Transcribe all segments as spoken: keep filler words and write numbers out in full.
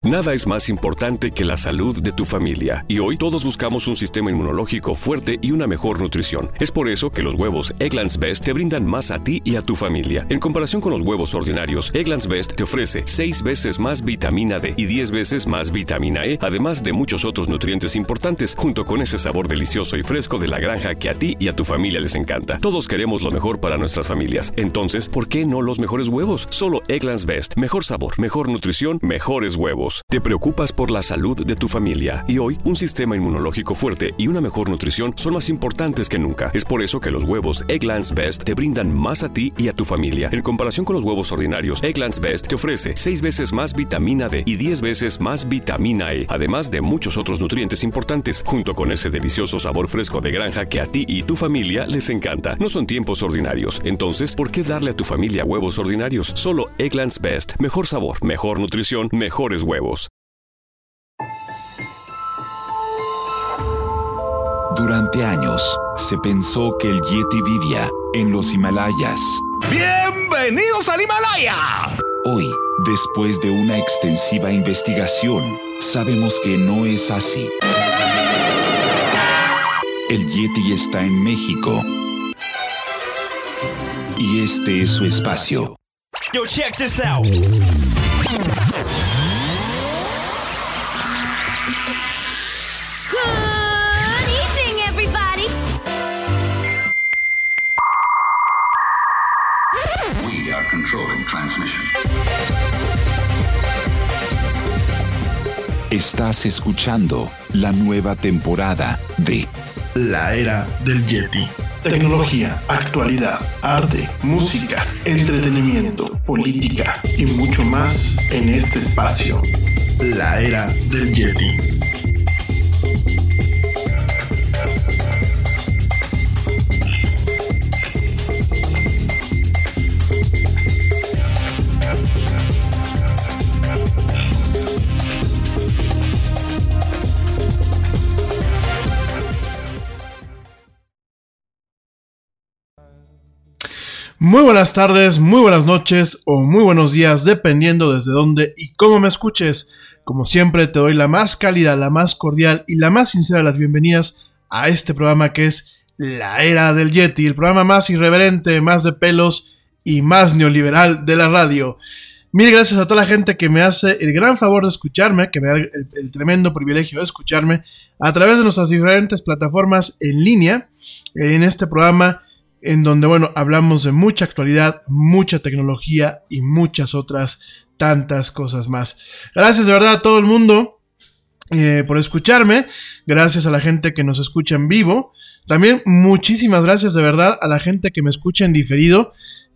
Nada es más importante que la salud de tu familia. Y hoy todos buscamos un sistema inmunológico fuerte y una mejor nutrición. Es por eso que los huevos Eggland's Best te brindan más a ti y a tu familia. En comparación con los huevos ordinarios, Eggland's Best te ofrece seis veces más vitamina D y diez veces más vitamina E, además de muchos otros nutrientes importantes, junto con ese sabor delicioso y fresco de la granja que a ti y a tu familia les encanta. Todos queremos lo mejor para nuestras familias. Entonces, ¿por qué no los mejores huevos? Solo Eggland's Best. Mejor sabor, mejor nutrición, mejores huevos. Te preocupas por la salud de tu familia. Y hoy, un sistema inmunológico fuerte y una mejor nutrición son más importantes que nunca. Es por eso que los huevos Eggland's Best te brindan más a ti y a tu familia. En comparación con los huevos ordinarios, Eggland's Best te ofrece seis veces más vitamina D y diez veces más vitamina E, además de muchos otros nutrientes importantes, junto con ese delicioso sabor fresco de granja que a ti y tu familia les encanta. No son tiempos ordinarios. Entonces, ¿por qué darle a tu familia huevos ordinarios? Solo Eggland's Best. Mejor sabor, mejor nutrición, mejores huevos. Durante años, se pensó que el Yeti vivía en los Himalayas. ¡Bienvenidos al Himalaya! Hoy, después de una extensiva investigación, sabemos que no es así. El Yeti está en México. Y este es su espacio. Yo, check this out. Controlling transmission. Estás escuchando la nueva temporada de La Era del Yeti. Tecnología, actualidad, arte, música, entretenimiento, política y mucho más en este espacio. La Era del Yeti. Muy buenas tardes, muy buenas noches o muy buenos días, dependiendo desde dónde y cómo me escuches. Como siempre, te doy la más cálida, la más cordial y la más sincera de las bienvenidas a este programa que es La Era del Yeti, el programa más irreverente, más de pelos y más neoliberal de la radio. Mil gracias a toda la gente que me hace el gran favor de escucharme, que me da el, el tremendo privilegio de escucharme a través de nuestras diferentes plataformas en línea en este programa, en donde, bueno, hablamos de mucha actualidad, mucha tecnología y muchas otras tantas cosas más. Gracias de verdad a todo el mundo eh, por escucharme. Gracias a la gente que nos escucha en vivo. También muchísimas gracias de verdad a la gente que me escucha en diferido.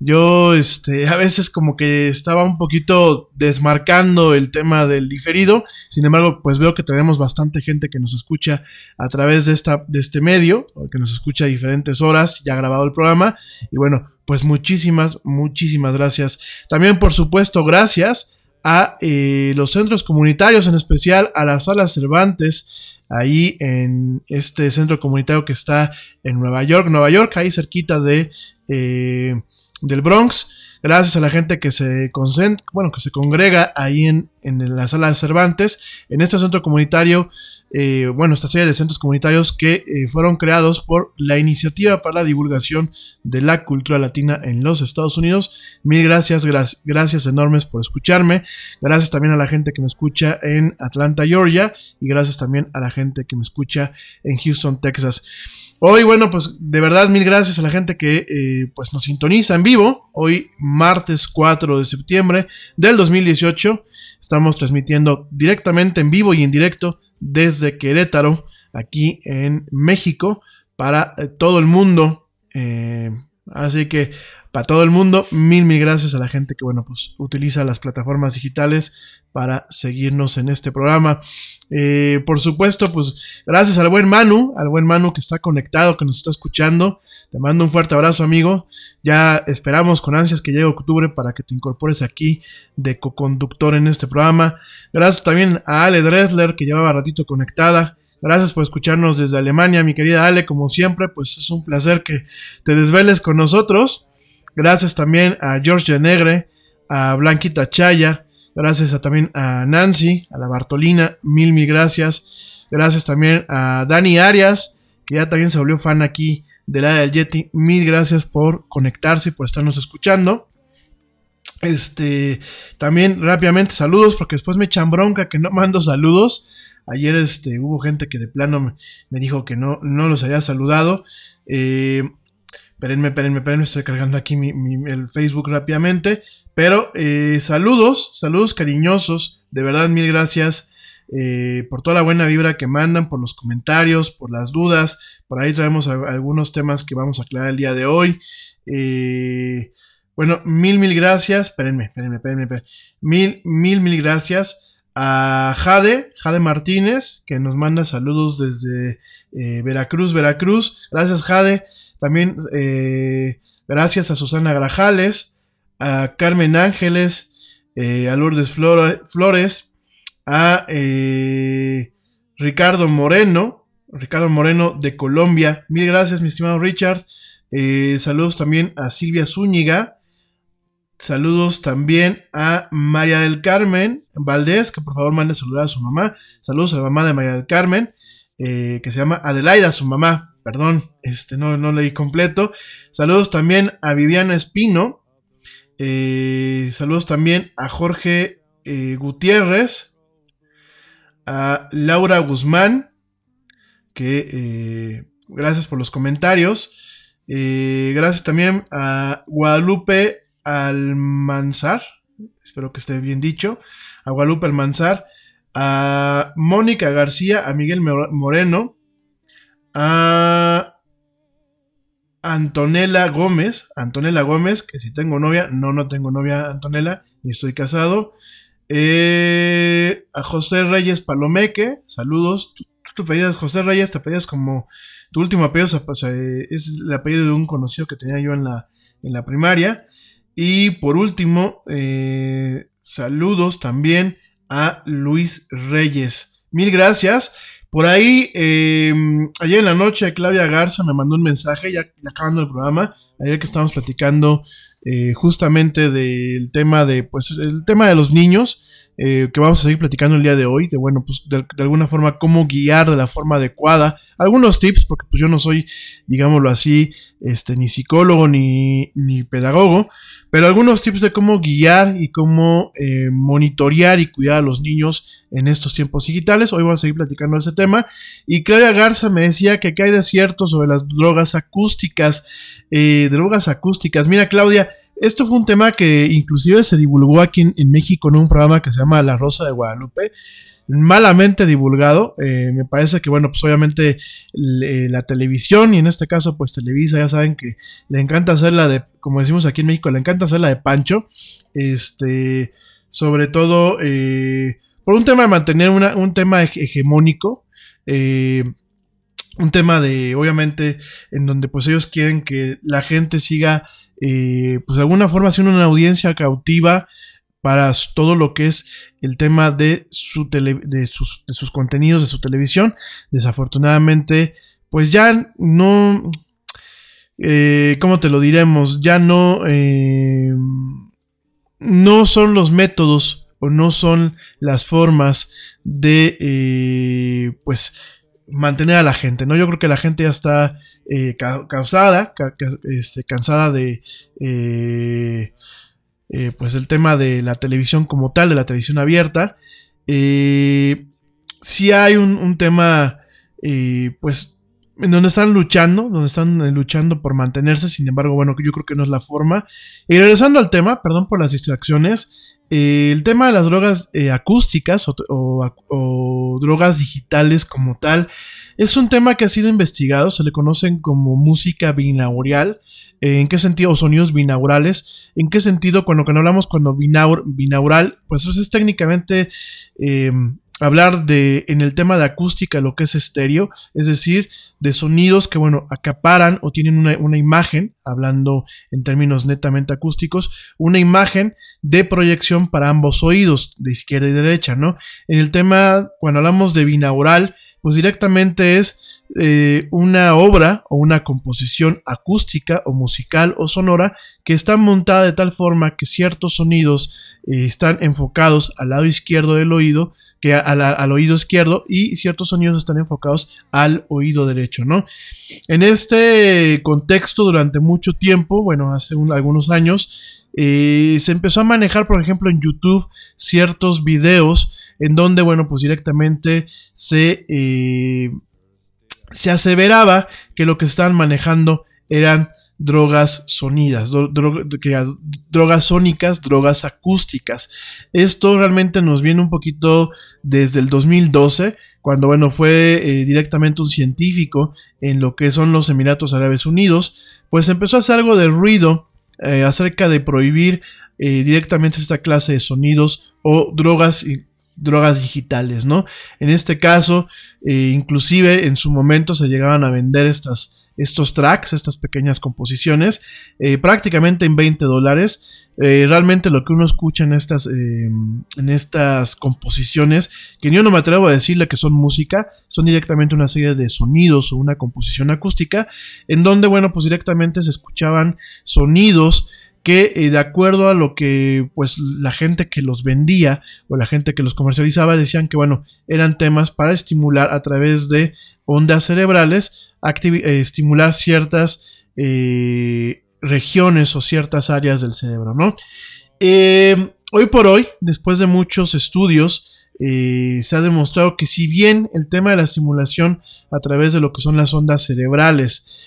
Yo este, a veces como que estaba un poquito desmarcando el tema del diferido. Sin embargo, pues veo que tenemos bastante gente que nos escucha a través de, esta, de este medio, o que nos escucha a diferentes horas, ya grabado el programa. Y bueno, pues muchísimas, muchísimas gracias. También, por supuesto, gracias a eh, los centros comunitarios, en especial a la Sala Cervantes, ahí en este centro comunitario que está en Nueva York, Nueva York, ahí cerquita de... Eh, del Bronx. Gracias a la gente que se concentra, bueno, que se congrega ahí en, en la Sala de Cervantes, en este centro comunitario, eh, bueno, esta serie de centros comunitarios que eh, fueron creados por la Iniciativa para la Divulgación de la Cultura Latina en los Estados Unidos. Mil gracias, gra- gracias enormes por escucharme. Gracias también a la gente que me escucha en Atlanta, Georgia, y gracias también a la gente que me escucha en Houston, Texas. Hoy, bueno, pues de verdad mil gracias a la gente que eh, pues nos sintoniza en vivo. Hoy, martes cuatro de septiembre del dos mil dieciocho, estamos transmitiendo directamente en vivo y en directo desde Querétaro, aquí en México, para eh, todo el mundo. Eh, así que para todo el mundo, mil, mil gracias a la gente que, bueno, pues utiliza las plataformas digitales para seguirnos en este programa. Eh, por supuesto, pues gracias al buen Manu, al buen Manu que está conectado, que nos está escuchando. Te mando un fuerte abrazo, amigo. Ya esperamos con ansias que llegue octubre para que te incorpores aquí de coconductor en este programa. Gracias también a Ale Dressler, que llevaba ratito conectada. Gracias por escucharnos desde Alemania, mi querida Ale. Como siempre, pues es un placer que te desveles con nosotros. Gracias también a George Negre, a Blanquita Chaya. Gracias a, también a Nancy, a la Bartolina, mil, mil gracias. Gracias también a Dani Arias, que ya también se volvió fan aquí del área del Yeti. Mil gracias por conectarse y por estarnos escuchando. Este, también rápidamente saludos, porque después me echan bronca que no mando saludos. Ayer este, hubo gente que de plano me, me dijo que no, no los había saludado. Eh, espérenme, espérenme, espérenme, estoy cargando aquí mi, mi, el Facebook rápidamente. Pero eh, saludos, saludos cariñosos, de verdad mil gracias eh, por toda la buena vibra que mandan, por los comentarios, por las dudas. Por ahí traemos a, a algunos temas que vamos a aclarar el día de hoy. Eh, bueno, mil, mil gracias. Espérenme, espérenme, espérenme, espérenme. Mil, mil, mil gracias a Jade, Jade Martínez, que nos manda saludos desde eh, Veracruz, Veracruz. Gracias, Jade. También eh, gracias a Susana Grajales, a Carmen Ángeles, eh, a Lourdes Flores, a eh, Ricardo Moreno, Ricardo Moreno de Colombia. Mil gracias, mi estimado Richard. Eh, saludos también a Silvia Zúñiga. Saludos también a María del Carmen Valdés, que por favor mande saludar a su mamá. Saludos a la mamá de María del Carmen, eh, que se llama Adelaida, su mamá. Perdón, este no, no leí completo. Saludos también a Viviana Espino. Eh, saludos también a Jorge eh, Gutiérrez. A Laura Guzmán, que eh, gracias por los comentarios. Eh, gracias también a Guadalupe Almanzar, espero que esté bien dicho, a Guadalupe Almanzar, a Mónica García, a Miguel Moreno, a Antonella Gómez, Antonella Gómez, que si tengo novia, no, no tengo novia, Antonella, ni estoy casado, eh, a José Reyes Palomeque, saludos. Tú, tú te pedías, José Reyes, te pedías como tu último apellido, o sea, es el apellido de un conocido que tenía yo en la, en la primaria. Y por último, eh, saludos también a Luis Reyes. Mil gracias. Por ahí, eh, ayer en la noche, Claudia Garza me mandó un mensaje, ya, ya acabando el programa, ayer que estábamos platicando eh, justamente del tema de, pues, el tema de los niños, eh, que vamos a seguir platicando el día de hoy, de bueno, pues de, de alguna forma cómo guiar de la forma adecuada, algunos tips, porque pues yo no soy, digámoslo así, este, ni psicólogo ni, ni pedagogo, pero algunos tips de cómo guiar y cómo eh, monitorear y cuidar a los niños en estos tiempos digitales. Hoy vamos a seguir platicando ese tema. Y Claudia Garza me decía que qué hay de cierto sobre las drogas acústicas, eh, drogas acústicas. Mira, Claudia, esto fue un tema que inclusive se divulgó aquí en, en México en un programa que se llama La Rosa de Guadalupe, malamente divulgado. Eh, me parece que, bueno, pues obviamente le, la televisión, y en este caso pues Televisa, ya saben que le encanta hacer la de, como decimos aquí en México, le encanta hacer la de Pancho, este, sobre todo eh, por un tema de mantener una, un tema hegemónico, eh, un tema de, obviamente, en donde pues ellos quieren que la gente siga eh, pues de alguna forma haciendo una audiencia cautiva para todo lo que es el tema de, su tele, de, sus, de sus contenidos, de su televisión. Desafortunadamente, pues ya no, eh, ¿cómo te lo diremos? Ya no, eh, no son los métodos o no son las formas de, eh, pues, mantener a la gente, ¿no? Yo creo que la gente ya está eh, ca- causada, ca- ca- este, cansada de... Eh, Eh, pues el tema de la televisión como tal, de la televisión abierta. Eh, sí hay un, un tema eh, pues en donde están luchando, donde están eh, luchando por mantenerse. Sin embargo, bueno, yo creo que no es la forma. Y regresando al tema, perdón por las distracciones, eh, el tema de las drogas eh, acústicas o, o, o drogas digitales como tal es un tema que ha sido investigado. Se le conocen como música binaural. Eh, ¿En qué sentido? O sonidos binaurales. ¿En qué sentido? Cuando, cuando hablamos cuando binaur, binaural, pues eso es técnicamente eh, hablar de, en el tema de acústica, lo que es estéreo, es decir, de sonidos que, bueno, acaparan o tienen una, una imagen, hablando en términos netamente acústicos, una imagen de proyección para ambos oídos, de izquierda y derecha, ¿no? En el tema, cuando hablamos de binaural, pues directamente es eh, una obra o una composición acústica o musical o sonora que está montada de tal forma que ciertos sonidos eh, están enfocados al lado izquierdo del oído, que a la, al oído izquierdo, y ciertos sonidos están enfocados al oído derecho, ¿no? En este contexto, durante mucho tiempo, bueno, hace un, algunos años, eh, se empezó a manejar, por ejemplo, en YouTube, ciertos videos en donde, bueno, pues directamente se, eh, se aseveraba que lo que estaban manejando eran drogas sonidas, dro- dro- que, drogas sónicas, drogas acústicas. Esto realmente nos viene un poquito desde el dos mil doce, cuando bueno, fue eh, directamente un científico en lo que son los Emiratos Árabes Unidos, pues empezó a hacer algo de ruido eh, acerca de prohibir eh, directamente esta clase de sonidos o drogas y drogas digitales, ¿no? En este caso, eh, inclusive en su momento se llegaban a vender estas estos tracks, estas pequeñas composiciones, eh, prácticamente en veinte dólares. Eh, realmente lo que uno escucha en estas, eh, en estas composiciones, que yo no me atrevo a decirle que son música, son directamente una serie de sonidos o una composición acústica, en donde, bueno, pues directamente se escuchaban sonidos que eh, de acuerdo a lo que pues la gente que los vendía o la gente que los comercializaba decían que bueno, eran temas para estimular a través de ondas cerebrales, activ- eh, estimular ciertas eh, regiones o ciertas áreas del cerebro, ¿no? Eh, hoy por hoy, después de muchos estudios, eh, se ha demostrado que si bien el tema de la estimulación a través de lo que son las ondas cerebrales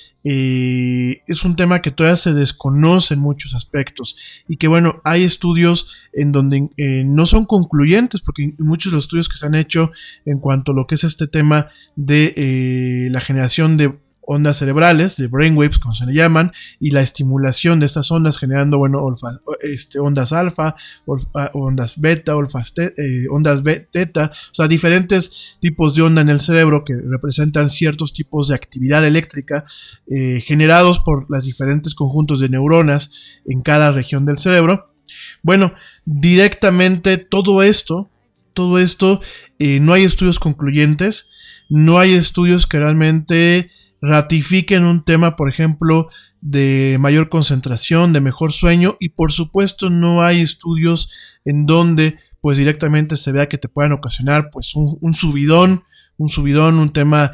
Eh, es un tema que todavía se desconoce en muchos aspectos y que bueno, hay estudios en donde eh, no son concluyentes, porque muchos de los estudios que se han hecho en cuanto a lo que es este tema de eh, la generación de ondas cerebrales, de brainwaves como se le llaman, y la estimulación de estas ondas generando, bueno, olfa, este, ondas alfa, olfa, ondas beta, olfas te, eh, ondas beta, o sea, diferentes tipos de onda en el cerebro que representan ciertos tipos de actividad eléctrica eh, generados por los diferentes conjuntos de neuronas en cada región del cerebro. Bueno, directamente todo esto, todo esto, eh, no hay estudios concluyentes, no hay estudios que realmente ratifiquen un tema, por ejemplo, de mayor concentración, de mejor sueño, y por supuesto no hay estudios en donde pues directamente se vea que te puedan ocasionar pues un, un subidón, un subidón, un tema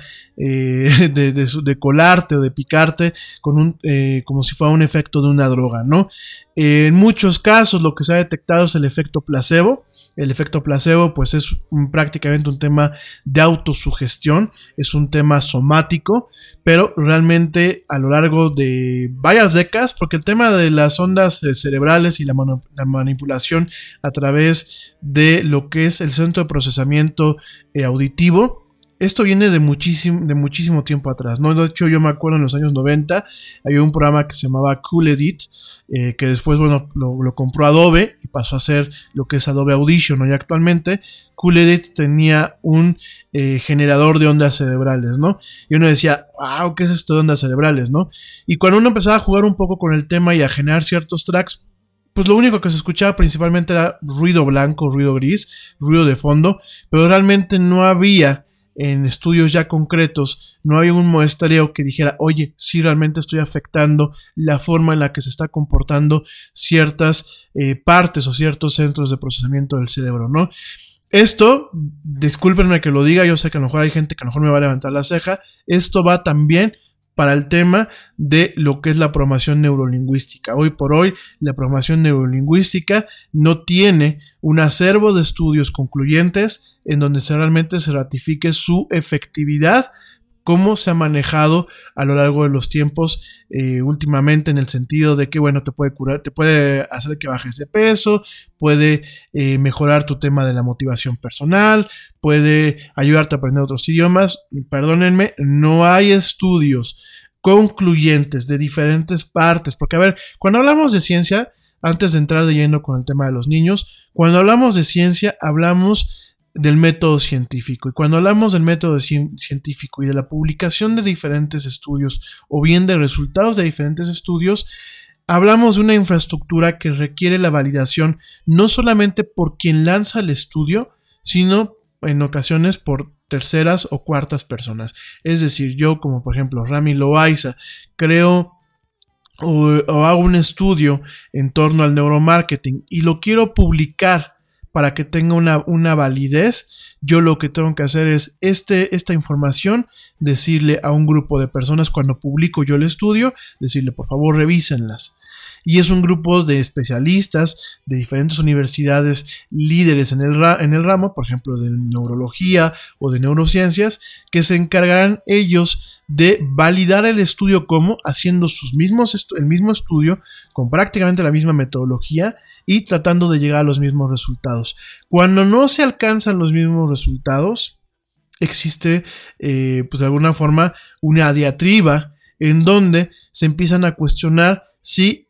eh, de, de, de colarte o de picarte con un, eh, como si fuera un efecto de una droga, ¿no? Eh, en muchos casos lo que se ha detectado es el efecto placebo. El efecto placebo pues es un, prácticamente un tema de autosugestión, es un tema somático, pero realmente a lo largo de varias décadas, porque el tema de las ondas cerebrales y la, manu- la manipulación a través de lo que es el centro de procesamiento eh, auditivo, esto viene de muchísimo, de muchísimo tiempo atrás, ¿no? De hecho, yo me acuerdo en los años noventa, había un programa que se llamaba Cool Edit, eh, que después, bueno, lo, lo compró Adobe y pasó a ser lo que es Adobe Audition, ¿no? Y actualmente Cool Edit tenía un eh, generador de ondas cerebrales, ¿no? Y uno decía, wow, ¿qué es esto de ondas cerebrales, no? Y cuando uno empezaba a jugar un poco con el tema y a generar ciertos tracks, pues lo único que se escuchaba principalmente era ruido blanco, ruido gris, ruido de fondo, pero realmente no había, en estudios ya concretos, no había un muestreo que dijera, oye, sí realmente estoy afectando la forma en la que se está comportando ciertas eh, partes o ciertos centros de procesamiento del cerebro, ¿no? Esto, discúlpenme que lo diga, yo sé que a lo mejor hay gente que a lo mejor me va a levantar la ceja, esto va también para el tema de lo que es la programación neurolingüística. Hoy por hoy, la programación neurolingüística no tiene un acervo de estudios concluyentes en donde se realmente se ratifique su efectividad, cómo se ha manejado a lo largo de los tiempos eh, últimamente, en el sentido de que, bueno, te puede curar, te puede hacer que bajes de peso, puede eh, mejorar tu tema de la motivación personal, puede ayudarte a aprender otros idiomas. Perdónenme, no hay estudios concluyentes de diferentes partes, porque a ver, cuando hablamos de ciencia, antes de entrar de lleno con el tema de los niños, cuando hablamos de ciencia, hablamos del método científico, y cuando hablamos del método ci- científico y de la publicación de diferentes estudios o bien de resultados de diferentes estudios, hablamos de una infraestructura que requiere la validación no solamente por quien lanza el estudio, sino en ocasiones por terceras o cuartas personas. Es decir, yo como por ejemplo Rami Loaiza creo o, o hago un estudio en torno al neuromarketing y lo quiero publicar para que tenga una, una validez. Yo lo que tengo que hacer es este, esta información, decirle a un grupo de personas cuando publico yo el estudio, decirle por favor revísenlas. Y es un grupo de especialistas de diferentes universidades líderes en el, ra- en el ramo, por ejemplo de neurología o de neurociencias, que se encargarán ellos de validar el estudio como haciendo sus mismos estu- el mismo estudio con prácticamente la misma metodología y tratando de llegar a los mismos resultados. Cuando no se alcanzan los mismos resultados, existe eh, pues de alguna forma una diatriba en donde se empiezan a cuestionar si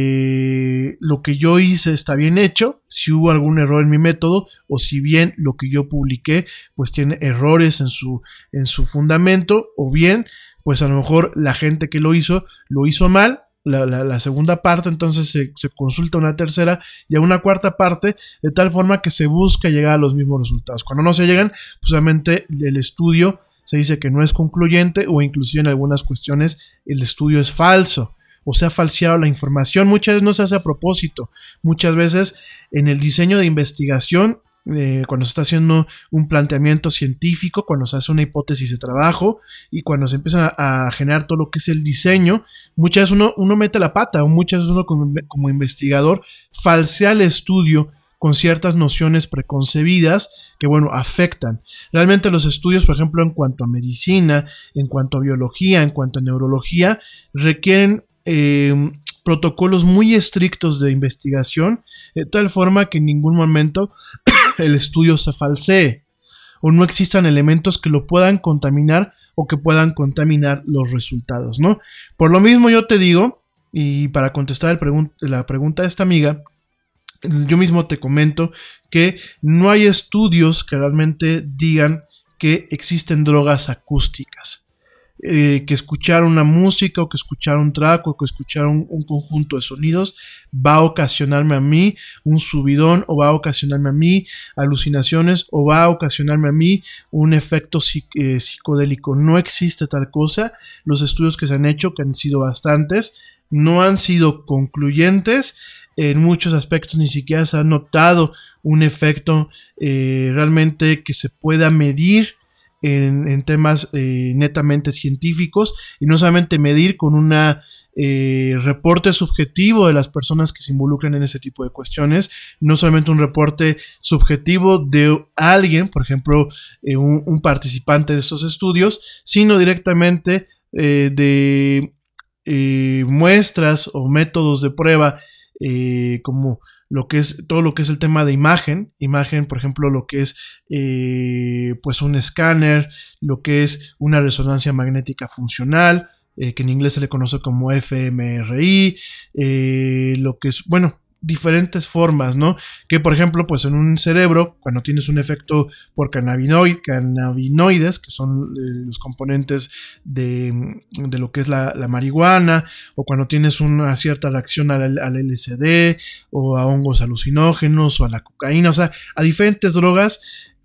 eh, lo que yo hice está bien hecho, si hubo algún error en mi método o si bien lo que yo publiqué pues tiene errores en su, en su fundamento, o bien pues a lo mejor la gente que lo hizo lo hizo mal. La, la, la segunda parte entonces se, se consulta una tercera y a una cuarta parte, de tal forma que se busca llegar a los mismos resultados. Cuando no se llegan, pues obviamente el estudio se dice que no es concluyente, o inclusive en algunas cuestiones el estudio es falso o se ha falseado la información. Muchas veces no se hace a propósito. Muchas veces en el diseño de investigación, eh, cuando se está haciendo un planteamiento científico, cuando se hace una hipótesis de trabajo y cuando se empieza a, a generar todo lo que es el diseño, muchas veces uno, uno mete la pata, o muchas veces uno como, como investigador falsea el estudio con ciertas nociones preconcebidas que, bueno, afectan. Realmente los estudios, por ejemplo, en cuanto a medicina, en cuanto a biología, en cuanto a neurología, requieren Eh, protocolos muy estrictos de investigación, de tal forma que en ningún momento el estudio se falsee o no existan elementos que lo puedan contaminar o que puedan contaminar los resultados, ¿no? Por lo mismo yo te digo, y para contestar el pregun- la pregunta de esta amiga, yo mismo te comento que no hay estudios que realmente digan que existen drogas acústicas. Eh, que escuchar una música o que escuchar un track o que escuchar un, un conjunto de sonidos va a ocasionarme a mí un subidón, o va a ocasionarme a mí alucinaciones, o va a ocasionarme a mí un efecto psic- eh, psicodélico. No existe tal cosa. Los estudios que se han hecho, que han sido bastantes, no han sido concluyentes. En muchos aspectos ni siquiera se ha notado un efecto eh, realmente que se pueda medir En, en temas eh, netamente científicos, y no solamente medir con un eh, reporte subjetivo de las personas que se involucran en ese tipo de cuestiones, no solamente un reporte subjetivo de alguien, por ejemplo, eh, un, un participante de estos estudios, sino directamente eh, de eh, muestras o métodos de prueba eh, como lo que es todo lo que es el tema de imagen, imagen, por ejemplo, lo que es eh, pues un escáner, lo que es una resonancia magnética funcional, eh, que en inglés se le conoce como F M R I, eh, lo que es, bueno, diferentes formas, ¿no? Que por ejemplo, pues en un cerebro, cuando tienes un efecto por cannabinoid, cannabinoides, que son eh, los componentes de, de lo que es la, la marihuana, o cuando tienes una cierta reacción al, al L S D, o a hongos alucinógenos, o a la cocaína, o sea, a diferentes drogas,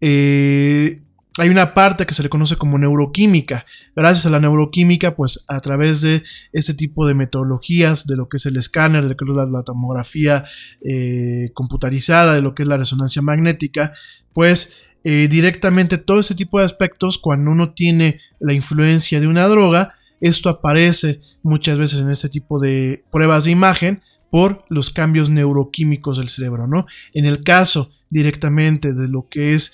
eh, hay una parte que se le conoce como neuroquímica. Gracias a la neuroquímica, pues a través de ese tipo de metodologías, de lo que es el escáner, de lo que es la, la tomografía eh, computarizada, de lo que es la resonancia magnética, pues eh, directamente todo ese tipo de aspectos, cuando uno tiene la influencia de una droga, esto aparece muchas veces en este tipo de pruebas de imagen por los cambios neuroquímicos del cerebro, ¿no? En el caso directamente de lo que es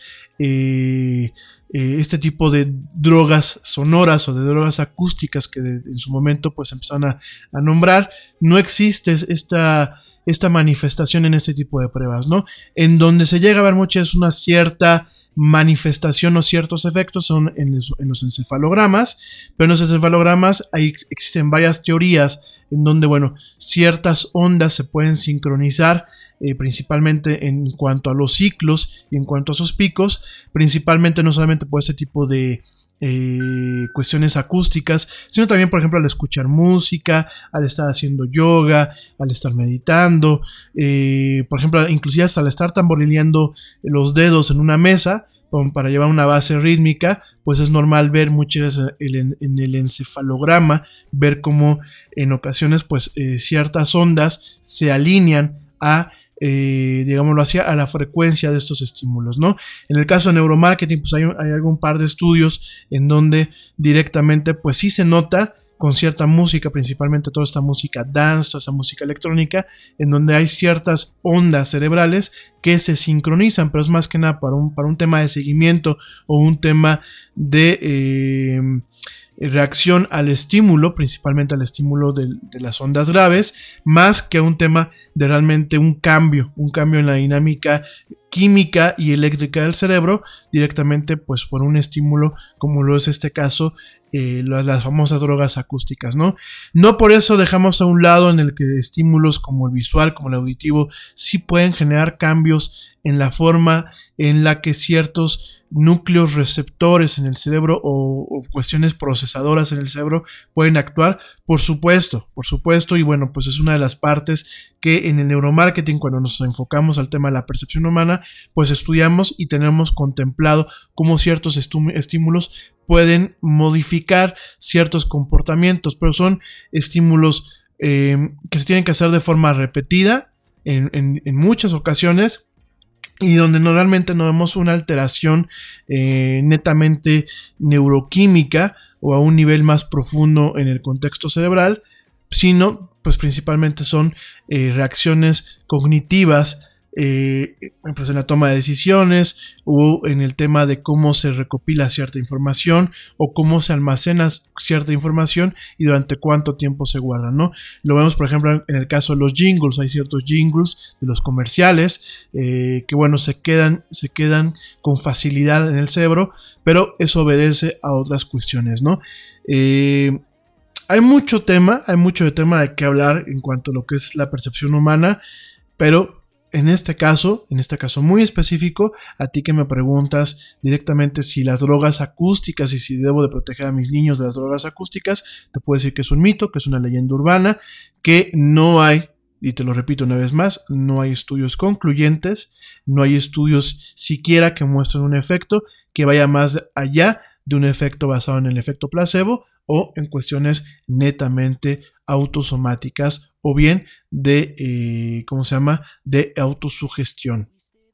eh, eh, este tipo de drogas sonoras o de drogas acústicas que de, en su momento pues empezaron a, a nombrar, no existe esta, esta manifestación en este tipo de pruebas, ¿no? En donde se llega a ver mucho es una cierta manifestación o ciertos efectos son en los, en los encefalogramas, pero en los encefalogramas hay, existen varias teorías en donde, bueno, ciertas ondas se pueden sincronizar, eh, principalmente en cuanto a los ciclos y en cuanto a sus picos, principalmente no solamente por ese tipo de eh, cuestiones acústicas, sino también, por ejemplo, al escuchar música, al estar haciendo yoga, al estar meditando, eh, por ejemplo, inclusive hasta al estar tamborileando los dedos en una mesa, para llevar una base rítmica, pues es normal ver muchas en, en el encefalograma, ver cómo en ocasiones pues eh, ciertas ondas se alinean a Eh, digámoslo así, a la frecuencia de estos estímulos, ¿no? En el caso de neuromarketing, pues hay, hay algún par de estudios en donde directamente, pues sí se nota con cierta música, principalmente toda esta música dance, toda esta música electrónica, en donde hay ciertas ondas cerebrales que se sincronizan, pero es más que nada para un, para un tema de seguimiento o un tema de eh, reacción al estímulo, principalmente al estímulo de, de las ondas graves, más que un tema de realmente un cambio, un cambio en la dinámica química y eléctrica del cerebro, directamente pues por un estímulo como lo es este caso, eh, las, las famosas drogas acústicas, ¿no? No por eso dejamos a un lado en el que estímulos como el visual, como el auditivo, sí pueden generar cambios en la forma en la que ciertos núcleos receptores en el cerebro o, o cuestiones procesadoras en el cerebro pueden actuar, por supuesto, por supuesto, y bueno, pues es una de las partes que en el neuromarketing, cuando nos enfocamos al tema de la percepción humana, pues estudiamos y tenemos contemplado cómo ciertos estímulos pueden modificar ciertos comportamientos, pero son estímulos eh, que se tienen que hacer de forma repetida en, en, en muchas ocasiones, y donde normalmente no vemos una alteración eh, netamente neuroquímica o a un nivel más profundo en el contexto cerebral, sino pues principalmente son eh, reacciones cognitivas, eh, pues en la toma de decisiones o en el tema de cómo se recopila cierta información o cómo se almacena cierta información y durante cuánto tiempo se guarda, ¿no? Lo vemos, por ejemplo, en el caso de los jingles. Hay ciertos jingles de los comerciales eh, que, bueno, se quedan, se quedan con facilidad en el cerebro, pero eso obedece a otras cuestiones, ¿no? Eh, hay mucho tema, hay mucho de tema de qué hablar en cuanto a lo que es la percepción humana, pero en este caso, en este caso muy específico, a ti que me preguntas directamente si las drogas acústicas y si debo de proteger a mis niños de las drogas acústicas, te puedo decir que es un mito, que es una leyenda urbana, que no hay, y te lo repito una vez más, no hay estudios concluyentes, no hay estudios siquiera que muestren un efecto que vaya más allá de un efecto basado en el efecto placebo o en cuestiones netamente autosomáticas o bien de, eh, ¿cómo se llama?, de autosugestión.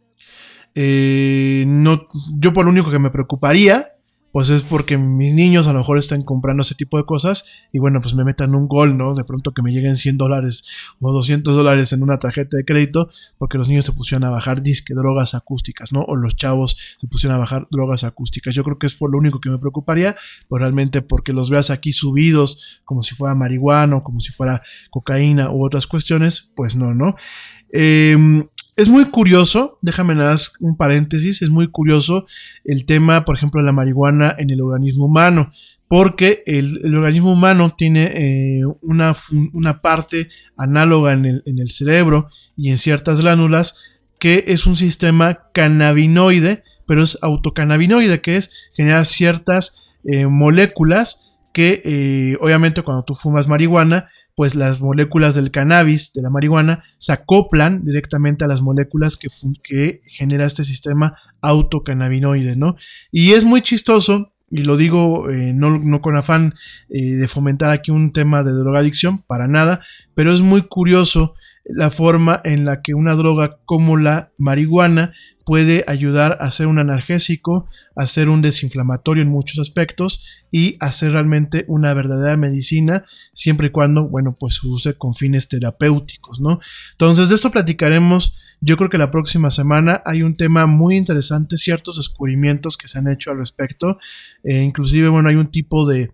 Eh, no, yo por lo único que me preocuparía, pues es porque mis niños a lo mejor están comprando ese tipo de cosas y bueno, pues me metan un gol, ¿no? De pronto que me lleguen cien dólares o doscientos dólares en una tarjeta de crédito porque los niños se pusieron a bajar disque drogas acústicas, ¿no? O los chavos se pusieron a bajar drogas acústicas. Yo creo que es por lo único que me preocuparía, pues realmente porque los veas aquí subidos como si fuera marihuana o como si fuera cocaína u otras cuestiones, pues no, ¿no? Eh... Es muy curioso, déjame nada más un paréntesis, es muy curioso el tema, por ejemplo, de la marihuana en el organismo humano, porque el, el organismo humano tiene eh, una, una parte análoga en el, en el cerebro y en ciertas glándulas que es un sistema cannabinoide, pero es autocannabinoide, que es generar ciertas eh, moléculas que eh, obviamente cuando tú fumas marihuana, pues las moléculas del cannabis, de la marihuana, se acoplan directamente a las moléculas que, que genera este sistema autocannabinoide, ¿no? Y es muy chistoso, y lo digo eh, no, no con afán eh, de fomentar aquí un tema de drogadicción, para nada, pero es muy curioso la forma en la que una droga como la marihuana puede ayudar a ser un analgésico, a ser un desinflamatorio en muchos aspectos y a ser realmente una verdadera medicina, siempre y cuando, bueno, pues se use con fines terapéuticos, ¿no? Entonces, de esto platicaremos, yo creo que la próxima semana. Hay un tema muy interesante, ciertos descubrimientos que se han hecho al respecto, eh, inclusive, bueno, hay un tipo de,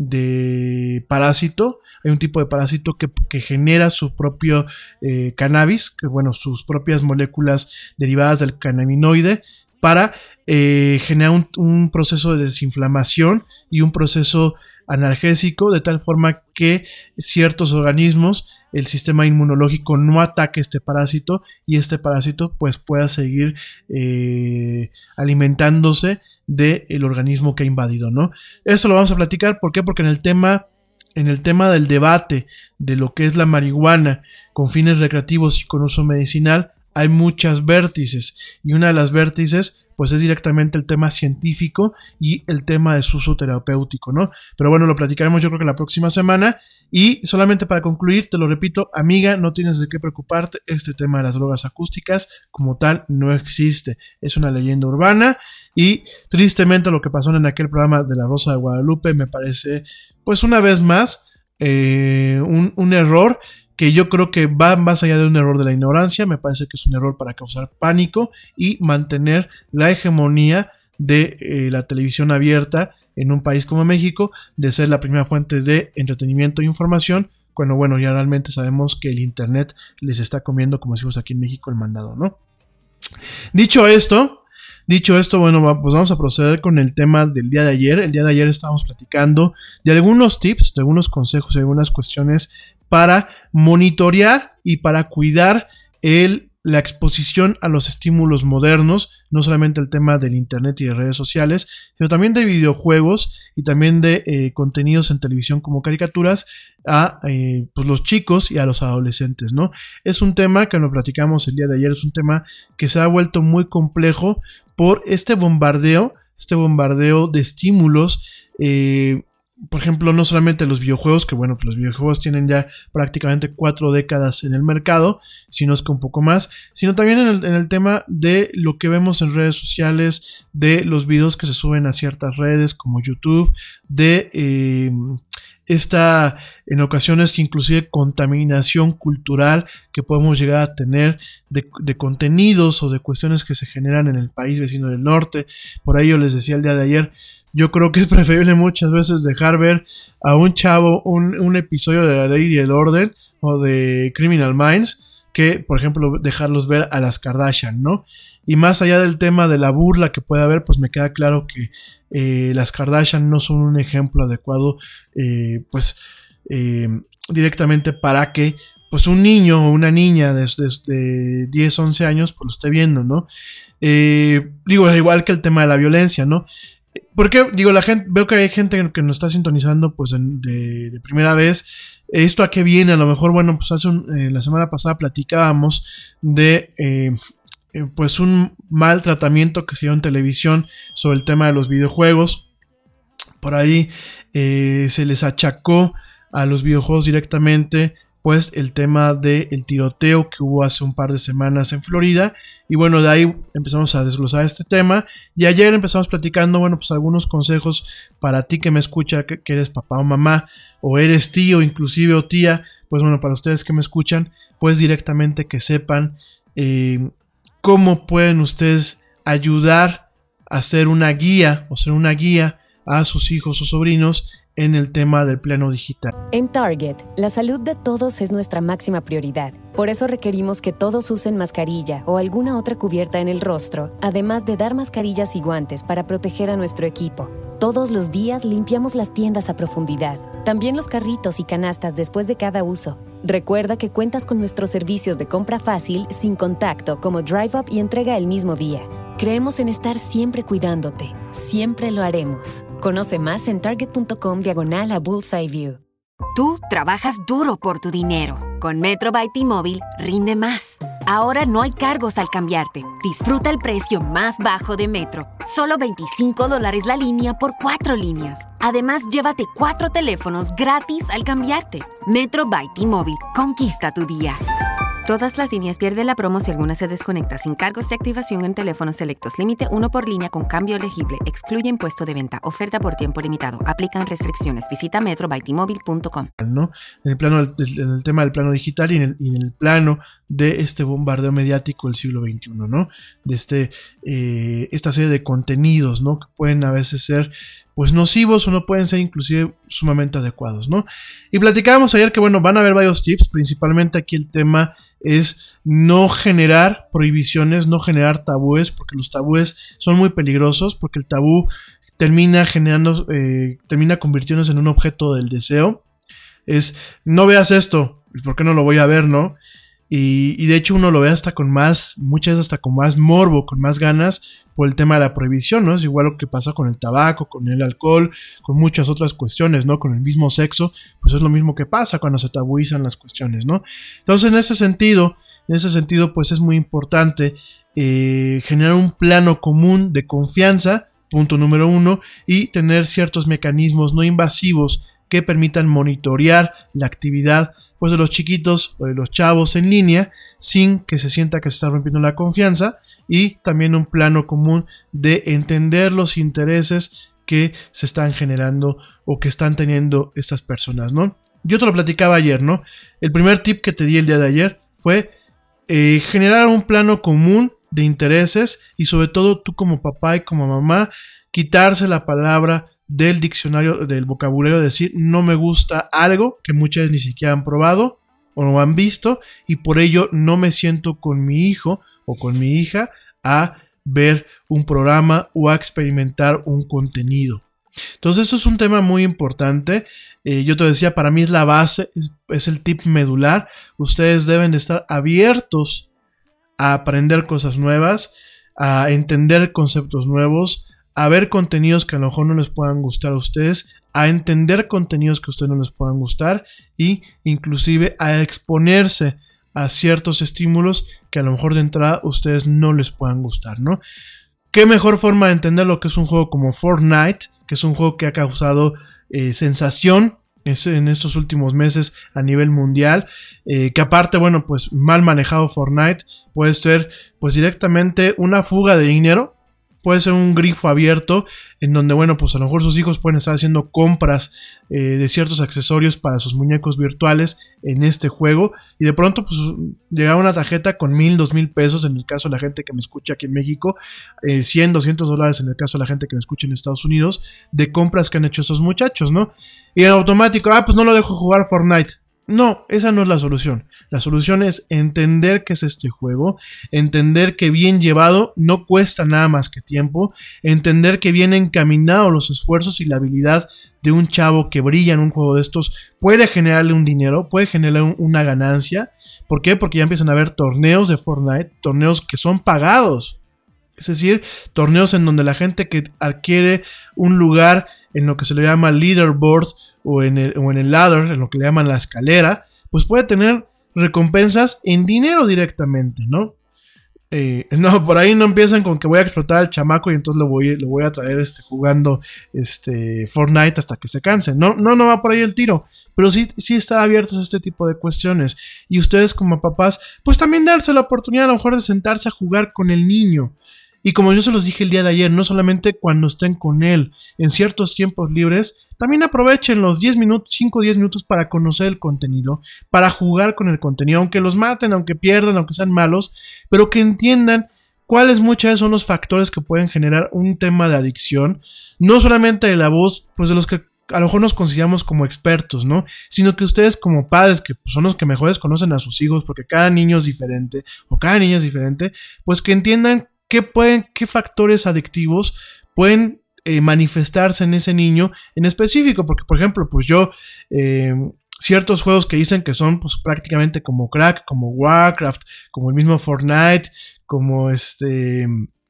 de parásito, hay un tipo de parásito que, que genera su propio eh, cannabis, que bueno, sus propias moléculas derivadas del cannabinoide para eh, generar un, un proceso de desinflamación y un proceso analgésico de tal forma que ciertos organismos, el sistema inmunológico no ataque este parásito y este parásito pues pueda seguir eh, alimentándose del organismo que ha invadido, ¿no? Esto lo vamos a platicar, ¿por qué? Porque en el tema En el tema del debate de lo que es la marihuana con fines recreativos y con uso medicinal, hay muchas vértices, y una de las vértices pues es directamente el tema científico y el tema de su uso terapéutico, ¿no? Pero bueno, lo platicaremos yo creo que la próxima semana. Y solamente para concluir, te lo repito, amiga, no tienes de qué preocuparte. Este tema de las drogas acústicas como tal no existe. Es una leyenda urbana y tristemente lo que pasó en aquel programa de La Rosa de Guadalupe me parece, pues una vez más, eh, un, un error que yo creo que va más allá de un error de la ignorancia. Me parece que es un error para causar pánico y mantener la hegemonía de eh, la televisión abierta en un país como México, de ser la primera fuente de entretenimiento e información, cuando bueno, ya realmente sabemos que el internet les está comiendo, como decimos aquí en México, el mandado, ¿no? Dicho esto, dicho esto, bueno, pues vamos a proceder con el tema del día de ayer. El día de ayer estábamos platicando de algunos tips, de algunos consejos, de algunas cuestiones para monitorear y para cuidar el la exposición a los estímulos modernos, no solamente el tema del internet y de redes sociales, sino también de videojuegos y también de eh, contenidos en televisión como caricaturas a eh, pues los chicos y a los adolescentes, ¿no? Es un tema que lo platicamos el día de ayer, es un tema que se ha vuelto muy complejo por este bombardeo, este bombardeo de estímulos, eh, por ejemplo, no solamente los videojuegos, que bueno, pues los videojuegos tienen ya prácticamente cuatro décadas en el mercado, sino es que un poco más, sino también en el, en el tema de lo que vemos en redes sociales, de los videos que se suben a ciertas redes como YouTube, de eh, esta, en ocasiones, inclusive contaminación cultural que podemos llegar a tener de, de contenidos o de cuestiones que se generan en el país vecino del norte. Por ahí yo les decía el día de ayer, yo creo que es preferible muchas veces dejar ver a un chavo un, un episodio de La Ley y el Orden o de Criminal Minds que, por ejemplo, dejarlos ver a las Kardashian, ¿no? Y más allá del tema de la burla que puede haber, pues me queda claro que eh, las Kardashian no son un ejemplo adecuado, eh, pues, eh, directamente para que pues un niño o una niña de, de, de diez, once años pues lo esté viendo, ¿no? Eh, digo, igual que el tema de la violencia, ¿no? Porque, digo, la gente, veo que hay gente que nos está sintonizando pues en, de, de primera vez. ¿Esto a qué viene? A lo mejor, bueno, pues hace un, eh, la semana pasada platicábamos de eh, eh, pues un mal tratamiento que se dio en televisión sobre el tema de los videojuegos. Por ahí eh, se les achacó a los videojuegos directamente pues el tema del tiroteo que hubo hace un par de semanas en Florida, y bueno, de ahí empezamos a desglosar este tema, y ayer empezamos platicando, bueno, pues algunos consejos para ti que me escucha, que, que eres papá o mamá, o eres tío, inclusive, o tía, pues bueno, para ustedes que me escuchan, pues directamente que sepan eh, cómo pueden ustedes ayudar a ser una guía, o ser una guía a sus hijos o sobrinos en el tema del plano digital. En Target, la salud de todos es nuestra máxima prioridad. Por eso requerimos que todos usen mascarilla o alguna otra cubierta en el rostro, además de dar mascarillas y guantes para proteger a nuestro equipo. Todos los días limpiamos las tiendas a profundidad, también los carritos y canastas después de cada uso. Recuerda que cuentas con nuestros servicios de compra fácil, sin contacto, como Drive Up y entrega el mismo día. Creemos en estar siempre cuidándote. Siempre lo haremos. Conoce más en target.com diagonal a Bullseye View. Tú trabajas duro por tu dinero. Con Metro by T-Mobile rinde más. Ahora no hay cargos al cambiarte. Disfruta el precio más bajo de Metro. Solo veinticinco dólares la línea por cuatro líneas. Además, llévate cuatro teléfonos gratis al cambiarte. Metro by T-Mobile. Conquista tu día. Todas las líneas pierden la promo si alguna se desconecta sin cargos de activación en teléfonos selectos. Límite uno por línea con cambio elegible. Excluye impuesto de venta. Oferta por tiempo limitado. Aplican restricciones. Visita metro by t mobile punto com. ¿No? En el plano del, en el tema del plano digital y en el, y en el plano de este bombardeo mediático del siglo veintiuno, ¿no? De este eh, esta serie de contenidos, ¿no? Que pueden a veces ser pues nocivos o no pueden ser inclusive sumamente adecuados, ¿no? Y platicábamos ayer que, bueno, van a haber varios tips, principalmente aquí el tema es no generar prohibiciones, no generar tabúes, porque los tabúes son muy peligrosos, porque el tabú termina generando, eh, termina convirtiéndose en un objeto del deseo. Es, no veas esto, ¿por qué no lo voy a ver, no? Y, y de hecho uno lo ve hasta con más, muchas veces hasta con más morbo, con más ganas por el tema de la prohibición, ¿no? Es igual lo que pasa con el tabaco, con el alcohol, con muchas otras cuestiones, ¿no? Con el mismo sexo, pues es lo mismo que pasa cuando se tabuizan las cuestiones, ¿no? Entonces, en ese sentido, En ese sentido, pues es muy importante eh, generar un plano común de confianza, punto número uno, y tener ciertos mecanismos no invasivos que permitan monitorear la actividad pues, de los chiquitos o de los chavos en línea sin que se sienta que se está rompiendo la confianza, y también un plano común de entender los intereses que se están generando o que están teniendo estas personas, ¿no? Yo te lo platicaba ayer, ¿no? El primer tip que te di el día de ayer fue eh, generar un plano común de intereses y sobre todo tú como papá y como mamá quitarse la palabra del diccionario, del vocabulario, decir no me gusta algo que muchas ni siquiera han probado o no han visto y por ello no me siento con mi hijo o con mi hija a ver un programa o a experimentar un contenido. Entonces esto es un tema muy importante. Eh, yo te decía, para mí es la base, es, es el tip medular. Ustedes deben estar abiertos a aprender cosas nuevas, a entender conceptos nuevos, a ver contenidos que a lo mejor no les puedan gustar a ustedes, a entender contenidos que a ustedes no les puedan gustar y inclusive a exponerse a ciertos estímulos que a lo mejor de entrada a ustedes no les puedan gustar, ¿no? ¿Qué mejor forma de entender lo que es un juego como Fortnite, que es un juego que ha causado eh, sensación en estos últimos meses a nivel mundial, eh, que aparte, bueno, pues mal manejado Fortnite puede ser pues directamente una fuga de dinero, puede ser un grifo abierto en donde, bueno, pues a lo mejor sus hijos pueden estar haciendo compras eh, de ciertos accesorios para sus muñecos virtuales en este juego y de pronto pues llega una tarjeta con mil, dos mil pesos en el caso de la gente que me escucha aquí en México, eh, cien, doscientos dólares en el caso de la gente que me escucha en Estados Unidos, de compras que han hecho esos muchachos, ¿no? Y en automático, ah, pues no lo dejo jugar Fortnite. No, esa no es la solución. La solución es entender qué es este juego, entender que bien llevado no cuesta nada más que tiempo, entender que bien encaminados los esfuerzos y la habilidad de un chavo que brilla en un juego de estos puede generarle un dinero, puede generar un, una ganancia. ¿Por qué? Porque ya empiezan a haber torneos de Fortnite, torneos que son pagados. Es decir, torneos en donde la gente que adquiere un lugar en lo que se le llama leaderboard o en el, o en el ladder, en lo que le llaman la escalera, pues puede tener recompensas en dinero directamente, ¿no? Eh, no, por ahí no empiezan con que voy a explotar al chamaco y entonces lo voy, lo voy a traer este, jugando este, Fortnite hasta que se canse. No, no, no va por ahí el tiro, pero sí, sí están abiertos a este tipo de cuestiones. Y ustedes como papás, pues también darse la oportunidad a lo mejor de sentarse a jugar con el niño. Y como yo se los dije el día de ayer, no solamente cuando estén con él, en ciertos tiempos libres, también aprovechen los diez minutos, cinco o diez minutos para conocer el contenido, para jugar con el contenido, aunque los maten, aunque pierdan, aunque sean malos, pero que entiendan cuáles muchas veces son los factores que pueden generar un tema de adicción, no solamente de la voz, pues de los que a lo mejor nos consideramos como expertos, ¿no? Sino que ustedes como padres, que son los que mejores conocen a sus hijos, porque cada niño es diferente, o cada niña es diferente, pues que entiendan qué pueden, qué factores adictivos pueden eh, manifestarse en ese niño en específico, porque por ejemplo, pues yo, eh, ciertos juegos que dicen que son pues prácticamente como crack, como Warcraft, como el mismo Fortnite, como este,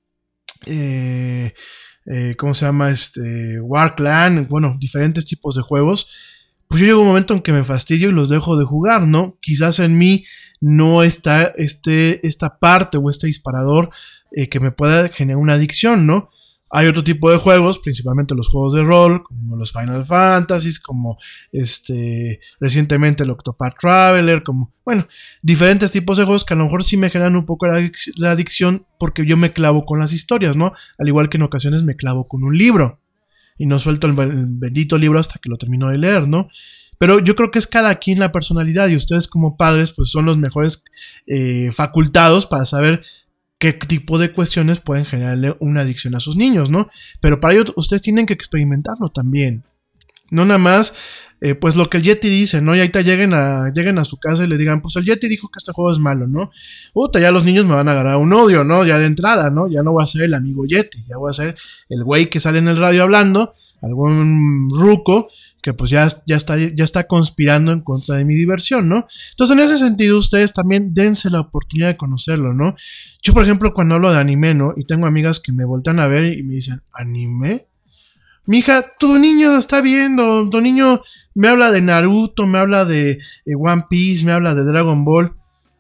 eh, eh, ¿cómo se llama? Este, Warclan, bueno, diferentes tipos de juegos, pues yo llego a un momento en que me fastidio y los dejo de jugar, ¿no? Quizás en mí no está este, esta parte o este disparador eh, que me pueda generar una adicción, ¿no? Hay otro tipo de juegos, principalmente los juegos de rol, como los Final Fantasy, como este recientemente el Octopath Traveler, como, bueno, diferentes tipos de juegos que a lo mejor sí me generan un poco la, adic- la adicción porque yo me clavo con las historias, ¿no? Al igual que en ocasiones me clavo con un libro y no suelto el, el bendito libro hasta que lo termino de leer, ¿no? Pero yo creo que es cada quien la personalidad y ustedes como padres pues son los mejores eh, facultados para saber qué tipo de cuestiones pueden generarle una adicción a sus niños, ¿no? Pero para ello ustedes tienen que experimentarlo también. No nada más, eh, pues lo que el Yeti dice, ¿no? Y ahorita lleguen a, lleguen a su casa y le digan, pues el Yeti dijo que este juego es malo, ¿no? Puta, ya los niños me van a agarrar un odio, ¿no? Ya de entrada, ¿no? Ya no voy a ser el amigo Yeti, ya voy a ser el güey que sale en el radio hablando, algún ruco que pues ya, ya, está, ya está conspirando en contra de mi diversión, ¿no? Entonces en ese sentido ustedes también dense la oportunidad de conocerlo, ¿no? Yo por ejemplo cuando hablo de anime, ¿no? Y tengo amigas que me voltean a ver y me dicen, ¿anime? Mija, tu niño lo está viendo, tu niño me habla de Naruto, me habla de eh, One Piece, me habla de Dragon Ball.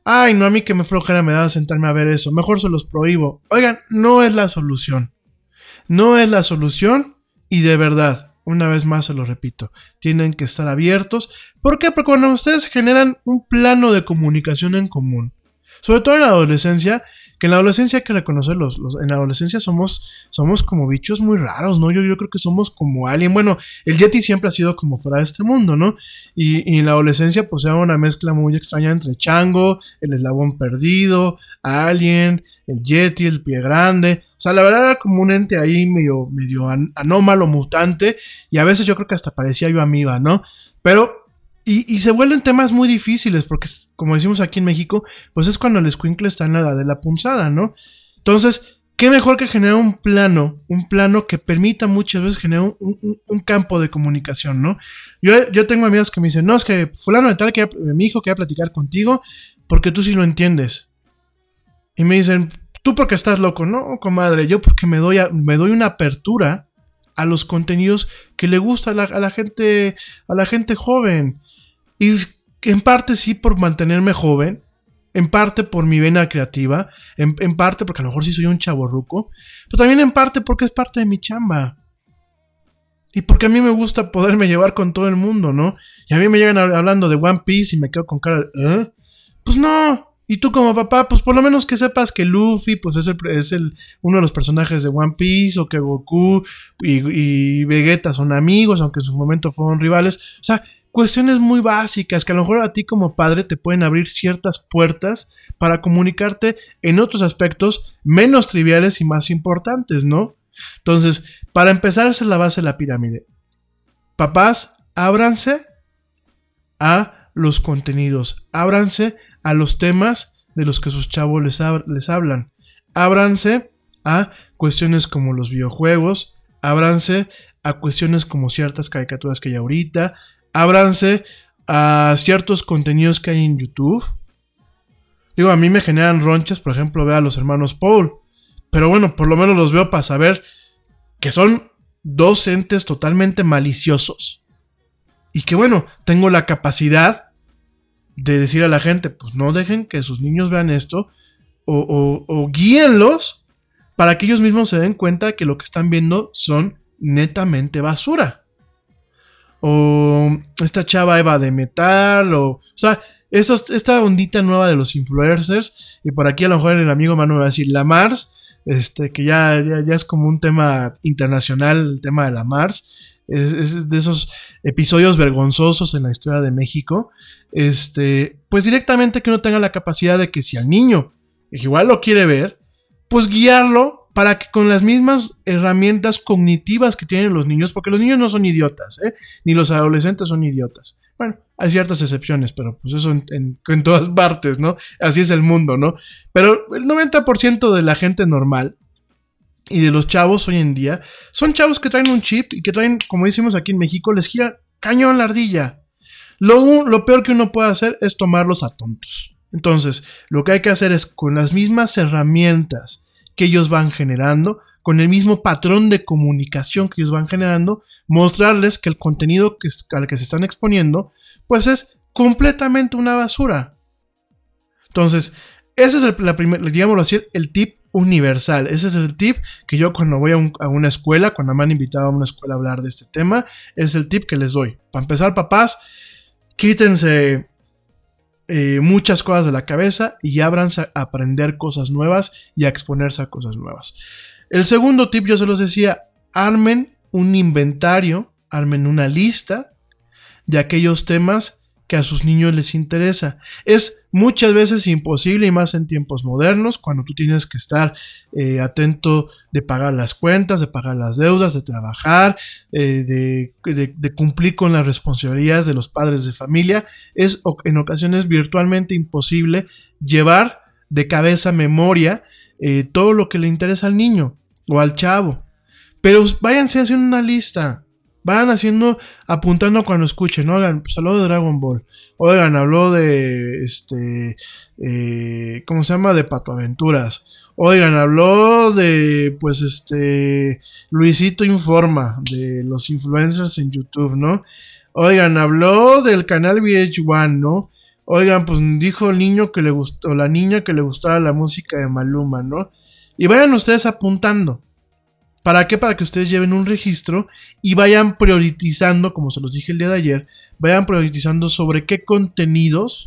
Ay, no, a mí que me flojera me da sentarme a ver eso. Mejor se los prohíbo. Oigan, no es la solución. No es la solución y de verdad, una vez más se lo repito, tienen que estar abiertos. ¿Por qué? Porque cuando ustedes generan un plano de comunicación en común, sobre todo en la adolescencia, que en la adolescencia hay que reconocerlos, los, en la adolescencia somos, somos como bichos muy raros, ¿no? Yo, yo creo que somos como alien. Bueno, el Yeti siempre ha sido como fuera de este mundo, ¿no? Y, y en la adolescencia pues era una mezcla muy extraña entre Chango, el eslabón perdido, Alien, el Yeti, el pie grande. O sea, la verdad era como un ente ahí medio, medio an- anómalo, mutante, y a veces yo creo que hasta parecía yo amiba, ¿no? Pero... Y, y se vuelven temas muy difíciles porque, como decimos aquí en México, pues es cuando el escuincle está en la edad de la punzada, ¿no? Entonces, qué mejor que generar un plano, un plano que permita muchas veces generar un, un, un campo de comunicación, ¿no? Yo, yo tengo amigos que me dicen, no, es que fulano de tal, que mi hijo quería platicar contigo porque tú sí lo entiendes. Y me dicen, tú porque estás loco. No, comadre, yo porque me doy, a, me doy una apertura a los contenidos que le gusta a la, a la gente, a la gente joven. Y en parte sí por mantenerme joven, en parte por mi vena creativa, en, en parte porque a lo mejor sí soy un chavorruco, pero también en parte porque es parte de mi chamba. Y porque a mí me gusta poderme llevar con todo el mundo, ¿no? Y a mí me llegan hablando de One Piece y me quedo con cara de, ¿eh? Pues no. Y tú como papá, pues por lo menos que sepas que Luffy pues es, el, es el, uno de los personajes de One Piece, o que Goku y, y Vegeta son amigos, aunque en su momento fueron rivales. O sea, cuestiones muy básicas que a lo mejor a ti como padre te pueden abrir ciertas puertas para comunicarte en otros aspectos menos triviales y más importantes, ¿no? Entonces, para empezar, esa es la base de la pirámide. Papás, ábranse a los contenidos, ábranse a los temas de los que sus chavos les, hab- les hablan, ábranse a cuestiones como los videojuegos, ábranse a cuestiones como ciertas caricaturas que hay ahorita, ábranse a ciertos contenidos que hay en YouTube. Digo, a mí me generan ronchas, por ejemplo, ver a los hermanos Paul. Pero bueno, por lo menos los veo para saber que son dos entes totalmente maliciosos. Y que bueno, tengo la capacidad de decir a la gente, pues no dejen que sus niños vean esto. O, o, o guíenlos para que ellos mismos se den cuenta que lo que están viendo son netamente basura. O esta chava Eva de metal, o, o sea, esos, esta ondita nueva de los influencers, y por aquí a lo mejor el amigo Manu me va a decir la Mars, este, que ya, ya, ya es como un tema internacional, el tema de la Mars, es, es de esos episodios vergonzosos en la historia de México, este, pues directamente que uno tenga la capacidad de que si al niño igual lo quiere ver, pues guiarlo para que con las mismas herramientas cognitivas que tienen los niños, porque los niños no son idiotas, ¿eh? Ni los adolescentes son idiotas. Bueno, hay ciertas excepciones, pero pues eso en, en, en todas partes, ¿no? Así es el mundo, ¿no? Pero el noventa por ciento de la gente normal y de los chavos hoy en día son chavos que traen un chip y que traen, como decimos aquí en México, les gira cañón la ardilla. Lo, lo peor que uno puede hacer es tomarlos a tontos. Entonces, lo que hay que hacer es con las mismas herramientas que ellos van generando, con el mismo patrón de comunicación que ellos van generando, mostrarles que el contenido que, al que se están exponiendo, pues es completamente una basura. Entonces, ese es el, la primer, digámoslo así, el tip universal. Ese es el tip que yo cuando voy a, un, a una escuela, cuando me han invitado a una escuela a hablar de este tema, es el tip que les doy. Para empezar, papás, quítense Eh, muchas cosas de la cabeza y ábranse a aprender cosas nuevas y a exponerse a cosas nuevas. El segundo tip, yo se los decía, armen un inventario, armen una lista de aquellos temas que a sus niños les interesa. Es muchas veces imposible, y más en tiempos modernos, cuando tú tienes que estar eh, atento de pagar las cuentas, de pagar las deudas, de trabajar, eh, de, de, de cumplir con las responsabilidades de los padres de familia. Es en ocasiones virtualmente imposible llevar de cabeza memoria eh, todo lo que le interesa al niño o al chavo. Pero váyanse haciendo una lista. Van haciendo, apuntando cuando escuchen, ¿no? Oigan, pues habló de Dragon Ball. Oigan, habló de, este, eh, ¿cómo se llama? De Pato Aventuras. Oigan, habló de, pues, este, Luisito Informa, de los influencers en YouTube, ¿no? Oigan, habló del canal V H uno, ¿no? oigan, pues dijo el niño que le gustó, o la niña que le gustaba la música de Maluma, ¿no? Y vayan ustedes apuntando. ¿Para qué? Para que ustedes lleven un registro y vayan priorizando, como se los dije el día de ayer, vayan priorizando sobre qué contenidos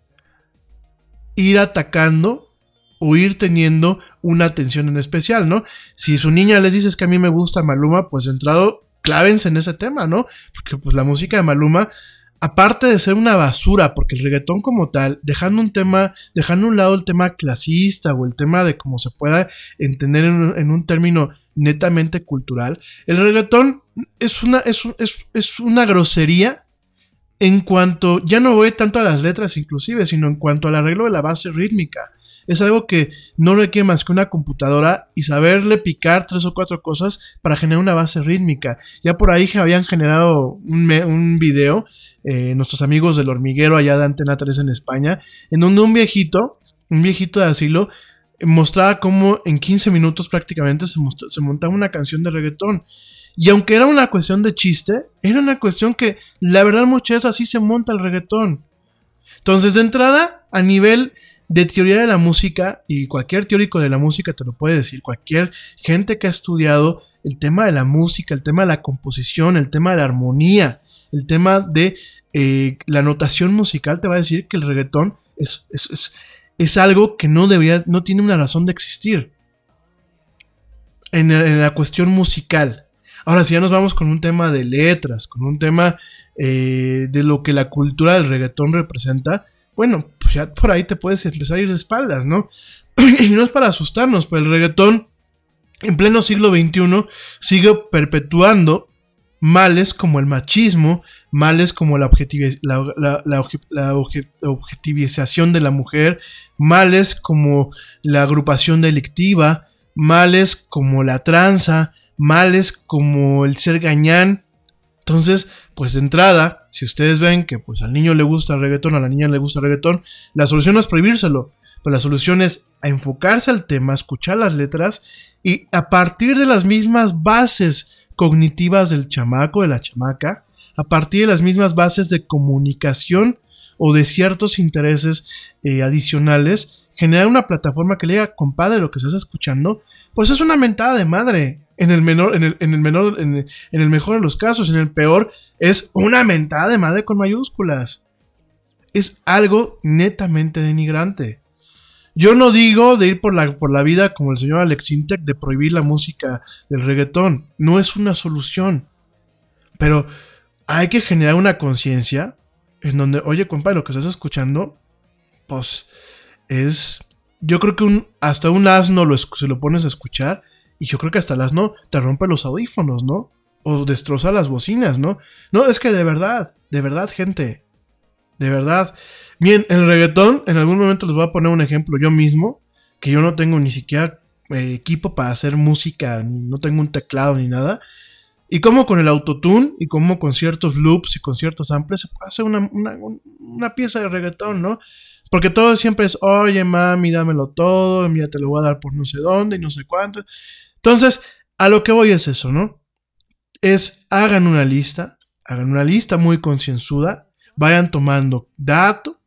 ir atacando o ir teniendo una atención en especial, ¿no? Si su niña les dice que a mí me gusta Maluma, pues de entrado, clávense en ese tema, ¿no? Porque pues la música de Maluma, aparte de ser una basura, porque el reggaetón como tal, dejando un tema, dejando a un lado el tema clasista o el tema de cómo se pueda entender en un, en un término netamente cultural, el reggaetón es una, es, es, es una grosería en cuanto, ya no voy tanto a las letras inclusive, sino en cuanto al arreglo de la base rítmica. Es algo que no requiere más que una computadora y saberle picar tres o cuatro cosas para generar una base rítmica. Ya por ahí habían generado un, me, un video, eh, nuestros amigos del Hormiguero allá de Antena tres en España, en donde un viejito, un viejito de asilo, mostraba cómo en quince minutos prácticamente se, mostró, se montaba una canción de reggaetón. Y aunque era una cuestión de chiste, era una cuestión que la verdad muchas veces así se monta el reggaetón. Entonces, de entrada, a nivel de teoría de la música, y cualquier teórico de la música te lo puede decir, cualquier gente que ha estudiado el tema de la música, el tema de la composición, el tema de la armonía, el tema de eh, la notación musical, te va a decir que el reggaetón es, es, es, es algo que no debería, no tiene una razón de existir en, en la cuestión musical. Ahora, si ya nos vamos con un tema de letras, con un tema eh, de lo que la cultura del reggaetón representa, bueno, pues ya por ahí te puedes empezar a ir de espaldas, ¿no? Y no es para asustarnos, pero el reggaetón en pleno siglo veintiuno sigue perpetuando males como el machismo, males como la, objetivi- la, la, la, la obje- objetivización de la mujer, males como la agrupación delictiva, males como la tranza, males como el ser gañán. Entonces, pues de entrada, si ustedes ven que pues al niño le gusta el reggaetón, a la niña le gusta el reggaetón, la solución no es prohibírselo, pero la solución es a enfocarse al tema, escuchar las letras y a partir de las mismas bases cognitivas del chamaco, de la chamaca, a partir de las mismas bases de comunicación o de ciertos intereses eh, adicionales, generar una plataforma que le diga, compadre, lo que estás escuchando, pues es una mentada de madre. En el menor, en el, en el menor, en el, en el mejor de los casos, en el peor, es una mentada de madre con mayúsculas. Es algo netamente denigrante. Yo no digo de ir por la, por la vida como el señor Alex Intec de prohibir la música del reggaetón. No es una solución. Pero hay que generar una conciencia en donde, oye, compadre, lo que estás escuchando, pues es... Yo creo que un, hasta un asno lo, se lo pones a escuchar y yo creo que hasta el asno te rompe los audífonos, ¿no? O destroza las bocinas, ¿no? No, es que de verdad, de verdad, gente. De verdad. Bien, el reggaetón, en algún momento les voy a poner un ejemplo yo mismo, que yo no tengo ni siquiera eh, equipo para hacer música, ni no tengo un teclado ni nada. Y como con el autotune y como con ciertos loops y con ciertos samples se puede hacer una, una, una pieza de reggaetón, ¿no? Porque todo siempre es, oye, mami, dámelo todo, mira, te lo voy a dar por no sé dónde y no sé cuánto. Entonces, a lo que voy es eso, ¿no? Es, hagan una lista, hagan una lista muy concienzuda, vayan tomando dato,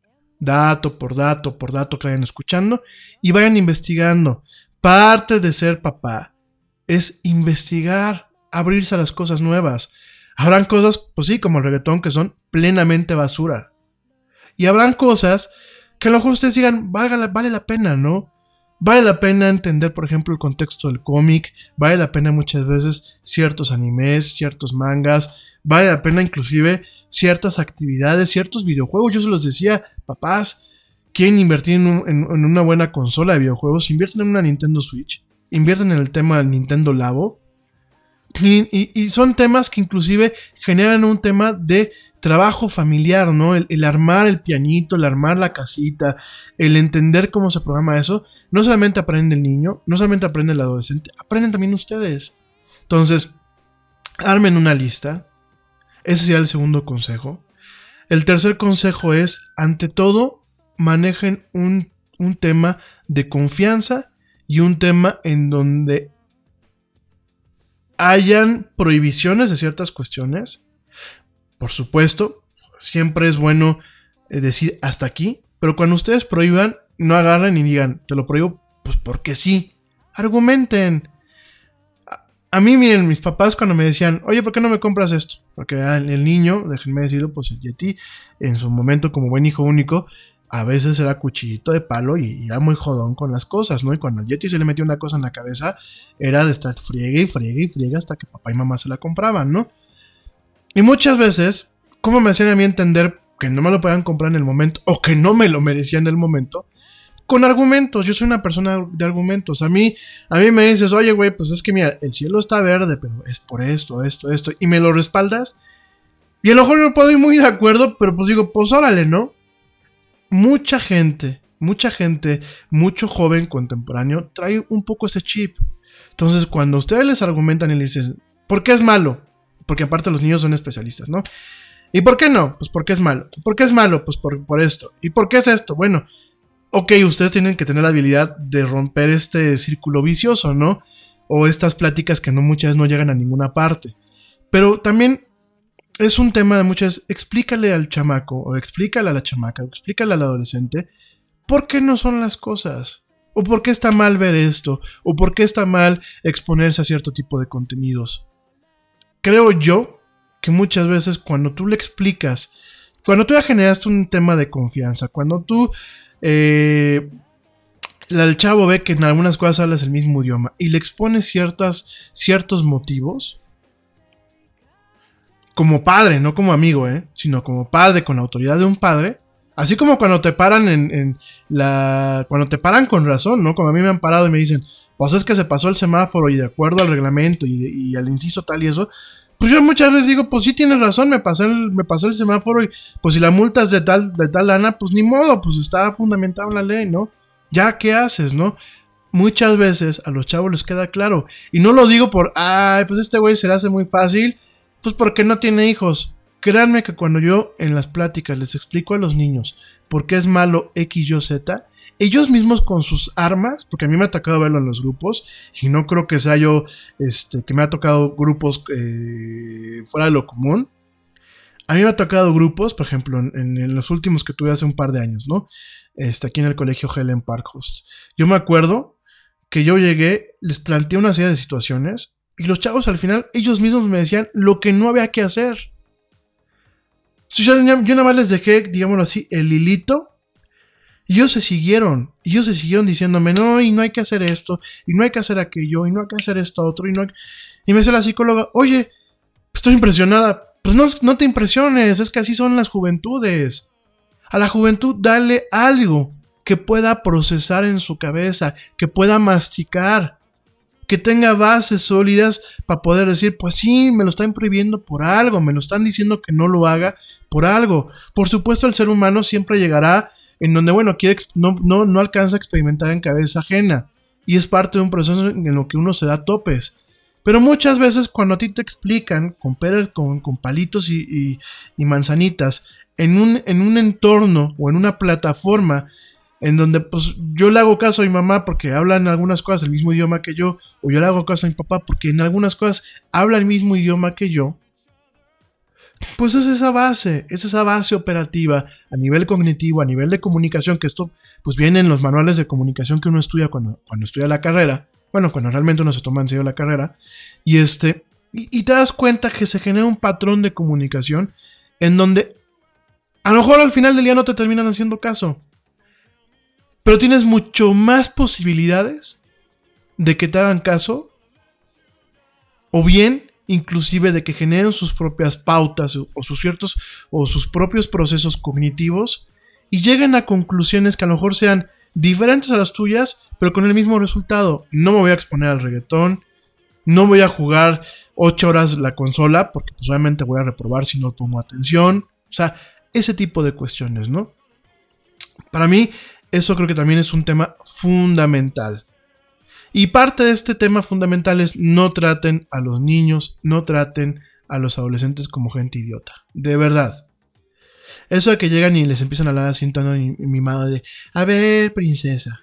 dato por dato por dato que vayan escuchando y vayan investigando. Parte de ser papá es investigar, abrirse a las cosas nuevas. Habrán cosas, pues sí, como el reggaetón, que son plenamente basura. Y habrán cosas que a lo mejor ustedes digan, vale, vale la pena, ¿no? Vale la pena entender, por ejemplo, el contexto del cómic, vale la pena muchas veces ciertos animes, ciertos mangas, vale la pena inclusive ciertas actividades, ciertos videojuegos. Yo se los decía, papás, quieren invertir en, un, en, en una buena consola de videojuegos, invierten en una Nintendo Switch, invierten en el tema del Nintendo Labo, y, y, y son temas que inclusive generan un tema de trabajo familiar, ¿no? El, el armar el pianito, el armar la casita, el entender cómo se programa eso. No solamente aprende el niño, no solamente aprende el adolescente, aprenden también ustedes. Entonces, armen una lista. Ese sería el segundo consejo. El tercer consejo es, ante todo, manejen un, un tema de confianza y un tema en donde hayan prohibiciones de ciertas cuestiones. Por supuesto, siempre es bueno eh, decir hasta aquí, pero cuando ustedes prohíban, no agarren y digan, te lo prohíbo, pues porque sí. Argumenten. A, a mí, miren, mis papás cuando me decían, oye, ¿por qué no me compras esto? Porque ah, el niño, déjenme decirlo, pues el Yeti, en su momento como buen hijo único, a veces era cuchillito de palo y era muy jodón con las cosas, ¿no? Y cuando al Yeti se le metió una cosa en la cabeza, era de estar friegue y friegue y friegue hasta que papá y mamá se la compraban, ¿no? Y muchas veces, ¿cómo me hacían a mí entender que no me lo podían comprar en el momento o que no me lo merecían en el momento? Con argumentos. Yo soy una persona de argumentos. A mí, a mí me dices, oye, güey, pues es que mira, el cielo está verde, pero es por esto, esto, esto, y me lo respaldas. Y a lo mejor no puedo ir muy de acuerdo, pero pues digo, pues órale, ¿no? Mucha gente, mucha gente, mucho joven contemporáneo trae un poco ese chip. Entonces, cuando ustedes les argumentan y les dicen, ¿por qué es malo? Porque aparte los niños son especialistas, ¿no? ¿Y por qué no? Pues porque es malo. ¿Por qué es malo? Pues por, por esto. ¿Y por qué es esto? Bueno, ok, ustedes tienen que tener la habilidad de romper este círculo vicioso, ¿no? O estas pláticas que no muchas veces no llegan a ninguna parte. Pero también es un tema de muchas, explícale al chamaco, o explícale a la chamaca, o explícale al adolescente, ¿por qué no son las cosas? ¿O por qué está mal ver esto? ¿O por qué está mal exponerse a cierto tipo de contenidos? Creo yo que muchas veces cuando tú le explicas, cuando tú ya generaste un tema de confianza, cuando tú, eh, el chavo ve que en algunas cosas hablas el mismo idioma y le expones ciertas, ciertos motivos, como padre, no como amigo, ¿eh? Sino como padre, con la autoridad de un padre. Así como cuando te paran en, en la... Cuando te paran con razón, ¿no? Como a mí me han parado y me dicen, pues es que se pasó el semáforo y de acuerdo al reglamento y, y al inciso tal y eso. Pues yo muchas veces digo, pues sí tienes razón, me pasé el, me pasó el semáforo y pues si la multa es de tal, de tal lana, pues ni modo, pues está fundamentado en la ley, ¿no? Ya, ¿qué haces, no? Muchas veces a los chavos les queda claro. Y no lo digo por, ay, pues este güey se le hace muy fácil. Pues porque no tiene hijos. Créanme que cuando yo en las pláticas les explico a los niños por qué es malo X, Y, Z, ellos mismos con sus armas, porque a mí me ha tocado verlo en los grupos, y no creo que sea yo, este, que me ha tocado grupos eh, fuera de lo común. A mí me ha tocado grupos, por ejemplo, en, en los últimos que tuve hace un par de años, ¿no? Este, aquí en el colegio Helen Parkhurst. Yo me acuerdo que yo llegué, les planteé una serie de situaciones, y los chavos al final, ellos mismos me decían lo que no había que hacer. Yo, yo nada más les dejé, digámoslo así, el hilito. Y ellos se siguieron. Y ellos se siguieron diciéndome, no, y no hay que hacer esto. Y no hay que hacer aquello. Y no hay que hacer esto otro. Y, no hay... y me dice la psicóloga, oye, estoy impresionada. Pues no, no te impresiones, es que así son las juventudes. A la juventud dale algo que pueda procesar en su cabeza, que pueda masticar. Que tenga bases sólidas para poder decir, pues sí, me lo están prohibiendo por algo, me lo están diciendo que no lo haga por algo. Por supuesto, el ser humano siempre llegará en donde, bueno, quiere, no, no, no alcanza a experimentar en cabeza ajena. Y es parte de un proceso en lo que uno se da topes. Pero muchas veces cuando a ti te explican con, peras, con, con palitos y, y, y manzanitas, en un, en un entorno o en una plataforma en donde pues yo le hago caso a mi mamá porque habla en algunas cosas el mismo idioma que yo, o yo le hago caso a mi papá porque en algunas cosas habla el mismo idioma que yo, pues es esa base, es esa base operativa a nivel cognitivo, a nivel de comunicación, que esto pues viene en los manuales de comunicación que uno estudia cuando, cuando estudia la carrera, bueno, cuando realmente uno se toma en serio la carrera, y este, y, y te das cuenta que se genera un patrón de comunicación en donde a lo mejor al final del día no te terminan haciendo caso, pero tienes mucho más posibilidades de que te hagan caso, o bien, inclusive, de que generen sus propias pautas o, o sus ciertos o sus propios procesos cognitivos y lleguen a conclusiones que a lo mejor sean diferentes a las tuyas, pero con el mismo resultado. No me voy a exponer al reggaetón, no voy a jugar ocho horas la consola, porque pues obviamente voy a reprobar si no pongo atención. O sea, ese tipo de cuestiones, ¿no? Para mí, eso creo que también es un tema fundamental. Y parte de este tema fundamental es no traten a los niños, no traten a los adolescentes como gente idiota. De verdad. Eso de que llegan y les empiezan a hablar así en tono mimado de, a ver, princesa,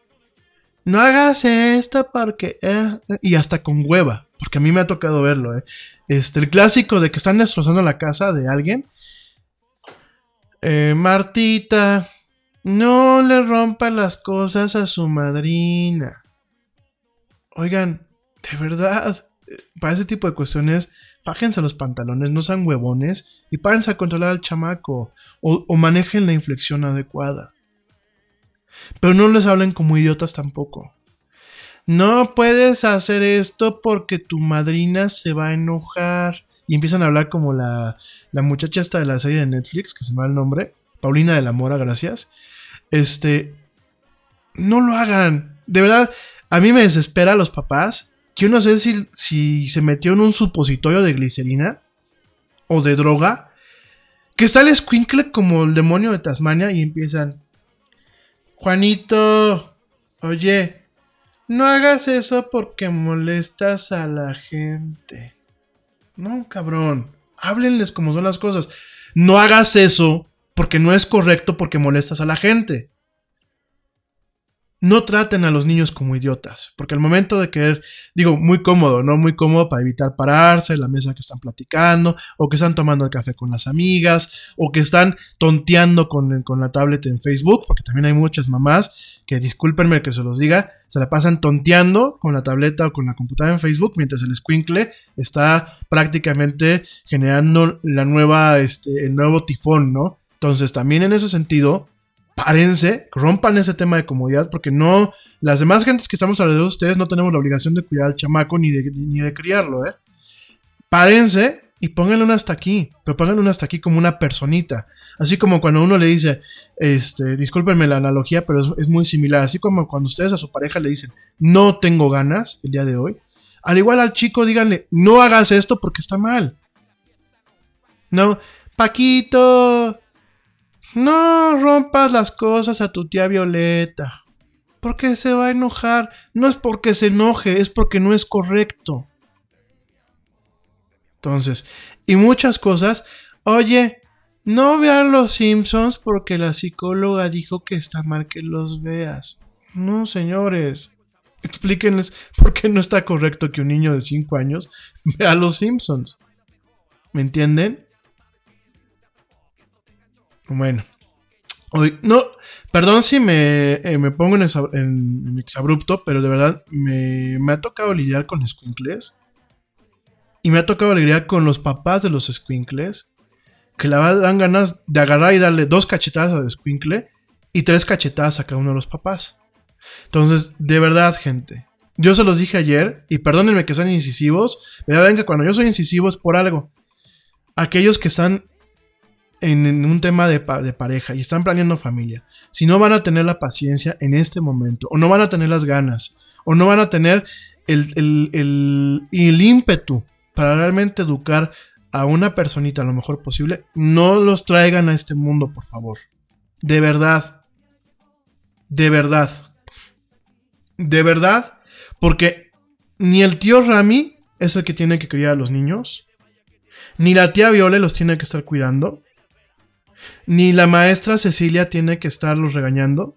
no hagas esto porque... Eh, eh", y hasta con hueva, porque a mí me ha tocado verlo. Eh. Este, el clásico de que están destrozando la casa de alguien. eh, Martita, no le rompa las cosas a su madrina. Oigan, de verdad, para ese tipo de cuestiones, fájense los pantalones, no sean huevones y párense a controlar al chamaco o, o manejen la inflexión adecuada. Pero no les hablen como idiotas tampoco. No puedes hacer esto porque tu madrina se va a enojar. Y empiezan a hablar como la, la muchacha esta de la serie de Netflix, que se me va el nombre, Paulina de la Mora, gracias. Este, no lo hagan. De verdad, a mí me desespera a los papás que yo no sé si, si se metió en un supositorio de glicerina o de droga, que está el escuincle como el demonio de Tasmania y empiezan: Juanito, oye, no hagas eso porque molestas a la gente. No, cabrón, háblenles como son las cosas. No hagas eso porque no es correcto, porque molestas a la gente. No traten a los niños como idiotas, porque al momento de querer, digo, muy cómodo, ¿no? Muy cómodo para evitar pararse en la mesa que están platicando, o que están tomando el café con las amigas, o que están tonteando con, con la tablet en Facebook, porque también hay muchas mamás que, discúlpenme que se los diga, se la pasan tonteando con la tableta o con la computadora en Facebook, mientras el escuincle está prácticamente generando la nueva, este, el nuevo tifón, ¿no? Entonces, también en ese sentido, párense, rompan ese tema de comodidad, porque no, las demás gentes que estamos alrededor de ustedes no tenemos la obligación de cuidar al chamaco ni de, ni de criarlo, ¿eh? Párense y pónganle un hasta aquí, pero pónganle un hasta aquí como una personita. Así como cuando uno le dice, este, discúlpenme la analogía, pero es, es muy similar. Así como cuando ustedes a su pareja le dicen, no tengo ganas el día de hoy. Al igual al chico, díganle, no hagas esto porque está mal. No, Paquito, no rompas las cosas a tu tía Violeta, porque se va a enojar. No es porque se enoje, es porque no es correcto. Entonces, y muchas cosas, oye, no vean los Simpsons porque la psicóloga dijo que está mal que los veas. No, señores, explíquenles por qué no está correcto que un niño de cinco años vea los Simpsons. ¿Me entienden? Bueno, hoy, no, perdón si me, eh, me pongo en, exa, en, en exabrupto, pero de verdad me, me ha tocado lidiar con escuincles. Y me ha tocado lidiar con los papás de los escuincles, que la verdad dan ganas de agarrar y darle dos cachetadas al escuincle y tres cachetadas a cada uno de los papás. Entonces, de verdad, gente, yo se los dije ayer, y perdónenme que sean incisivos, pero ven que cuando yo soy incisivo es por algo. Aquellos que están en, en un tema de, de pareja y están planeando familia, si no van a tener la paciencia en este momento, o no van a tener las ganas, o no van a tener el, el, el, el ímpetu para realmente educar a una personita lo mejor posible, no los traigan a este mundo, por favor. De verdad. De verdad. De verdad. Porque ni el tío Rami es el que tiene que criar a los niños, ni la tía Viole los tiene que estar cuidando, ni la maestra Cecilia tiene que estarlos regañando,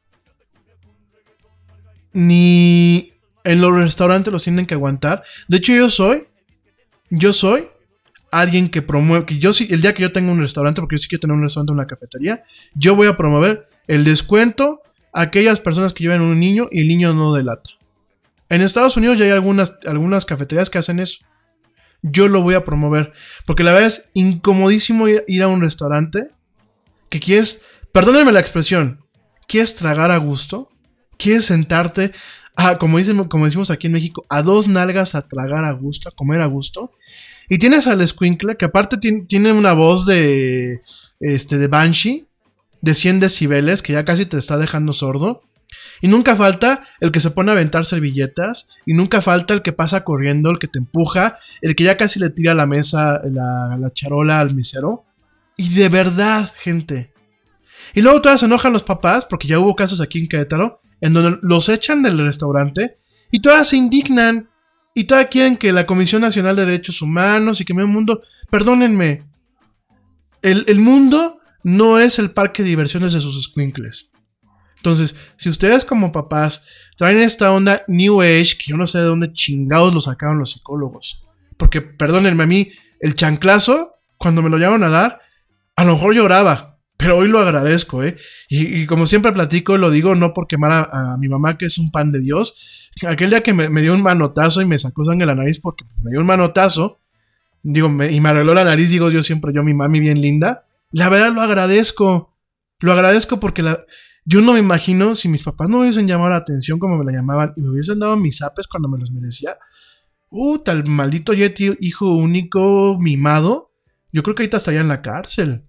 ni en los restaurantes los tienen que aguantar. De hecho, yo soy Yo soy alguien que promueve, que yo sí, el día que yo tenga un restaurante, porque yo sí quiero tener un restaurante o una cafetería, yo voy a promover el descuento a aquellas personas que lleven un niño y el niño no delata. En Estados Unidos ya hay algunas, algunas cafeterías que hacen eso. Yo lo voy a promover, porque la verdad es incomodísimo ir, ir a un restaurante que quieres, perdónenme la expresión, quieres tragar a gusto, quieres sentarte, a, como, dicen, como decimos aquí en México, a dos nalgas a tragar a gusto, a comer a gusto. Y tienes al escuincle, que aparte tiene, tiene una voz de, este, de Banshee, de cien decibeles, que ya casi te está dejando sordo. Y nunca falta el que se pone a aventar servilletas, y nunca falta el que pasa corriendo, el que te empuja, el que ya casi le tira la mesa, la, la charola al mesero. Y de verdad, gente. Y luego todavía se enojan los papás, porque ya hubo casos aquí en Querétaro, en donde los echan del restaurante y todas se indignan y todas quieren que la Comisión Nacional de Derechos Humanos y que medio mundo, perdónenme, el, el mundo no es el parque de diversiones de sus escuincles. Entonces, si ustedes como papás traen esta onda New Age, que yo no sé de dónde chingados lo sacaron los psicólogos, porque perdónenme, a mí el chanclazo, cuando me lo llevaron a dar, a lo mejor lloraba, Pero hoy lo agradezco, ¿eh? Y, y como siempre platico, lo digo no por quemar a, a mi mamá, que es un pan de Dios. Aquel día que me, me dio un manotazo y me sacó sangre de la nariz porque me dio un manotazo, digo, me, y me arregló la nariz, digo yo siempre, yo, mi mami bien linda. La verdad lo agradezco. Lo agradezco porque la, yo no me imagino si mis papás no me hubiesen llamado la atención como me la llamaban y me hubiesen dado mis zapes cuando me los merecía. Uh, tal maldito Yeti, hijo único, mimado. Yo creo que ahorita estaría en la cárcel.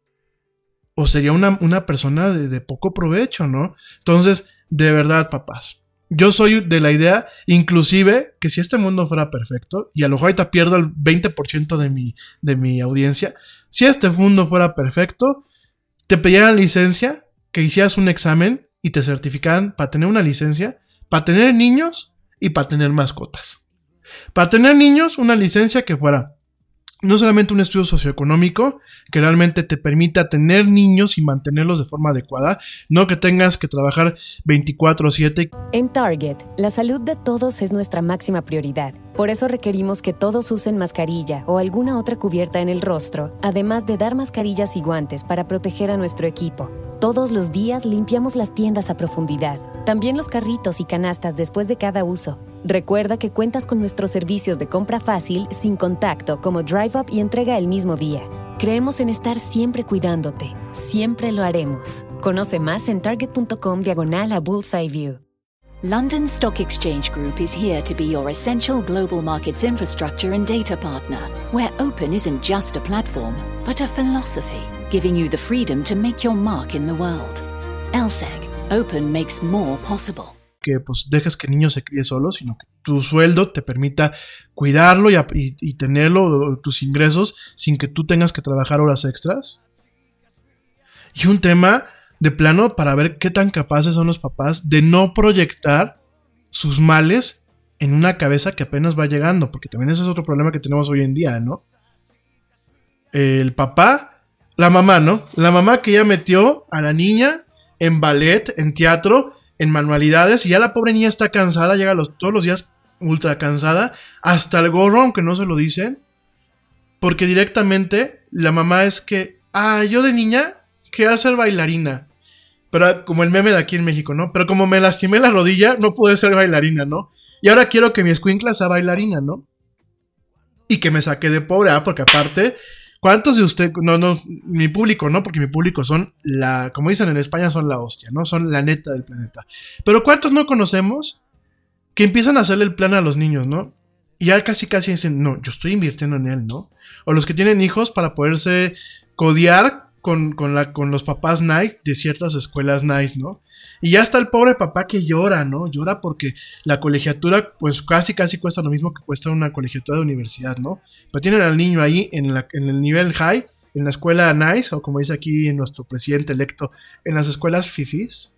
O sería una, una persona de, de poco provecho, ¿no? Entonces, de verdad, papás, yo soy de la idea, inclusive, que si este mundo fuera perfecto, y a lo mejor ahorita pierdo el veinte por ciento de mi, de mi audiencia, si este mundo fuera perfecto, te pidieran licencia, que hicieras un examen y te certificaran para tener una licencia, para tener niños y para tener mascotas. Para tener niños, una licencia que fuera no solamente un estudio socioeconómico que realmente te permita tener niños y mantenerlos de forma adecuada, no que tengas que trabajar veinticuatro siete. En Target, la salud de todos es nuestra máxima prioridad. Por eso requerimos que todos usen mascarilla o alguna otra cubierta en el rostro, además de dar mascarillas y guantes para proteger a nuestro equipo. Todos los días limpiamos las tiendas a profundidad, también los carritos y canastas después de cada uso. Recuerda que cuentas con nuestros servicios de compra fácil, sin contacto, como Drive Up y entrega el mismo día. Creemos en estar siempre cuidándote. Siempre lo haremos. Conoce más en target.com diagonal a Bullseye View. London Stock Exchange Group is here to be your essential global markets infrastructure and data partner, where open isn't just a platform, but a philosophy, giving you the freedom to make your mark in the world. L S E G, open makes more possible. Que pues dejes que el niño se críe solo, sino que tu sueldo te permita cuidarlo y, y, y tenerlo, tus ingresos, sin que tú tengas que trabajar horas extras. Y un tema de plano para ver qué tan capaces son los papás de no proyectar sus males en una cabeza que apenas va llegando, porque también ese es otro problema que tenemos hoy en día, ¿no? El papá, la mamá, ¿no? La mamá que ya metió a la niña en ballet, en teatro, en manualidades, y ya la pobre niña está cansada, llega los, todos los días ultra cansada, hasta el gorro, aunque no se lo dicen, porque directamente la mamá es que, ah, yo de niña quería ser bailarina, pero como el meme de aquí en México, ¿no? Pero como me lastimé la rodilla, no pude ser bailarina, ¿no? Y ahora quiero que mi escuincla sea bailarina, ¿no? Y que me saque de pobre, ¿ah? Porque aparte, ¿cuántos de ustedes, no, no, mi público, no? Porque mi público son la, como dicen en España, son la hostia, ¿no? Son la neta del planeta. Pero ¿cuántos no conocemos que empiezan a hacerle el plan a los niños, ¿no? Y ya casi casi dicen, no, yo estoy invirtiendo en él, ¿no? O los que tienen hijos para poderse codear con, con, la, con los papás nice de ciertas escuelas nice, ¿no? Y ya está el pobre papá que llora, ¿no? Llora porque la colegiatura, pues casi casi cuesta lo mismo que cuesta una colegiatura de universidad, ¿no? Pero tienen al niño ahí en, la, en el nivel high, en la escuela nice, o como dice aquí nuestro presidente electo, en las escuelas fifís.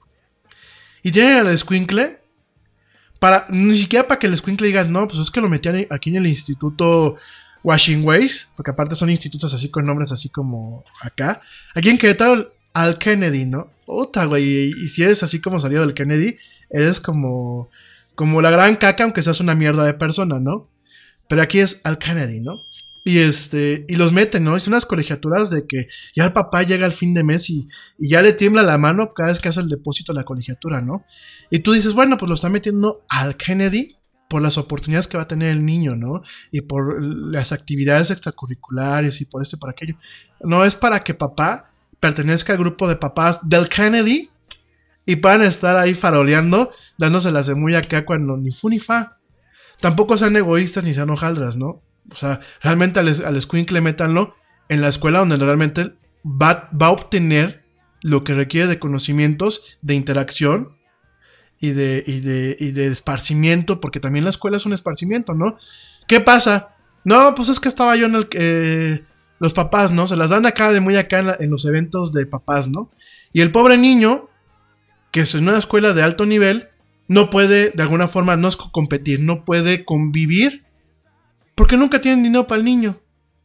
Y tienen al escuincle, para, ni siquiera para que el escuincle diga, no, pues es que lo metían aquí en el instituto Washing Ways, porque aparte son institutos así con nombres así como acá. Aquí en Querétaro, al Kennedy, ¿no? Puta, güey, y, y si eres así como salido del Kennedy, eres como, como la gran caca, aunque seas una mierda de persona, ¿no? Pero aquí es al Kennedy, ¿no? Y este, y los meten, ¿no? Es unas colegiaturas de que ya el papá llega al fin de mes y, y ya le tiembla la mano cada vez que hace el depósito de la colegiatura, ¿no? Y tú dices, bueno, pues lo está metiendo al Kennedy por las oportunidades que va a tener el niño, ¿no? Y por las actividades extracurriculares y por esto y por aquello. No es para que papá pertenezca al grupo de papás del Kennedy y puedan estar ahí faroleando, dándoselas de muy acá cuando ni fu ni fa. Tampoco sean egoístas ni sean hojaldras, ¿no? O sea, realmente al, al escuincle métanlo en la escuela donde realmente va, va a obtener lo que requiere de conocimientos, de interacción y de, y de, y de esparcimiento, porque también la escuela es un esparcimiento, ¿no? ¿Qué pasa? No, pues es que estaba yo en el... Eh, los papás, ¿no? Se las dan acá de muy acá en, la, en los eventos de papás, ¿no? Y el pobre niño, que es en una escuela de alto nivel, no puede, de alguna forma, no es competir, no puede convivir, porque nunca tienen dinero para el niño.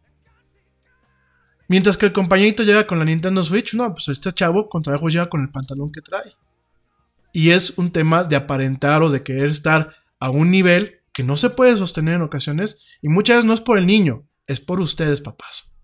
Mientras que el compañerito llega con la Nintendo Switch, no, pues este chavo con trabajo llega con el pantalón que trae. Y es un tema de aparentar o de querer estar a un nivel que no se puede sostener en ocasiones, y muchas veces no es por el niño, es por ustedes, papás.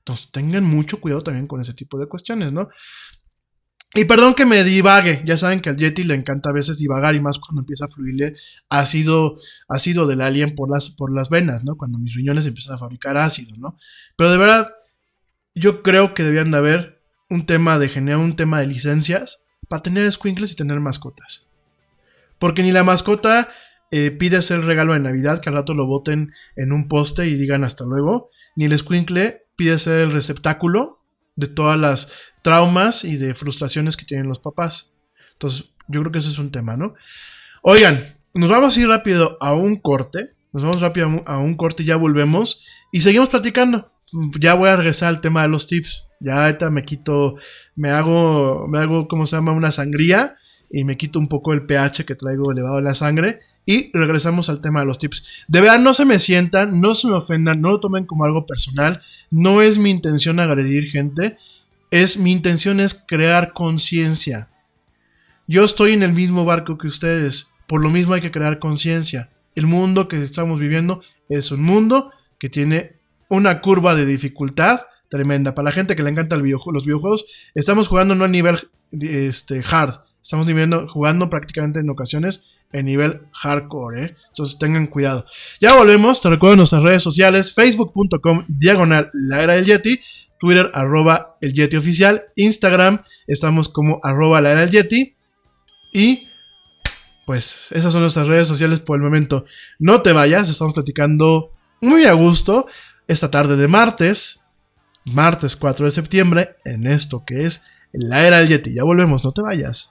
Entonces tengan mucho cuidado también con ese tipo de cuestiones, ¿no? Y perdón que me divague, ya saben que al Yeti le encanta a veces divagar y más cuando empieza a fluirle ácido, ácido del alien por las, por las venas, ¿no? Cuando mis riñones empiezan a fabricar ácido, ¿no? Pero de verdad, yo creo que deberían de haber un tema de generar un tema de licencias para tener escuincles y tener mascotas. Porque ni la mascota eh, pide hacer el regalo de Navidad, que al rato lo boten en un poste y digan hasta luego, ni el escuincle pide ser el receptáculo de todas las traumas y de frustraciones que tienen los papás. Entonces, yo creo que eso es un tema, ¿no? Oigan, nos vamos a ir rápido a un corte. Nos vamos rápido a un corte y ya volvemos. Y seguimos platicando. Ya voy a regresar al tema de los tips. Ya ahorita me quito, me hago, me hago, ¿cómo se llama? Una sangría. Y me quito un poco el pH que traigo elevado en la sangre. Y regresamos al tema de los tips. De verdad, no se me sientan, no se me ofendan, no lo tomen como algo personal. No es mi intención agredir gente. Es, mi intención es crear conciencia. Yo estoy en el mismo barco que ustedes. Por lo mismo hay que crear conciencia. El mundo que estamos viviendo es un mundo que tiene una curva de dificultad tremenda. Para la gente que le encanta el videojuego, los videojuegos, estamos jugando no a nivel este, hard. Estamos jugando, jugando prácticamente en ocasiones en nivel hardcore, ¿eh? Entonces tengan cuidado. Ya volvemos, te recuerdo nuestras redes sociales, facebook punto com diagonal la era del Yeti, Twitter arroba el Yeti oficial, Instagram estamos como arroba la era del Yeti y pues esas son nuestras redes sociales por el momento. No te vayas, estamos platicando muy a gusto esta tarde de martes, martes cuatro de septiembre, en esto que es la era del Yeti. Ya volvemos, no te vayas.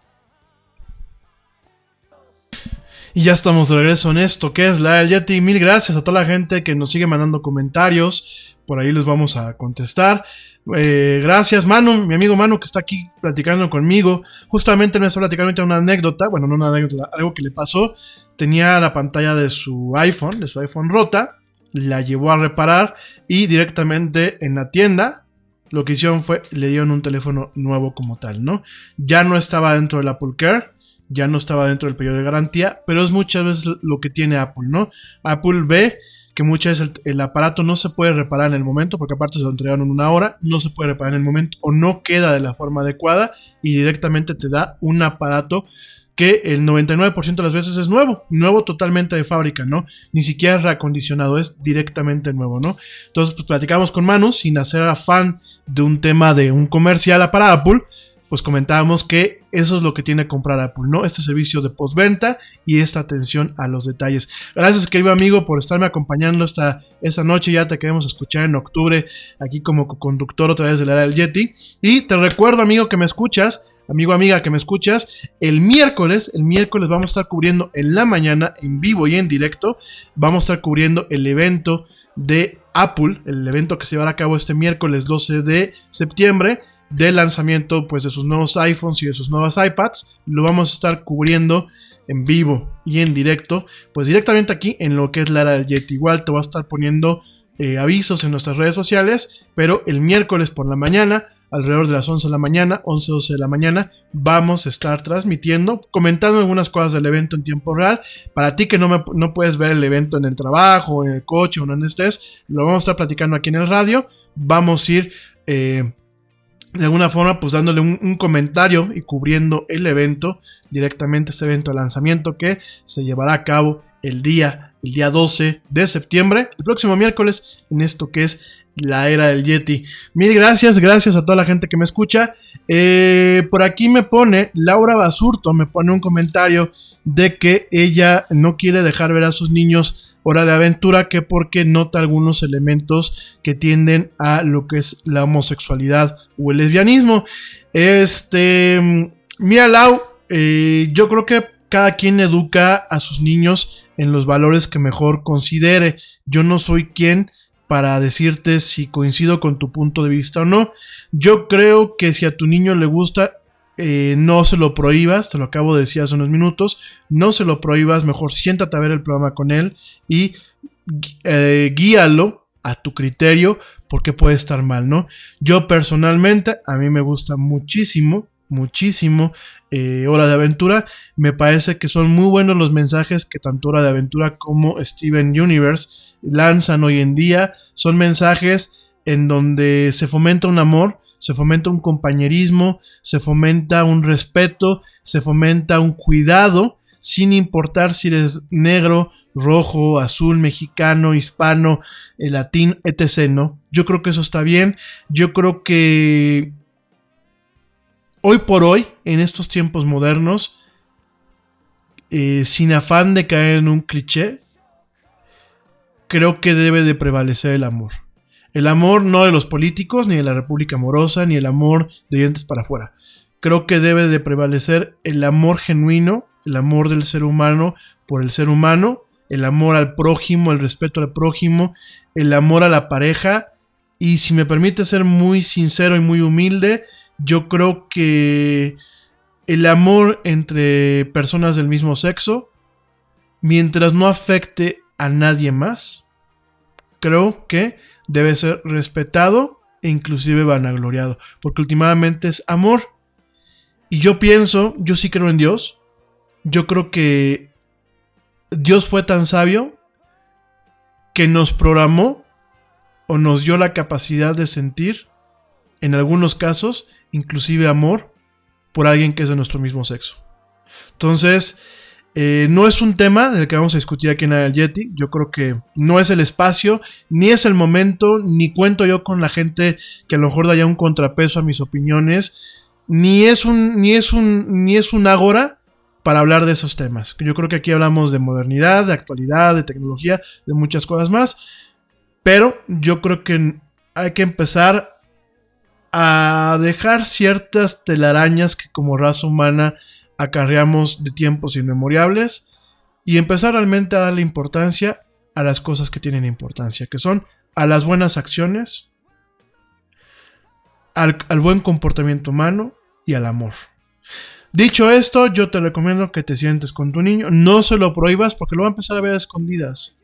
Y ya estamos de regreso en esto que es la era del Yeti. Mil gracias a toda la gente que nos sigue mandando comentarios. Por ahí les vamos a contestar. Eh, gracias Manu, mi amigo Manu que está aquí platicando conmigo. Justamente me está platicando una anécdota. Bueno, no una anécdota, algo que le pasó. Tenía la pantalla de su iPhone, de su iPhone rota. La llevó a reparar y directamente en la tienda lo que hicieron fue, le dieron un teléfono nuevo como tal, ¿no? Ya no estaba dentro del Apple Care, ya no estaba dentro del periodo de garantía, pero es muchas veces lo que tiene Apple, ¿no? Apple ve que muchas veces el, el aparato no se puede reparar en el momento, porque aparte se lo entregaron en una hora, no se puede reparar en el momento, o no queda de la forma adecuada, y directamente te da un aparato que el noventa y nueve por ciento de las veces es nuevo, nuevo totalmente de fábrica, ¿no? Ni siquiera es reacondicionado, es directamente nuevo, ¿no? Entonces, pues platicamos con Manu, sin hacer afán de un tema de un comercial para Apple, pues comentábamos que eso es lo que tiene que comprar Apple, ¿no? Este servicio de postventa y esta atención a los detalles. Gracias, querido amigo, por estarme acompañando esta, esta noche. Ya te queremos escuchar en octubre aquí como conductor otra vez de la era del Yeti. Y te recuerdo, amigo, que me escuchas, amigo, amiga, que me escuchas, el miércoles, el miércoles vamos a estar cubriendo en la mañana, en vivo y en directo, vamos a estar cubriendo el evento de Apple, el evento que se llevará a cabo este miércoles doce de septiembre, del lanzamiento pues de sus nuevos iPhones y de sus nuevas iPads. Lo vamos a estar cubriendo en vivo y en directo, pues directamente aquí en lo que es la era del Yeti. Igual te voy a estar poniendo eh, avisos en nuestras redes sociales, pero el miércoles por la mañana, alrededor de las once de la mañana, once, doce de la mañana, vamos a estar transmitiendo, comentando algunas cosas del evento en tiempo real. Para ti que no, me, no puedes ver el evento en el trabajo, en el coche o en donde estés, lo vamos a estar platicando aquí en el radio. Vamos a ir eh, de alguna forma pues dándole un, un comentario y cubriendo el evento, directamente este evento de lanzamiento que se llevará a cabo el día, el día doce de septiembre, el próximo miércoles, en esto que es la era del Yeti. Mil gracias, gracias a toda la gente que me escucha. Eh, por aquí me pone Laura Basurto, me pone un comentario de que ella no quiere dejar ver a sus niños Hora de Aventura, que porque nota algunos elementos que tienden a lo que es la homosexualidad o el lesbianismo. Este, mira, Lau, eh, yo creo que cada quien educa a sus niños en los valores que mejor considere. Yo no soy quien para decirte si coincido con tu punto de vista o no. Yo creo que si a tu niño le gusta, eh, no se lo prohíbas, te lo acabo de decir hace unos minutos, no se lo prohíbas, mejor siéntate a ver el programa con él y eh, guíalo a tu criterio, porque puede estar mal, ¿no? Yo personalmente, a mí me gusta muchísimo, muchísimo eh, Hora de Aventura. Me parece que son muy buenos los mensajes que tanto Hora de Aventura como Steven Universe lanzan hoy en día. Son mensajes en donde se fomenta un amor, se fomenta un compañerismo, se fomenta un respeto, se fomenta un cuidado, sin importar si eres negro, rojo, azul, mexicano, hispano, eh, latín, etcétera, ¿no? Yo creo que eso está bien. Yo creo que hoy por hoy, en estos tiempos modernos, eh, sin afán de caer en un cliché, creo que debe de prevalecer el amor. El amor no de los políticos, ni de la República Amorosa, ni el amor de dientes para afuera. Creo que debe de prevalecer el amor genuino, el amor del ser humano por el ser humano, el amor al prójimo, el respeto al prójimo, el amor a la pareja. Y si me permite ser muy sincero y muy humilde, yo creo que el amor entre personas del mismo sexo, mientras no afecte a nadie más, creo que debe ser respetado e inclusive vanagloriado, porque últimamente es amor. Y yo pienso, yo sí creo en Dios. Yo creo que Dios fue tan sabio que nos programó o nos dio la capacidad de sentir, en algunos casos, inclusive amor por alguien que es de nuestro mismo sexo. Entonces, eh, no es un tema del que vamos a discutir aquí en el Yeti. Yo creo que no es el espacio, ni es el momento, ni cuento yo con la gente que a lo mejor da ya un contrapeso a mis opiniones, ni es un, ni es un, ni es un ágora para hablar de esos temas. Yo creo que aquí hablamos de modernidad, de actualidad, de tecnología, de muchas cosas más. Pero yo creo que hay que empezar a dejar ciertas telarañas que como raza humana acarreamos de tiempos inmemorables y empezar realmente a darle importancia a las cosas que tienen importancia, que son a las buenas acciones, al, al buen comportamiento humano y al amor. Dicho esto, yo te recomiendo que te sientes con tu niño. No se lo prohíbas porque lo va a empezar a ver a escondidas.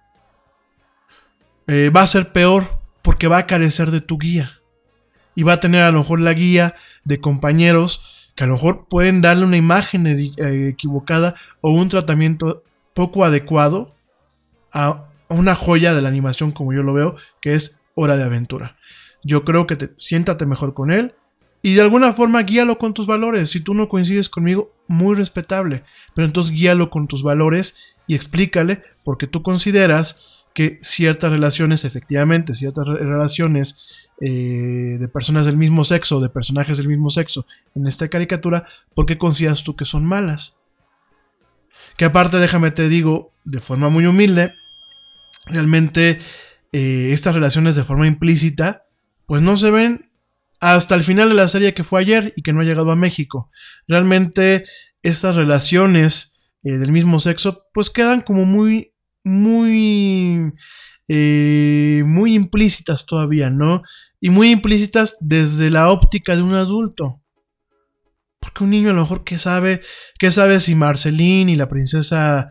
Eh, va a ser peor porque va a carecer de tu guía. Y va a tener a lo mejor la guía de compañeros que a lo mejor pueden darle una imagen ed- eh, equivocada o un tratamiento poco adecuado a una joya de la animación, como yo lo veo, que es Hora de Aventura. Yo creo que te, siéntate mejor con él. Y de alguna forma guíalo con tus valores. Si tú no coincides conmigo, muy respetable. Pero entonces guíalo con tus valores y explícale por qué tú consideras que ciertas relaciones, efectivamente, ciertas re- relaciones eh, de personas del mismo sexo, de personajes del mismo sexo en esta caricatura, ¿por qué consideras tú que son malas? Que aparte, déjame te digo, de forma muy humilde, realmente eh, estas relaciones de forma implícita, pues no se ven hasta el final de la serie que fue ayer y que no ha llegado a México. Realmente estas relaciones eh, del mismo sexo pues quedan como muy, muy, eh, muy implícitas todavía, ¿no? Y muy implícitas desde la óptica de un adulto. Porque un niño a lo mejor que sabe, que sabe si Marceline y la princesa,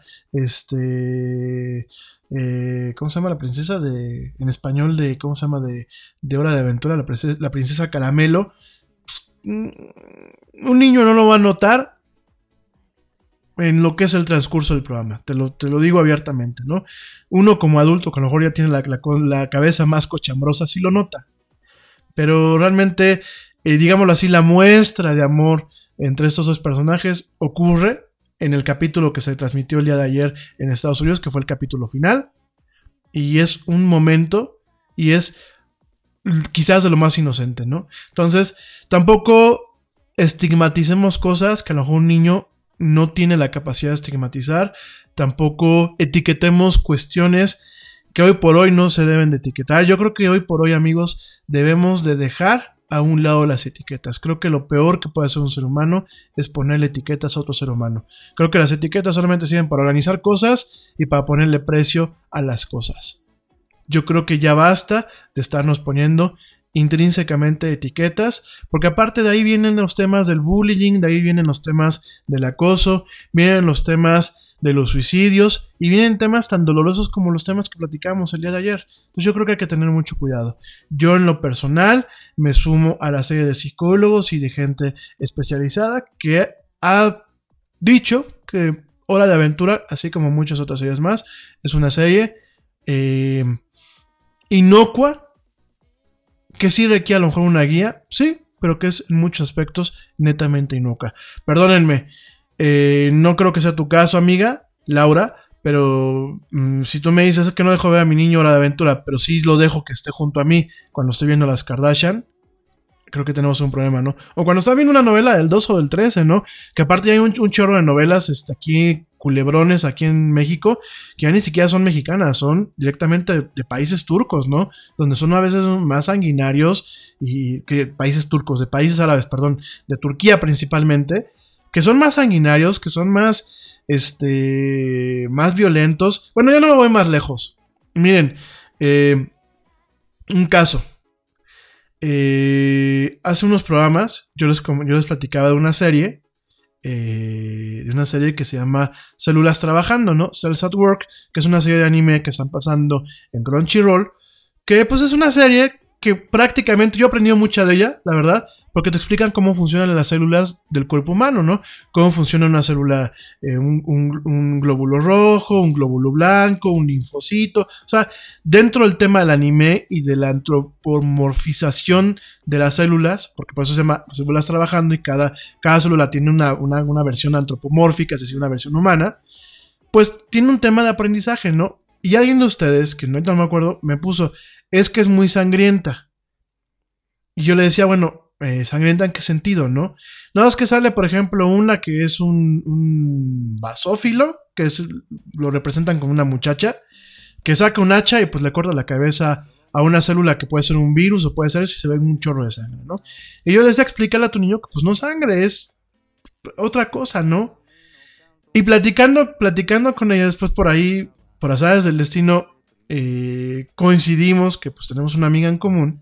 este... Eh, ¿cómo se llama la princesa de en español de cómo se llama de, de Hora de Aventura, la princesa, la princesa Caramelo? Pues, un niño no lo va a notar en lo que es el transcurso del programa, te lo, te lo digo abiertamente, ¿no? Uno como adulto que a lo mejor ya tiene la, la, la cabeza más cochambrosa sí lo nota, pero realmente eh, digámoslo así, la muestra de amor entre estos dos personajes ocurre en el capítulo que se transmitió el día de ayer en Estados Unidos, que fue el capítulo final, y es un momento, y es quizás de lo más inocente, ¿no? Entonces, tampoco estigmaticemos cosas que a lo mejor un niño no tiene la capacidad de estigmatizar, tampoco etiquetemos cuestiones que hoy por hoy no se deben de etiquetar. Yo creo que hoy por hoy, amigos, debemos de dejar a un lado las etiquetas. Creo que lo peor que puede hacer un ser humano es ponerle etiquetas a otro ser humano. Creo que las etiquetas solamente sirven para organizar cosas y para ponerle precio a las cosas. Yo creo que ya basta de estarnos poniendo intrínsecamente etiquetas, porque aparte de ahí vienen los temas del bullying, de ahí vienen los temas del acoso, vienen los temas de los suicidios y vienen temas tan dolorosos como los temas que platicamos el día de ayer. Entonces yo creo que hay que tener mucho cuidado. Yo en lo personal me sumo a la serie de psicólogos y de gente especializada que ha dicho que Hora de Aventura, así como muchas otras series más, es una serie eh, inocua que sí requiere a lo mejor una guía, sí, pero que es en muchos aspectos netamente inocua. Perdónenme, eh, no creo que sea tu caso, amiga Laura, pero mmm, si tú me dices que no dejo ver a mi niño Hora de Aventura, pero sí lo dejo que esté junto a mí cuando estoy viendo las Kardashian, creo que tenemos un problema, ¿no? O cuando está viendo una novela del dos o del trece, ¿no? Que aparte hay un, un chorro de novelas este, aquí, culebrones aquí en México, que ya ni siquiera son mexicanas, son directamente de, de países turcos, ¿no? Donde son a veces más sanguinarios y que países turcos, de países árabes, perdón, de Turquía principalmente, que son más sanguinarios, que son más, este, más violentos. Bueno, ya no me voy más lejos. Miren, eh, un caso. Eh, hace unos programas yo les, yo les platicaba de una serie, eh, de una serie que se llama Células Trabajando, ¿no? Cells at Work, que es una serie de anime que están pasando en Crunchyroll, que pues es una serie que prácticamente yo he aprendido mucha de ella, la verdad, porque te explican cómo funcionan las células del cuerpo humano, ¿no? Cómo funciona una célula, eh, un, un, un glóbulo rojo, un glóbulo blanco, un linfocito. O sea, dentro del tema del anime y de la antropomorfización de las células, porque por eso se llama Células Trabajando y cada, cada célula tiene una, una, una versión antropomórfica, es decir, una versión humana, pues tiene un tema de aprendizaje, ¿no? Y alguien de ustedes, que no, no me acuerdo, me puso, es que es muy sangrienta. Y yo le decía, bueno, Eh, ¿sangrienta en qué sentido, no? Nada más que sale, por ejemplo, una que es un, un basófilo, que es, lo representan como una muchacha, que saca un hacha y pues le corta la cabeza a una célula que puede ser un virus o puede ser eso y se ve un chorro de sangre, ¿no? Y yo les decía explicarle a tu niño que pues no sangre, es otra cosa, ¿no? Y platicando, platicando con ella después por ahí, por azares del destino, eh, coincidimos que pues tenemos una amiga en común.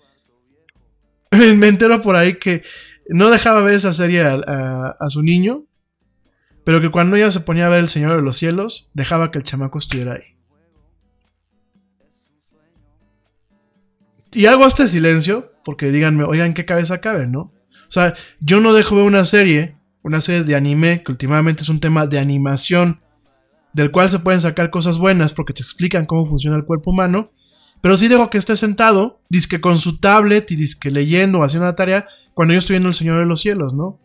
Me entero por ahí que no dejaba ver esa serie a, a, a su niño, pero que cuando ella se ponía a ver El Señor de los Cielos, dejaba que el chamaco estuviera ahí. Y hago este silencio porque díganme, oigan, ¿qué cabeza cabe, no? O sea, yo no dejo ver una serie, una serie de anime, que últimamente es un tema de animación, del cual se pueden sacar cosas buenas porque te explican cómo funciona el cuerpo humano. Pero sí dejo que esté sentado, dizque con su tablet y dizque leyendo o haciendo la tarea, cuando yo estoy viendo El Señor de los Cielos, ¿no?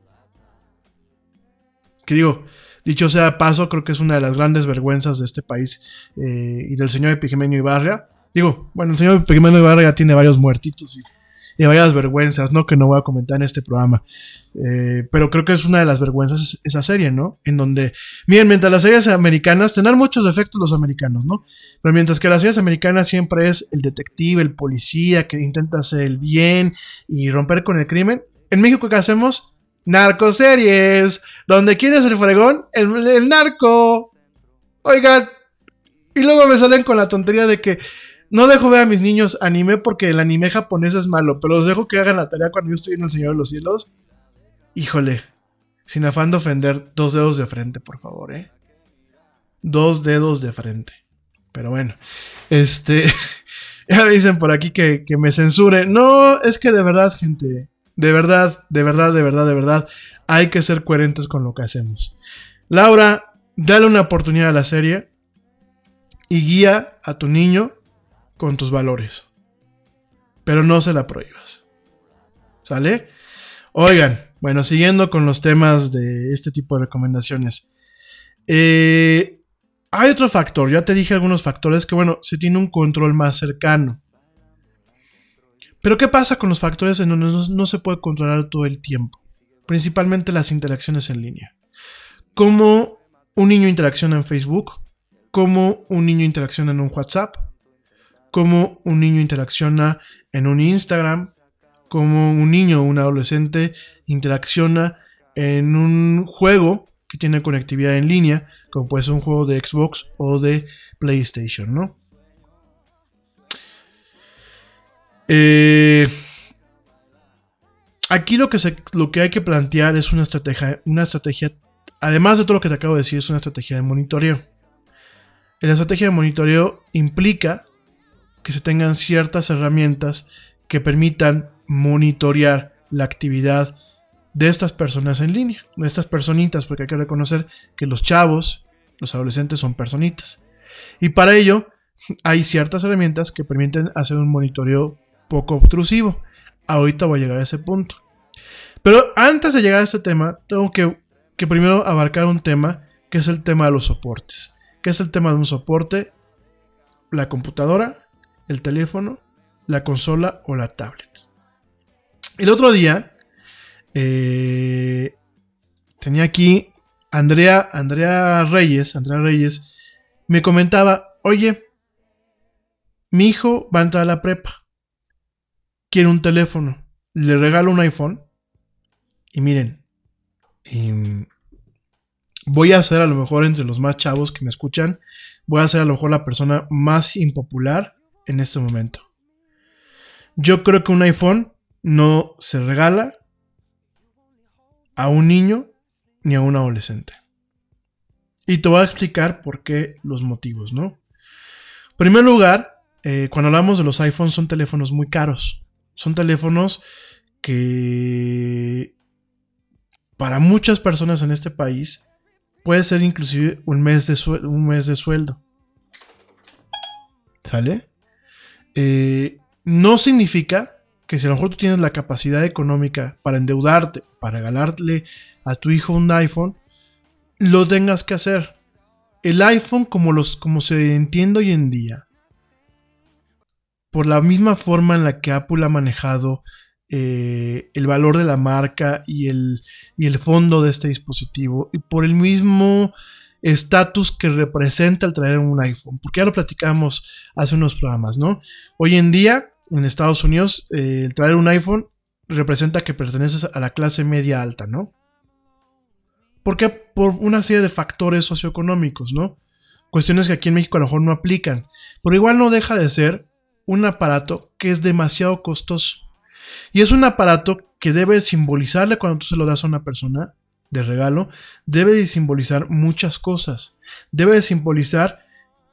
Que digo, dicho sea de paso, creo que es una de las grandes vergüenzas de este país eh, y del señor Epigenio Ibarra. Digo, bueno, el señor Epigenio Ibarra ya tiene varios muertitos y, y varias vergüenzas, ¿no? Que no voy a comentar en este programa. Eh, pero creo que es una de las vergüenzas esa serie, ¿no? En donde, miren, mientras las series americanas tendrán muchos defectos los americanos, ¿no? Pero mientras que las series americanas siempre es el detective, el policía que intenta hacer el bien y romper con el crimen. En México, ¿qué hacemos? Narcoseries. Donde quién es el fregón, el, el narco. Oigan, y luego me salen con la tontería de que no dejo ver a mis niños anime porque el anime japonés es malo, pero los dejo que hagan la tarea cuando yo estoy en El Señor de los Cielos. Híjole, sin afán de ofender, dos dedos de frente, por favor, ¿eh? Dos dedos de frente. Pero bueno, este... ya me dicen por aquí que, que me censure. No, es que de verdad, gente, de verdad, de verdad, de verdad, de verdad, hay que ser coherentes con lo que hacemos. Laura, dale una oportunidad a la serie y guía a tu niño con tus valores. Pero no se la prohíbas. ¿Sale? Oigan, bueno, siguiendo con los temas de este tipo de recomendaciones. Eh, hay otro factor, ya te dije algunos factores que, bueno, se tiene un control más cercano. Pero ¿qué pasa con los factores en donde no, no se puede controlar todo el tiempo? Principalmente las interacciones en línea. Cómo un niño interacciona en Facebook, cómo un niño interacciona en un WhatsApp, cómo un niño interacciona en un Instagram, cómo un niño o un adolescente interacciona en un juego que tiene conectividad en línea, como puede ser un juego de Xbox o de PlayStation, ¿no? Eh, aquí lo que, se, lo que hay que plantear es una estrategia, una estrategia, además de todo lo que te acabo de decir, es una estrategia de monitoreo. La estrategia de monitoreo implica que se tengan ciertas herramientas que permitan monitorear la actividad de estas personas en línea, de estas personitas, porque hay que reconocer que los chavos, los adolescentes son personitas. Y para ello hay ciertas herramientas que permiten hacer un monitoreo poco obtrusivo. Ahorita voy a llegar a ese punto. Pero antes de llegar a este tema, tengo que, que primero abarcar un tema, que es el tema de los soportes. ¿Qué es el tema de un soporte? La computadora, el teléfono, la consola o la tablet. El otro día, eh, tenía aquí Andrea, Andrea Reyes, Andrea Reyes, me comentaba, oye, mi hijo va a entrar a la prepa, quiere un teléfono, le regalo un iPhone, y miren, eh, voy a ser a lo mejor entre los más chavos que me escuchan, voy a ser a lo mejor la persona más impopular en este momento. Yo creo que un iPhone no se regala a un niño ni a un adolescente. Y te voy a explicar por qué, los motivos, ¿no? En primer lugar, eh, cuando hablamos de los iPhones, son teléfonos muy caros. Son teléfonos que para muchas personas en este país puede ser inclusive un mes de, suel- un mes de sueldo. ¿Sale? Eh, no significa que si a lo mejor tú tienes la capacidad económica para endeudarte, para regalarle a tu hijo un iPhone, lo tengas que hacer. El iPhone, como, los, como se entiende hoy en día, por la misma forma en la que Apple ha manejado eh, el valor de la marca y el, y el fondo de este dispositivo, y por el mismo estatus que representa el traer un iPhone, porque ya lo platicamos hace unos programas, ¿no? Hoy en día, en Estados Unidos, eh, el traer un iPhone representa que perteneces a la clase media alta, ¿no? ¿Por qué? Por una serie de factores socioeconómicos, ¿no? Cuestiones que aquí en México a lo mejor no aplican, pero igual no deja de ser un aparato que es demasiado costoso. Y es un aparato que debe simbolizarle, cuando tú se lo das a una persona de regalo, debe de simbolizar muchas cosas. Debe de simbolizar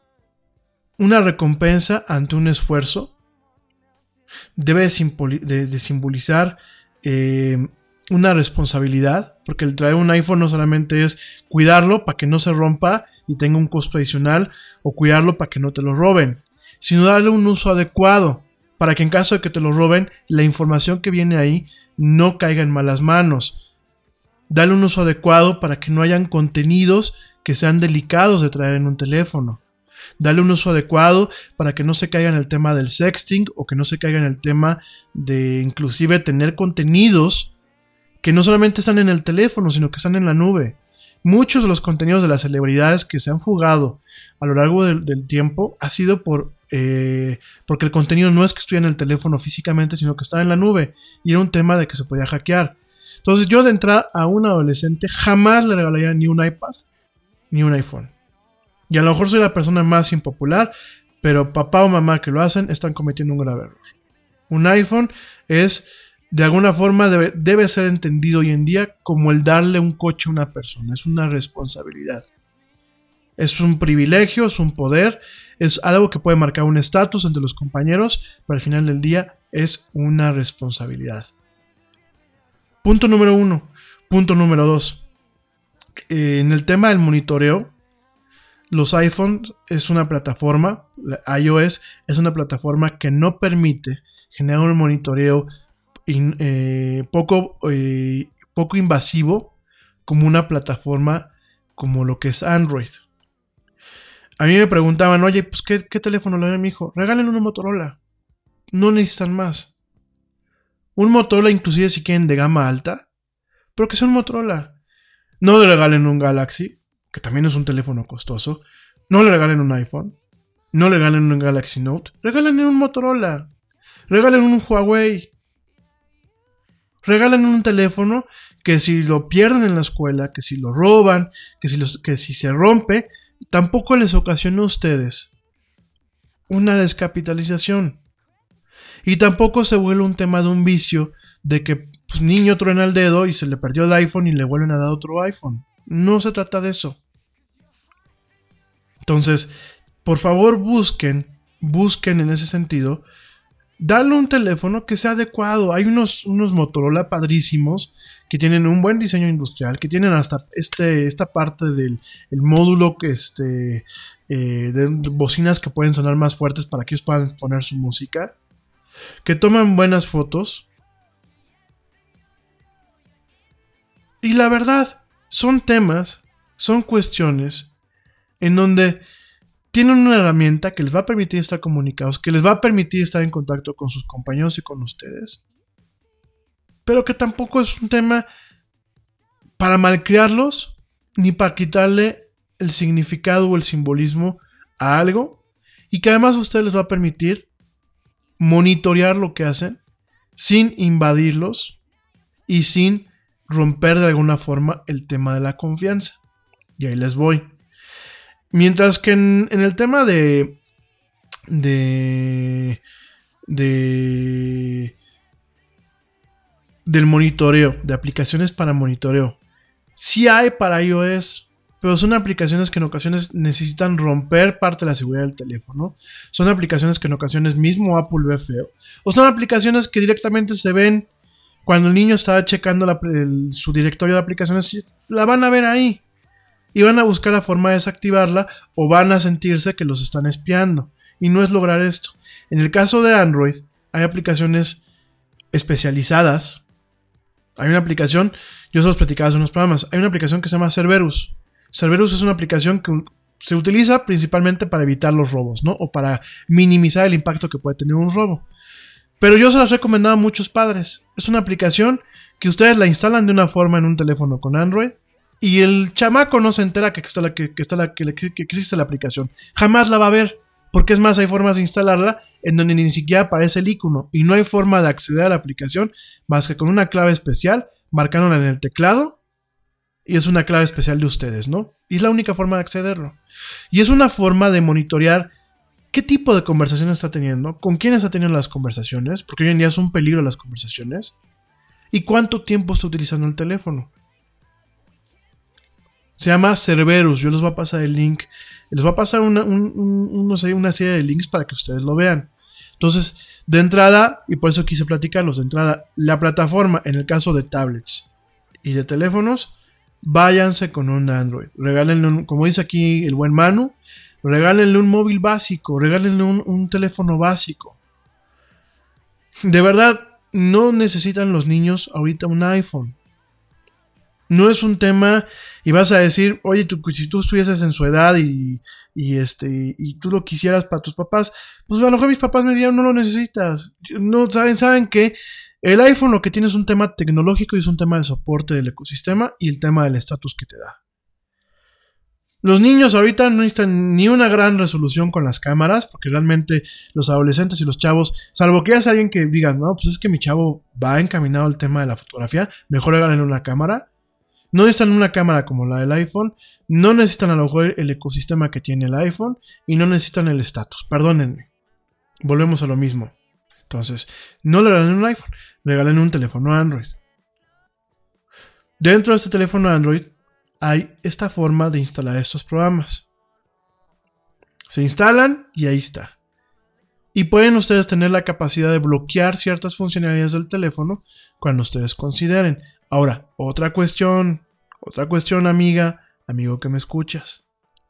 una recompensa ante un esfuerzo. Debe de, simboli- de, de simbolizar eh, una responsabilidad, porque el traer un iPhone no solamente es cuidarlo para que no se rompa y tenga un costo adicional, o cuidarlo para que no te lo roben, sino darle un uso adecuado, para que en caso de que te lo roben, la información que viene ahí no caiga en malas manos. Dale un uso adecuado para que no hayan contenidos que sean delicados de traer en un teléfono. Dale un uso adecuado para que no se caiga en el tema del sexting, o que no se caiga en el tema de inclusive tener contenidos que no solamente están en el teléfono, sino que están en la nube. Muchos de los contenidos de las celebridades que se han fugado a lo largo del, del tiempo ha sido por eh, porque el contenido no es que estuviera en el teléfono físicamente, sino que estaba en la nube, y era un tema de que se podía hackear. Entonces yo, de entrada, a un adolescente jamás le regalaría ni un iPad ni un iPhone. Y a lo mejor soy la persona más impopular, pero papá o mamá que lo hacen están cometiendo un grave error. Un iPhone es, de alguna forma, debe, debe ser entendido hoy en día como el darle un coche a una persona. Es una responsabilidad. Es un privilegio, es un poder, es algo que puede marcar un estatus entre los compañeros, pero al final del día es una responsabilidad. Punto número uno. Punto número dos. Eh, en el tema del monitoreo, los iPhones es una plataforma, la iOS es una plataforma que no permite generar un monitoreo in, eh, poco, eh, poco invasivo como una plataforma como lo que es Android. A mí me preguntaban, oye, pues ¿qué, qué teléfono le doy a mi hijo? Regalen una Motorola. No necesitan más. Un Motorola, inclusive si quieren de gama alta, pero que sea un Motorola. No le regalen un Galaxy, que también es un teléfono costoso. No le regalen un iPhone. No le regalen un Galaxy Note. Regalen un Motorola. Regalen un Huawei. Regalen un teléfono que si lo pierden en la escuela, que si lo roban, que si, los, que si se rompe, tampoco les ocasiona a ustedes una descapitalización. Y tampoco se vuelve un tema de un vicio de que pues, niño truena el dedo y se le perdió el iPhone y le vuelven a dar otro iPhone. No se trata de eso. Entonces, por favor busquen, busquen en ese sentido, darle un teléfono que sea adecuado. Hay unos, unos Motorola padrísimos que tienen un buen diseño industrial, que tienen hasta este, esta parte del el módulo que este, eh, de bocinas que pueden sonar más fuertes para que ellos puedan poner su música. que toman buenas fotos. Y la verdad, son temas, son cuestiones en donde tienen una herramienta que les va a permitir estar comunicados, que les va a permitir estar en contacto con sus compañeros y con ustedes, pero que tampoco es un tema para malcriarlos ni para quitarle el significado o el simbolismo a algo, y que además a ustedes les va a permitir monitorear lo que hacen sin invadirlos y sin romper de alguna forma el tema de la confianza. Y ahí les voy. Mientras que en, en el tema de, de, de, del monitoreo, de aplicaciones para monitoreo, sí hay para iOS, pero son aplicaciones que en ocasiones necesitan romper parte de la seguridad del teléfono. Son aplicaciones que en ocasiones mismo Apple ve feo. O son aplicaciones que directamente se ven cuando el niño está checando la, el, su directorio de aplicaciones. La van a ver ahí. Y van a buscar la forma de desactivarla, o van a sentirse que los están espiando. Y no es lograr esto. En el caso de Android, hay aplicaciones especializadas. Hay una aplicación, yo se los platicaba hace unos programas, hay una aplicación que se llama Cerberus. Cerberus es una aplicación que se utiliza principalmente para evitar los robos, ¿no? O para minimizar el impacto que puede tener un robo. Pero yo se las he recomendado a muchos padres. Es una aplicación que ustedes la instalan de una forma en un teléfono con Android y el chamaco no se entera que, está la, que, que, está la, que, que existe la aplicación. Jamás la va a ver, porque es más, hay formas de instalarla en donde ni siquiera aparece el icono y no hay forma de acceder a la aplicación más que con una clave especial, marcándola en el teclado. Y es una clave especial de ustedes, ¿no? Y es la única forma de accederlo. Y es una forma de monitorear qué tipo de conversación está teniendo, con quién está teniendo las conversaciones, porque hoy en día es un peligro las conversaciones, y cuánto tiempo está utilizando el teléfono. Se llama Cerberus. Yo les voy a pasar el link. Les voy a pasar una, un, un, no sé, una serie de links para que ustedes lo vean. Entonces, de entrada, y por eso quise platicarlos, de entrada, la plataforma, en el caso de tablets y de teléfonos, váyanse con un Android. Regálenle un, como dice aquí el buen Manu, regálenle un móvil básico, regálenle un, un teléfono básico. De verdad, no necesitan los niños ahorita un iPhone. No es un tema, y vas a decir, oye, tú, si tú estuvieses en su edad y, y, este, y tú lo quisieras para tus papás, pues a lo mejor mis papás me dirían, no lo necesitas. No, saben, saben que el iPhone lo que tiene es un tema tecnológico y es un tema del soporte del ecosistema y el tema del estatus que te da. Los niños ahorita no necesitan ni una gran resolución con las cámaras, porque realmente los adolescentes y los chavos, salvo que ya sea alguien que diga, no, pues es que mi chavo va encaminado al tema de la fotografía, mejor háganle una cámara. No necesitan una cámara como la del iPhone, no necesitan a lo mejor el ecosistema que tiene el iPhone y no necesitan el estatus. Perdónenme, volvemos a lo mismo. Entonces, no le regalen un iPhone, regalen un teléfono Android. Dentro de este teléfono Android hay esta forma de instalar estos programas. Se instalan y ahí está. Y pueden ustedes tener la capacidad de bloquear ciertas funcionalidades del teléfono cuando ustedes consideren. Ahora, otra cuestión, otra cuestión, amiga, amigo que me escuchas.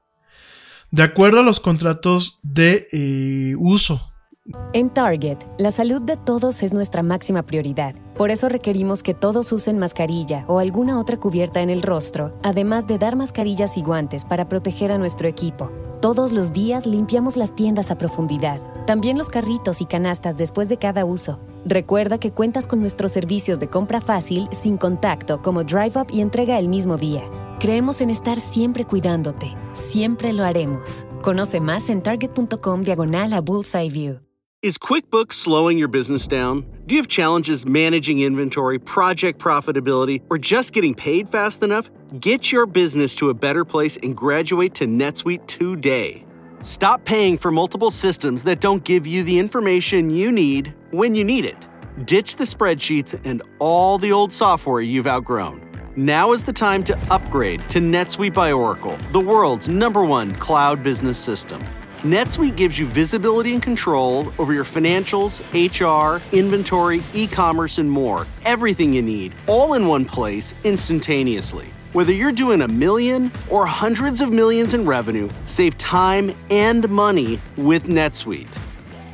De acuerdo a los contratos de eh, uso. En Target, la salud de todos es nuestra máxima prioridad. Por eso requerimos que todos usen mascarilla o alguna otra cubierta en el rostro, además de dar mascarillas y guantes para proteger a nuestro equipo. Todos los días limpiamos las tiendas a profundidad, también los carritos y canastas después de cada uso. Recuerda que cuentas con nuestros servicios de compra fácil, sin contacto, como Drive Up y entrega el mismo día. Creemos en estar siempre cuidándote. Siempre lo haremos. Conoce más en target.com diagonal a Bullseye View. Is QuickBooks slowing your business down? Do you have challenges managing inventory, project profitability, or just getting paid fast enough? Get your business to a better place and graduate to NetSuite today. Stop paying for multiple systems that don't give you the information you need when you need it. Ditch the spreadsheets and all the old software you've outgrown. Now is the time to upgrade to NetSuite by Oracle, the world's number one cloud business system. NetSuite gives you visibility and control over your financials, H R, inventory, e-commerce, and more. Everything you need, all in one place, instantaneously. Whether you're doing a million or hundreds of millions in revenue, save time and money with NetSuite.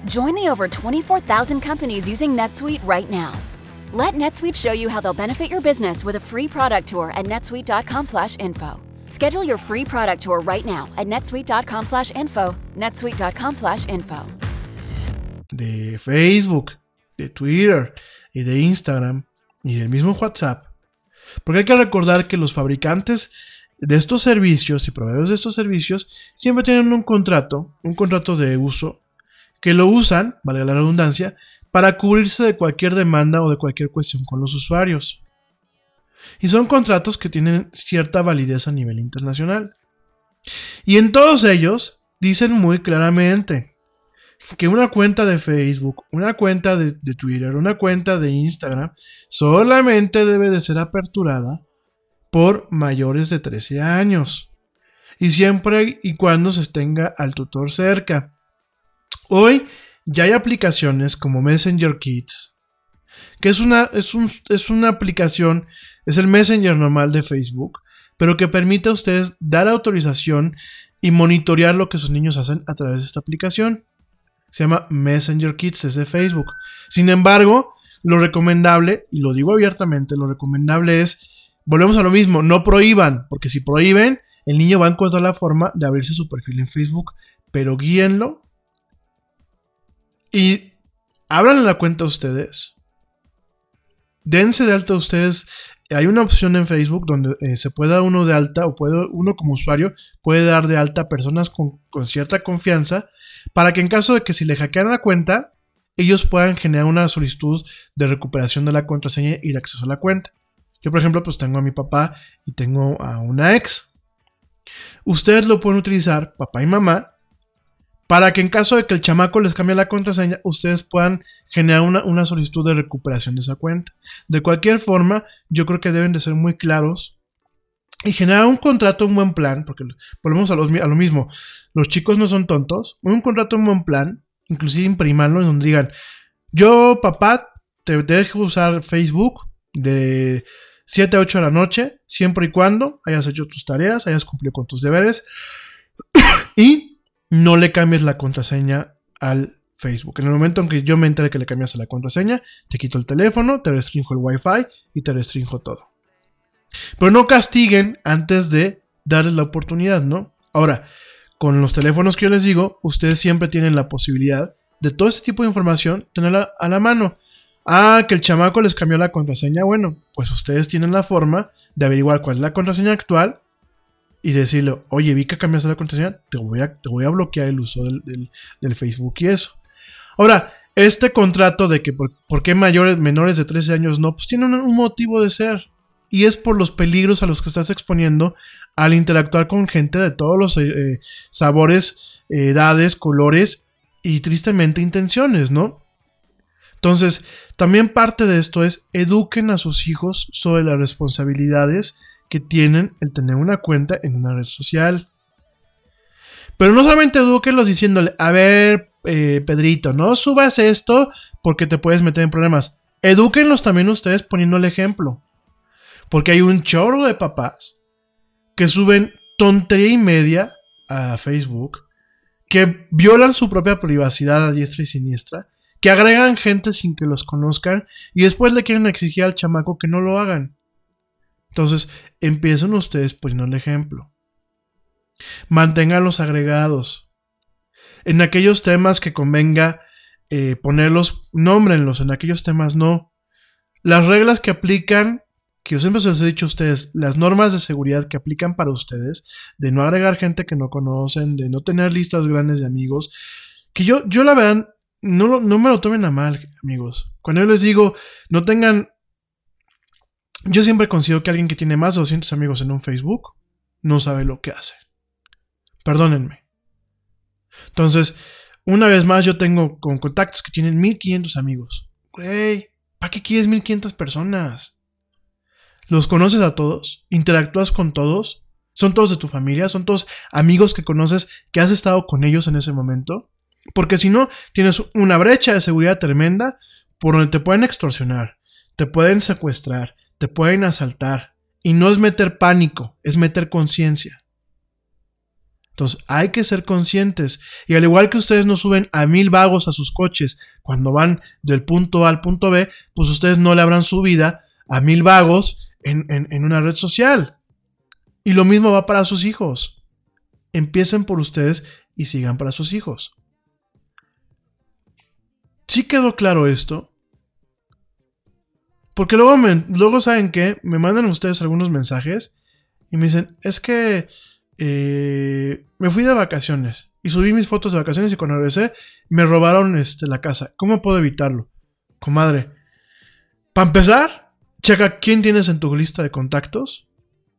Join the over twenty-four thousand companies using NetSuite right now. Let NetSuite show you how they'll benefit your business with a free product tour at netsuite.com slash info. Schedule your free product tour right now at netsuite.com slash info, netsuite.com slash info. De Facebook, de Twitter y de Instagram y del mismo WhatsApp. Porque hay que recordar que los fabricantes de estos servicios y proveedores de estos servicios siempre tienen un contrato, un contrato de uso, que lo usan, valga la redundancia, para cubrirse de cualquier demanda o de cualquier cuestión con los usuarios. Y son contratos que tienen cierta validez a nivel internacional. Y en todos ellos dicen muy claramente que una cuenta de Facebook, una cuenta de, de Twitter, una cuenta de Instagram solamente debe de ser aperturada por mayores de trece años. Y siempre y cuando se tenga al tutor cerca. Hoy ya hay aplicaciones como Messenger Kids, que es una, es un, es una aplicación, es el Messenger normal de Facebook, pero que permite a ustedes dar autorización y monitorear lo que sus niños hacen a través de esta aplicación. Se llama Messenger Kids, es de Facebook. Sin embargo, lo recomendable, y lo digo abiertamente, lo recomendable es, volvemos a lo mismo, no prohíban, porque si prohíben, el niño va a encontrar la forma de abrirse su perfil en Facebook, pero guíenlo y abran la cuenta ustedes. Dense de alta ustedes. Hay una opción en Facebook donde eh, se puede dar uno de alta, o puede, uno como usuario puede dar de alta a personas con, con cierta confianza, para que en caso de que si le hackean la cuenta, ellos puedan generar una solicitud de recuperación de la contraseña y el acceso a la cuenta. Yo, por ejemplo, pues tengo a mi papá y tengo a una ex. Ustedes lo pueden utilizar, papá y mamá, para que en caso de que el chamaco les cambie la contraseña, ustedes puedan generar una, una solicitud de recuperación de esa cuenta. De cualquier forma, yo creo que deben de ser muy claros y generar un contrato, un buen plan, porque volvemos a, los, a lo mismo. Los chicos no son tontos. Un contrato, un buen plan, inclusive imprimarlo en donde digan: yo, papá, te, te dejo usar Facebook de siete a ocho de la noche, siempre y cuando hayas hecho tus tareas, hayas cumplido con tus deberes y no le cambies la contraseña al Facebook. En el momento en que yo me entere que le cambiaste la contraseña, te quito el teléfono, te restringo el Wi-Fi y te restringo todo. Pero no castiguen antes de darles la oportunidad, ¿no? Ahora, con los teléfonos que yo les digo, ustedes siempre tienen la posibilidad de todo este tipo de información tenerla a la mano. Ah, que el chamaco les cambió la contraseña. Bueno, pues ustedes tienen la forma de averiguar cuál es la contraseña actual y decirle: oye, vi que cambiaste la contraseña, te voy a, te voy a bloquear el uso del, del, del Facebook y eso. Ahora, este contrato de que por, por qué mayores, menores de trece años no, pues tiene un, un motivo de ser. Y es por los peligros a los que estás exponiendo al interactuar con gente de todos los eh, sabores, eh, edades, colores y tristemente intenciones, ¿no? Entonces, también parte de esto es: eduquen a sus hijos sobre las responsabilidades que tienen el tener una cuenta en una red social. Pero no solamente edúquenlos diciéndole: a ver, eh, Pedrito, no subas esto porque te puedes meter en problemas. Edúquenlos también ustedes poniendo el ejemplo. Porque hay un chorro de papás que suben tontería y media a Facebook, que violan su propia privacidad a diestra y siniestra, que agregan gente sin que los conozcan y después le quieren exigir al chamaco que no lo hagan. Entonces, empiecen ustedes poniendo el ejemplo. Mantengan los agregados. En aquellos temas que convenga eh, ponerlos, nómbrenlos. En aquellos temas no. Las reglas que aplican, que yo siempre se los he dicho a ustedes, las normas de seguridad que aplican para ustedes, de no agregar gente que no conocen, de no tener listas grandes de amigos, que yo, yo la verdad, no, no me lo tomen a mal, amigos. Cuando yo les digo, no tengan... Yo siempre considero que alguien que tiene más de doscientos amigos en un Facebook no sabe lo que hace. Perdónenme. Entonces, una vez más, yo tengo con contactos que tienen mil quinientos amigos. Güey, ¿para qué quieres mil quinientas personas? ¿Los conoces a todos? ¿Interactúas con todos? ¿Son todos de tu familia? ¿Son todos amigos que conoces, que has estado con ellos en ese momento? Porque si no, tienes una brecha de seguridad tremenda por donde te pueden extorsionar, te pueden secuestrar, te pueden asaltar. Y no es meter pánico, es meter conciencia. Entonces hay que ser conscientes. Y al igual que ustedes no suben a mil vagos a sus coches cuando van del punto A al punto B, pues ustedes no le abran su vida a mil vagos en, en, en una red social. Y lo mismo va para sus hijos. Empiecen por ustedes y sigan para sus hijos. ¿Sí quedó claro esto? Porque luego, me, luego ¿saben qué? Me mandan ustedes algunos mensajes y me dicen, es que eh, me fui de vacaciones y subí mis fotos de vacaciones y cuando regresé me robaron este, la casa. ¿Cómo puedo evitarlo? Comadre, para empezar, checa quién tienes en tu lista de contactos.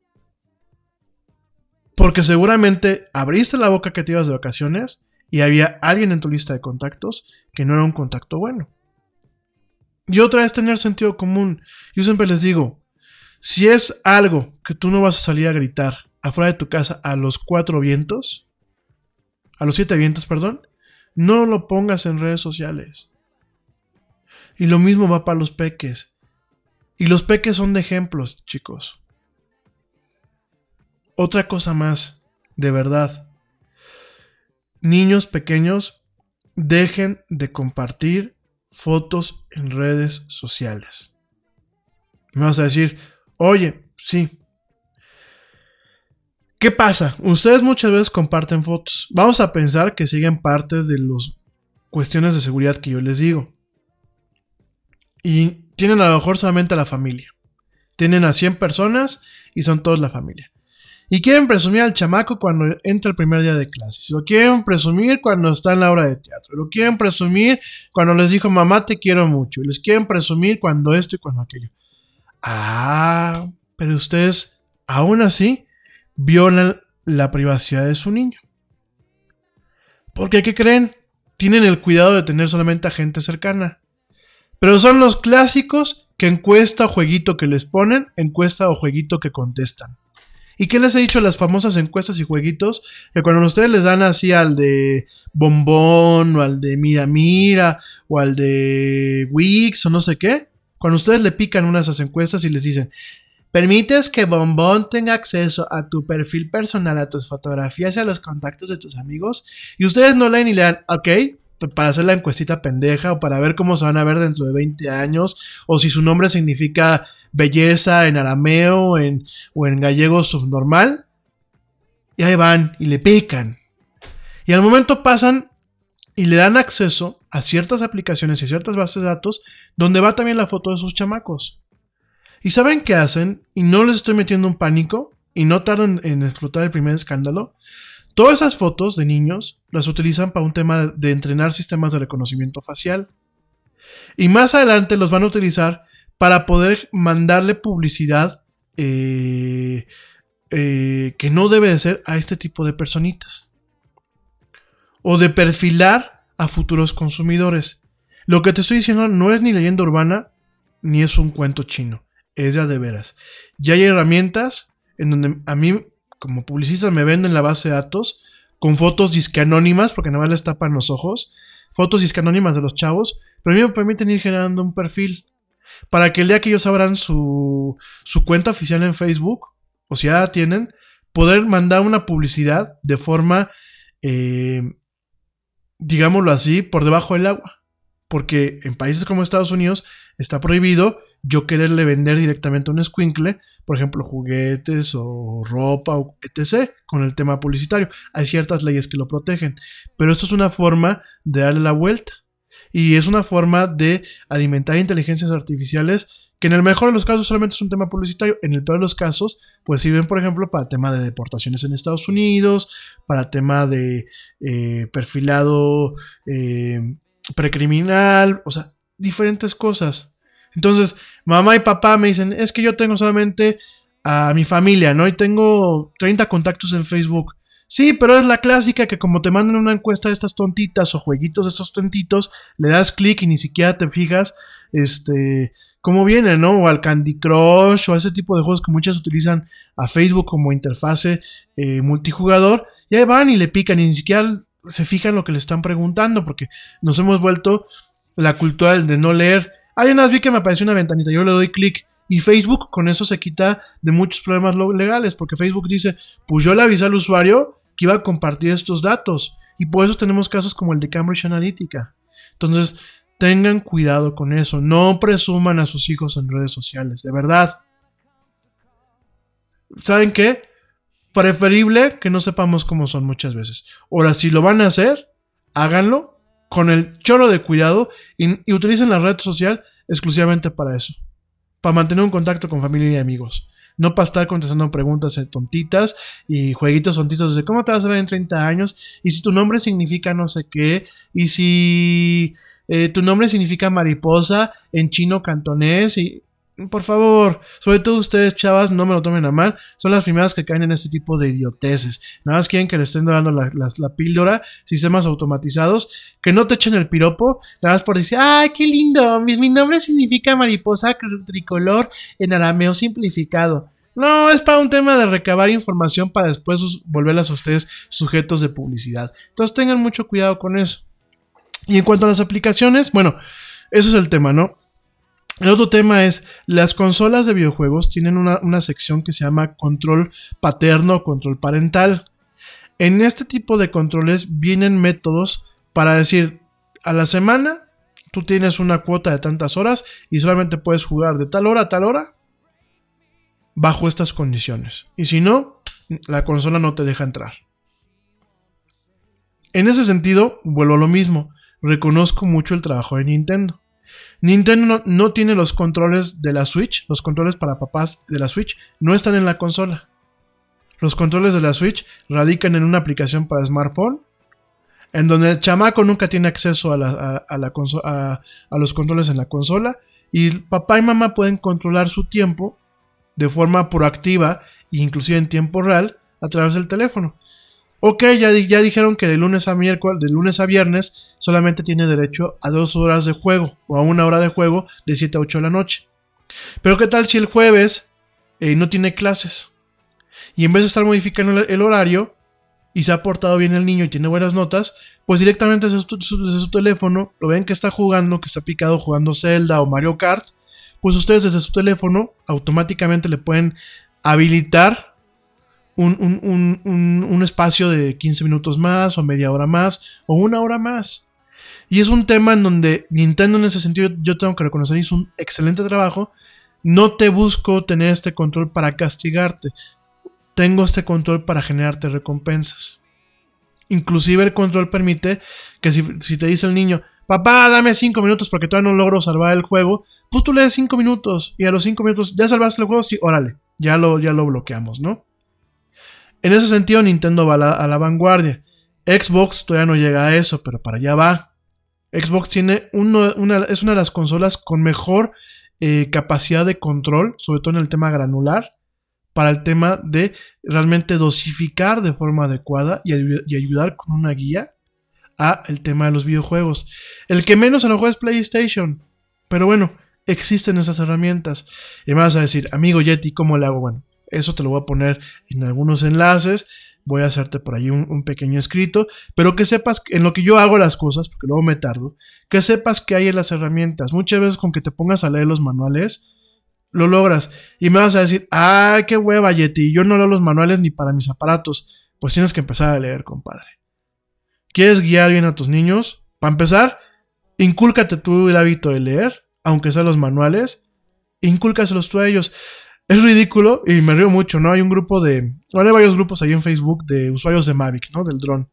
Porque seguramente abriste la boca que te ibas de vacaciones y había alguien en tu lista de contactos que no era un contacto bueno. Y otra es tener sentido común. Yo siempre les digo, si es algo que tú no vas a salir a gritar afuera de tu casa a los cuatro vientos, a los siete vientos, perdón, no lo pongas en redes sociales. Y lo mismo va para los peques. Y los peques son de ejemplos, chicos. Otra cosa más, de verdad. Niños pequeños, dejen de compartir fotos en redes sociales. Me vas a decir, oye, sí. ¿Qué pasa? Ustedes muchas veces comparten fotos. Vamos a pensar que siguen parte de las cuestiones de seguridad que yo les digo. Y tienen a lo mejor solamente a la familia. Tienen a cien personas y son todos la familia. Y quieren presumir al chamaco cuando entra el primer día de clases. Lo quieren presumir cuando está en la obra de teatro. Lo quieren presumir cuando les dijo, mamá, te quiero mucho. Y les quieren presumir cuando esto y cuando aquello. Ah, pero ustedes, aún así, violan la privacidad de su niño. Porque, ¿qué creen? Tienen el cuidado de tener solamente a gente cercana. Pero son los clásicos que encuesta o jueguito que les ponen, encuesta o jueguito que contestan. ¿Y qué les he dicho? Las famosas encuestas y jueguitos, que cuando ustedes les dan así al de Bombón, o al de Mira Mira, o al de Wix, o no sé qué, cuando ustedes le pican una de esas encuestas y les dicen, ¿permites que Bombón tenga acceso a tu perfil personal, a tus fotografías y a los contactos de tus amigos? Y ustedes no leen y le dan, ok, para hacer la encuestita pendeja, o para ver cómo se van a ver dentro de veinte años, o si su nombre significa belleza en arameo en, o en gallego subnormal. Y ahí van y le pican. Y al momento pasan y le dan acceso a ciertas aplicaciones y ciertas bases de datos donde va también la foto de sus chamacos. ¿Y saben qué hacen? Y no les estoy metiendo un pánico y no tardan en explotar el primer escándalo. Todas esas fotos de niños las utilizan para un tema de entrenar sistemas de reconocimiento facial. Y más adelante los van a utilizar para poder mandarle publicidad eh, eh, que no debe de ser a este tipo de personitas. O de perfilar a futuros consumidores. Lo que te estoy diciendo no es ni leyenda urbana, ni es un cuento chino. Es ya de veras. Ya hay herramientas en donde a mí, como publicista, me venden la base de datos con fotos disque anónimas, porque nada más les tapan los ojos. Fotos disque anónimas de los chavos, pero a mí me permiten ir generando un perfil. Para que el día que ellos abran su, su cuenta oficial en Facebook, o si ya la tienen, poder mandar una publicidad de forma, eh, digámoslo así, por debajo del agua. Porque en países como Estados Unidos está prohibido yo quererle vender directamente a un escuincle, por ejemplo, juguetes o ropa, o etcétera, con el tema publicitario. Hay ciertas leyes que lo protegen, pero esto es una forma de darle la vuelta. Y es una forma de alimentar inteligencias artificiales que en el mejor de los casos solamente es un tema publicitario. En el peor de los casos, pues sirven, por ejemplo, para el tema de deportaciones en Estados Unidos, para el tema de eh, perfilado eh, precriminal, o sea, diferentes cosas. Entonces, mamá y papá me dicen, es que yo tengo solamente a mi familia, ¿no? Y tengo treinta contactos en Facebook. Sí, pero es la clásica que como te mandan una encuesta de estas tontitas o jueguitos de estos tontitos, le das clic y ni siquiera te fijas este, cómo viene, ¿no? O al Candy Crush o a ese tipo de juegos que muchas utilizan a Facebook como interfase eh, multijugador. Y ahí van y le pican y ni siquiera se fijan lo que le están preguntando porque nos hemos vuelto la cultura de no leer. Hay unas vi que me apareció una ventanita, yo le doy clic. Y Facebook con eso se quita de muchos problemas legales, porque Facebook dice, pues yo le avisé al usuario que iba a compartir estos datos. Y por eso tenemos casos como el de Cambridge Analytica. Entonces, tengan cuidado con eso. No presuman a sus hijos en redes sociales, de verdad. ¿Saben qué? Preferible que no sepamos cómo son muchas veces. Ahora, si lo van a hacer, háganlo con el chorro de cuidado y, y utilicen la red social exclusivamente para eso. Para mantener un contacto con familia y amigos. No para estar contestando preguntas tontitas y jueguitos tontitos de cómo te vas a ver en treinta años y si tu nombre significa no sé qué y si eh, tu nombre significa mariposa en chino cantonés y... Por favor, sobre todo ustedes, chavas, no me lo tomen a mal. Son las primeras que caen en este tipo de idioteces. Nada más quieren que les estén dando la, la, la píldora, sistemas automatizados, que no te echen el piropo, nada más por decir, ¡ay, qué lindo! Mi, mi nombre significa mariposa tricolor en arameo simplificado. No, es para un tema de recabar información para después sus, volverlas a ustedes sujetos de publicidad. Entonces tengan mucho cuidado con eso. Y en cuanto a las aplicaciones, bueno, eso es el tema, ¿no? El otro tema es, las consolas de videojuegos tienen una, una sección que se llama control paterno o control parental. En este tipo de controles vienen métodos para decir, a la semana tú tienes una cuota de tantas horas y solamente puedes jugar de tal hora a tal hora bajo estas condiciones. Y si no, la consola no te deja entrar. En ese sentido, vuelvo a lo mismo, reconozco mucho el trabajo de Nintendo. Nintendo no, no tiene los controles de la Switch, los controles para papás de la Switch no están en la consola. Los controles de la Switch radican en una aplicación para smartphone, en donde el chamaco nunca tiene acceso a, la, a, a, la conso- a, a los controles en la consola, y papá y mamá pueden controlar su tiempo de forma proactiva e inclusive en tiempo real a través del teléfono. Ok, ya, ya dijeron que de lunes a miércoles, de lunes a viernes, solamente tiene derecho a dos horas de juego o a una hora de juego de siete a ocho de la noche. Pero ¿qué tal si el jueves eh, no tiene clases? Y en vez de estar modificando el, el horario y se ha portado bien el niño y tiene buenas notas, pues directamente desde su, su, desde su teléfono, lo ven que está jugando, que está picado jugando Zelda o Mario Kart, pues ustedes desde su teléfono automáticamente le pueden habilitar Un, un, un, un, un espacio de quince minutos más o media hora más o una hora más. Y es un tema en donde Nintendo en ese sentido yo tengo que reconocer hizo un excelente trabajo. No te busco tener este control para castigarte, tengo este control para generarte recompensas. Inclusive el control permite que si, si te dice el niño, papá, dame cinco minutos porque todavía no logro salvar el juego, pues tú le das cinco minutos y a los cinco minutos, ¿ya salvaste el juego? Sí, órale, ya lo, ya lo bloqueamos, ¿no? En ese sentido, Nintendo va a la, a la vanguardia. Xbox todavía no llega a eso, pero para allá va. Xbox tiene uno, una, es una de las consolas con mejor eh, capacidad de control, sobre todo en el tema granular, para el tema de realmente dosificar de forma adecuada y, y ayudar con una guía a el tema de los videojuegos. El que menos se lo juega es PlayStation, pero bueno, existen esas herramientas. Y me vas a decir, amigo Yeti, ¿cómo le hago? Bueno, eso te lo voy a poner en algunos enlaces. Voy a hacerte por ahí un, un pequeño escrito. Pero que sepas en lo que yo hago las cosas, porque luego me tardo. Que sepas que hay en las herramientas. Muchas veces con que te pongas a leer los manuales, lo logras. Y me vas a decir, ¡ay, qué hueva, Yeti! Yo no leo los manuales ni para mis aparatos. Pues tienes que empezar a leer, compadre. ¿Quieres guiar bien a tus niños? Para empezar, incúlcate tú el hábito de leer, aunque sean los manuales. Incúlcaselos tú a ellos. Es ridículo y me río mucho, ¿no? Hay un grupo de... Bueno, hay varios grupos ahí en Facebook de usuarios de Mavic, ¿no? Del dron.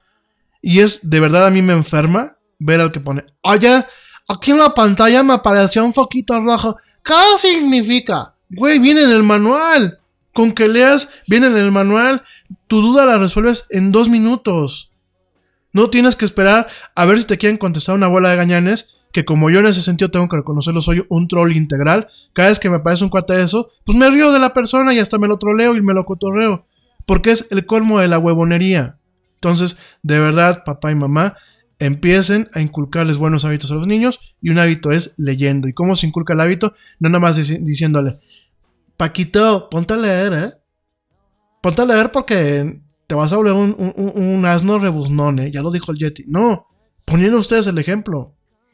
Y es, de verdad, a mí me enferma ver al que pone... Oye, aquí en la pantalla me apareció un foquito rojo. ¿Qué significa? Güey, viene en el manual. Con que leas, viene en el manual. Tu duda la resuelves en dos minutos. No tienes que esperar a ver si te quieren contestar una bola de gañanes... Que como yo en ese sentido tengo que reconocerlo, soy un troll integral. Cada vez que me aparece un cuate de eso, pues me río de la persona y hasta me lo troleo y me lo cotorreo. Porque es el colmo de la huevonería. Entonces, de verdad, papá y mamá, empiecen a inculcarles buenos hábitos a los niños. Y un hábito es leyendo. ¿Y cómo se inculca el hábito? No nada más dic- diciéndole, Paquito, ponte a leer, ¿eh? Ponte a leer porque te vas a volver un, un, un asno rebuznón, ¿eh? Ya lo dijo el Yeti. No, poniendo ustedes el ejemplo.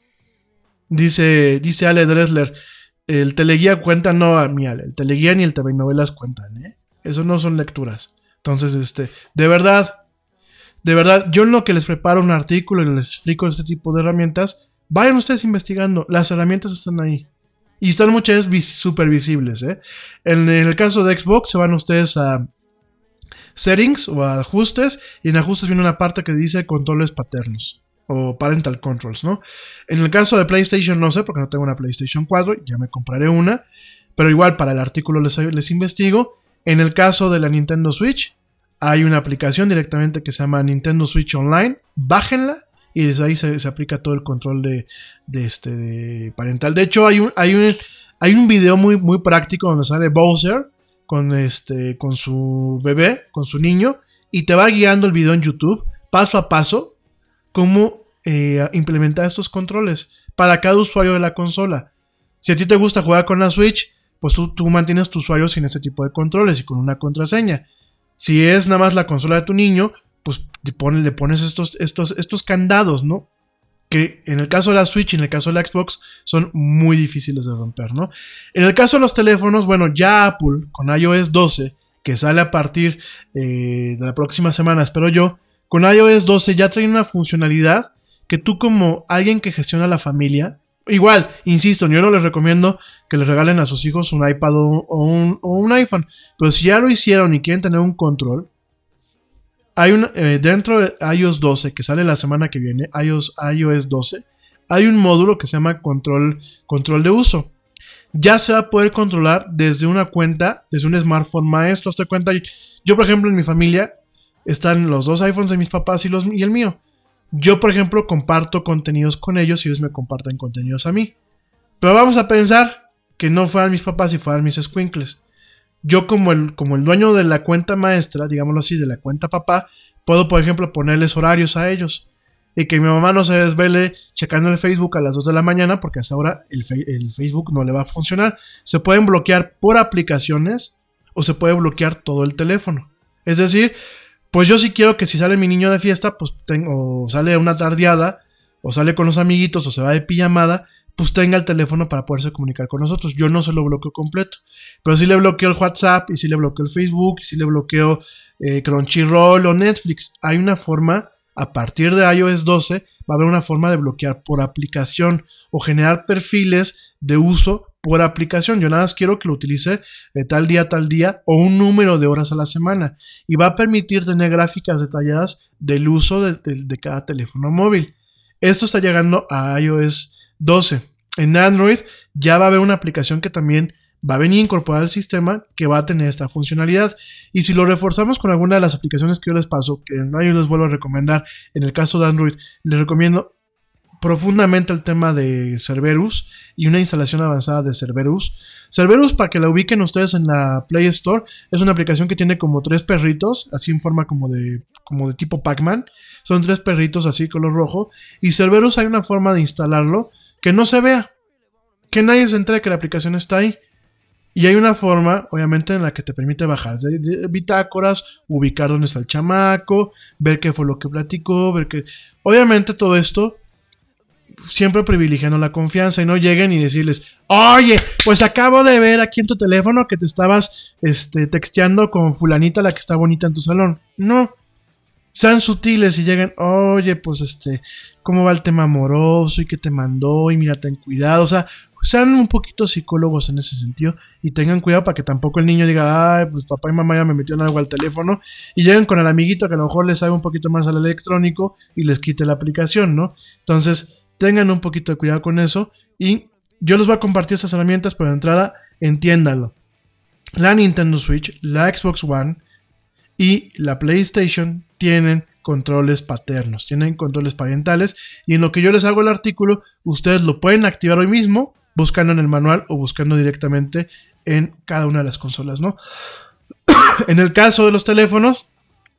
Dice, dice Ale Dressler, el teleguía cuenta, no, mi Ale, el teleguía ni el T V novelas cuentan, ¿eh? Eso no son lecturas. Entonces, este, de verdad, de verdad, yo en lo que les preparo un artículo y les explico este tipo de herramientas, vayan ustedes investigando, las herramientas están ahí. Y están muchas veces súper visibles, ¿eh? En el caso de Xbox se van ustedes a Settings o a Ajustes, y en Ajustes viene una parte que dice Controles Paternos o Parental Controls, ¿no? En el caso de PlayStation no sé, porque no tengo una PlayStation cuatro, ya me compraré una, pero igual para el artículo les, les investigo. En el caso de la Nintendo Switch, hay una aplicación directamente que se llama Nintendo Switch Online, bájenla. Y desde ahí se, se aplica todo el control de, de, este, de parental. De hecho, hay un, hay un, hay un video muy, muy práctico donde sale Bowser con, este, con su bebé, con su niño. Y te va guiando el video en YouTube, paso a paso, cómo eh, implementar estos controles para cada usuario de la consola. Si a ti te gusta jugar con la Switch, pues tú, tú mantienes tu usuario sin este tipo de controles y con una contraseña. Si es nada más la consola de tu niño, pues le pones, le pones estos, estos, estos candados, ¿no? Que en el caso de la Switch y en el caso de la Xbox son muy difíciles de romper, ¿no? En el caso de los teléfonos, bueno, ya Apple con iOS doce, que sale a partir eh, de la próxima semana, espero yo, con iOS doce ya trae una funcionalidad que tú como alguien que gestiona la familia, igual, insisto, yo no les recomiendo que les regalen a sus hijos un iPad o, o, un, o un iPhone, pero si ya lo hicieron y quieren tener un control, hay un, eh, dentro de iOS doce, que sale la semana que viene, iOS, iOS doce, hay un módulo que se llama control, control de uso. Ya se va a poder controlar desde una cuenta, desde un smartphone maestro. Hasta cuenta, yo por ejemplo en mi familia están los dos iPhones de mis papás y, los, y el mío. Yo por ejemplo comparto contenidos con ellos y ellos me comparten contenidos a mí. Pero vamos a pensar que no fueran mis papás y fueran mis escuincles. Yo como el, como el dueño de la cuenta maestra, digámoslo así, de la cuenta papá, puedo, por ejemplo, ponerles horarios a ellos. Y que mi mamá no se desvele checando el Facebook a las dos de la mañana, porque a esa hora el, fe- el Facebook no le va a funcionar. Se pueden bloquear por aplicaciones o se puede bloquear todo el teléfono. Es decir, pues yo sí quiero que si sale mi niño de fiesta, pues tengo, o sale una tardeada, o sale con los amiguitos, o se va de pijamada, pues tenga el teléfono para poderse comunicar con nosotros. Yo no se lo bloqueo completo, pero sí le bloqueo el WhatsApp, y sí le bloqueo el Facebook, y sí le bloqueo eh, Crunchyroll o Netflix. Hay una forma, a partir de iOS doce, va a haber una forma de bloquear por aplicación o generar perfiles de uso por aplicación. Yo nada más quiero que lo utilice de tal día a tal día o un número de horas a la semana, y va a permitir tener gráficas detalladas del uso de, de, de cada teléfono móvil. Esto está llegando a iOS doce. En Android ya va a haber una aplicación que también va a venir incorporada al sistema, que va a tener esta funcionalidad. Y si lo reforzamos con alguna de las aplicaciones que yo les paso, que yo les vuelvo a recomendar, en el caso de Android, les recomiendo profundamente el tema de Cerberus y una instalación avanzada de Cerberus. Cerberus, para que la ubiquen ustedes en la Play Store, es una aplicación que tiene como tres perritos, así en forma como de, como de tipo Pac-Man. Son tres perritos así color rojo. Y Cerberus hay una forma de instalarlo que no se vea, que nadie se entere que la aplicación está ahí. Y hay una forma, obviamente, en la que te permite bajar de, de bitácoras, ubicar dónde está el chamaco, ver qué fue lo que platicó, ver que... Obviamente todo esto siempre privilegiando la confianza, y no lleguen y decirles, oye, pues acabo de ver aquí en tu teléfono que te estabas este, texteando con fulanita, la que está bonita en tu salón. No. Sean sutiles y lleguen, oye, pues este, ¿cómo va el tema amoroso? ¿Y qué te mandó? Y mira, ten cuidado. O sea, sean un poquito psicólogos en ese sentido y tengan cuidado para que tampoco el niño diga, ay, pues papá y mamá ya me metieron algo al teléfono, y lleguen con el amiguito que a lo mejor les sabe un poquito más al electrónico y les quite la aplicación, ¿no? Entonces, tengan un poquito de cuidado con eso, y yo les voy a compartir esas herramientas, pero de entrada, entiéndalo. La Nintendo Switch, la Xbox One y la PlayStation tienen controles paternos, tienen controles parentales, y en lo que yo les hago el artículo, ustedes lo pueden activar hoy mismo, buscando en el manual o buscando directamente en cada una de las consolas, ¿no? En el caso de los teléfonos,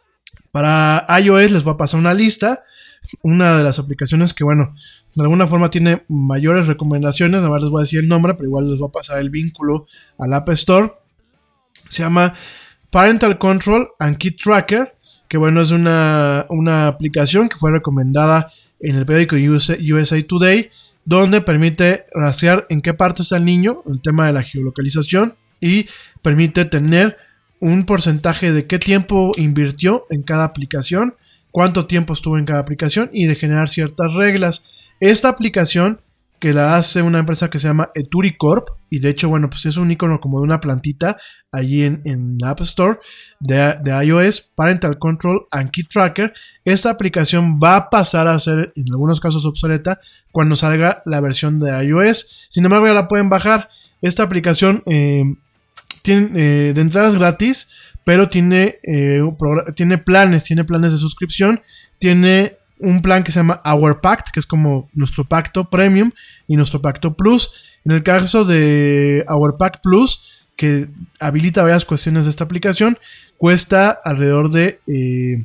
para iOS les voy a pasar una lista, una de las aplicaciones que, bueno, de alguna forma tiene mayores recomendaciones, además les voy a decir el nombre, pero igual les voy a pasar el vínculo al App Store. Se llama Parental Control and Kid Tracker, que bueno, es una, una aplicación que fue recomendada en el periódico U S A Today, donde permite rastrear en qué parte está el niño, el tema de la geolocalización, y permite tener un porcentaje de qué tiempo invirtió en cada aplicación, cuánto tiempo estuvo en cada aplicación y de generar ciertas reglas. Esta aplicación que la hace una empresa que se llama EturiCorp, y de hecho, bueno, pues es un icono como de una plantita allí en, en la App Store de, de iOS, Parental Control and Key Tracker. Esta aplicación va a pasar a ser en algunos casos obsoleta cuando salga la versión de iOS. Sin embargo, ya la pueden bajar. Esta aplicación eh, tiene eh, de entradas gratis, pero tiene, eh, tiene planes, tiene planes de suscripción, tiene un plan que se llama Our Pact, que es como nuestro pacto premium y nuestro pacto plus. En el caso de Our Pact Plus, que habilita varias cuestiones de esta aplicación, cuesta alrededor de eh,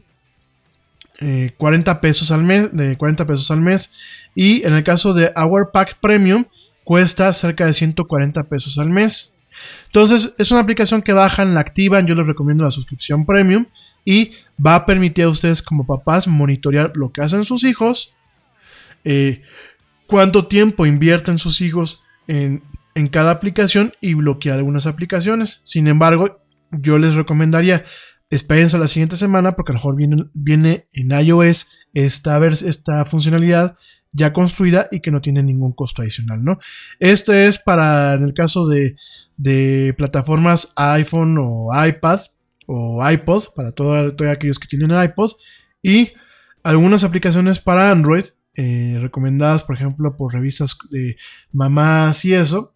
eh, cuarenta pesos al mes, de cuarenta pesos al mes. Y en el caso de Our Pact Premium, cuesta cerca de ciento cuarenta pesos al mes. Entonces, es una aplicación que bajan, la activan. Yo les recomiendo la suscripción premium y va a permitir a ustedes como papás monitorear lo que hacen sus hijos, eh, cuánto tiempo invierten sus hijos en, en cada aplicación y bloquear algunas aplicaciones. Sin embargo, yo les recomendaría espérense a la siguiente semana porque a lo mejor viene, viene en iOS esta, vers- esta funcionalidad ya construida y que no tiene ningún costo adicional, ¿no? Este es para, en el caso de, de plataformas iPhone o iPad o iPod, para todos todo aquellos que tienen iPod, y algunas aplicaciones para Android, eh, recomendadas, por ejemplo, por revistas de mamás y eso.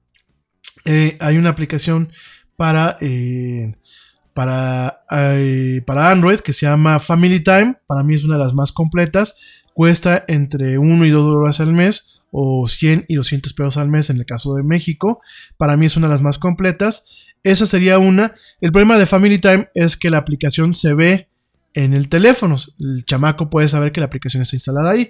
Eh, hay una aplicación para, eh, para, eh, para Android que se llama Family Time. Para mí es una de las más completas. Cuesta entre uno y dos dólares al mes, o cien y doscientos pesos al mes en el caso de México. Para mí es una de las más completas. Esa sería una. El problema de Family Time es que la aplicación se ve en el teléfono. El chamaco puede saber que la aplicación está instalada ahí.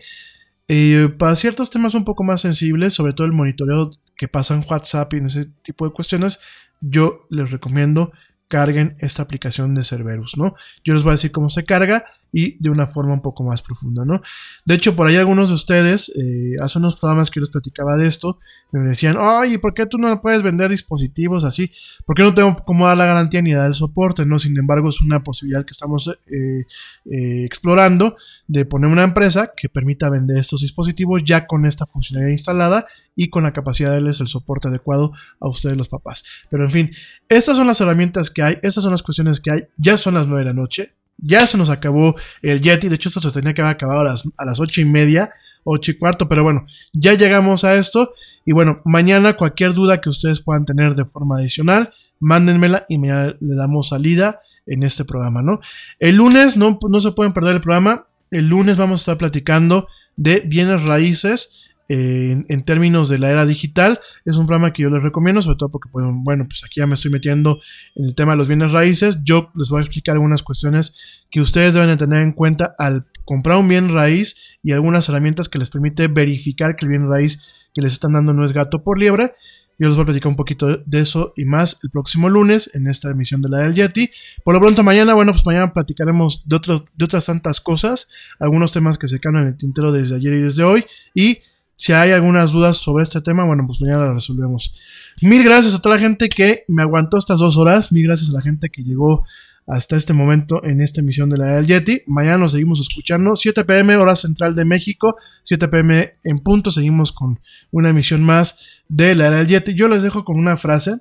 Eh, para ciertos temas un poco más sensibles, sobre todo el monitoreo que pasa en WhatsApp y en ese tipo de cuestiones, yo les recomiendo carguen esta aplicación de Cerberus, ¿no? Yo les voy a decir cómo se carga y de una forma un poco más profunda, ¿no? De hecho, por ahí algunos de ustedes, eh, hace unos programas que yo les platicaba de esto, me decían, oye, ¿por qué tú no puedes vender dispositivos así? ¿Por qué no tengo cómo dar la garantía ni dar el soporte, no? Sin embargo, es una posibilidad que estamos eh, eh, explorando de poner una empresa que permita vender estos dispositivos ya con esta funcionalidad instalada y con la capacidad de darles el soporte adecuado a ustedes los papás. Pero en fin, estas son las herramientas que hay, estas son las cuestiones que hay. Ya son las nueve de la noche, ya se nos acabó el Yeti. De hecho, esto se tenía que haber acabado a las, a las ocho y media, ocho y cuarto, pero bueno, ya llegamos a esto. Y bueno, mañana cualquier duda que ustedes puedan tener de forma adicional, mándenmela y mañana le damos salida en este programa, ¿no? El lunes no, no se pueden perder el programa. El lunes vamos a estar platicando de bienes raíces. En, en términos de la era digital, es un programa que yo les recomiendo, sobre todo porque, pues, bueno, pues aquí ya me estoy metiendo en el tema de los bienes raíces. Yo les voy a explicar algunas cuestiones que ustedes deben de tener en cuenta al comprar un bien raíz y algunas herramientas que les permite verificar que el bien raíz que les están dando no es gato por liebre. Yo les voy a platicar un poquito de eso y más el próximo lunes en esta emisión de la del Yeti. Por lo pronto mañana, bueno, pues mañana platicaremos de, otros, de otras tantas cosas, algunos temas que se quedan en el tintero desde ayer y desde hoy, y si hay algunas dudas sobre este tema, bueno, pues mañana las resolvemos. Mil gracias a toda la gente que me aguantó estas dos horas. Mil gracias a la gente que llegó hasta este momento en esta emisión de la era del Yeti. Mañana nos seguimos escuchando. siete pm, hora central de México. siete pm en punto. Seguimos con una emisión más de la era del Yeti. Yo les dejo con una frase.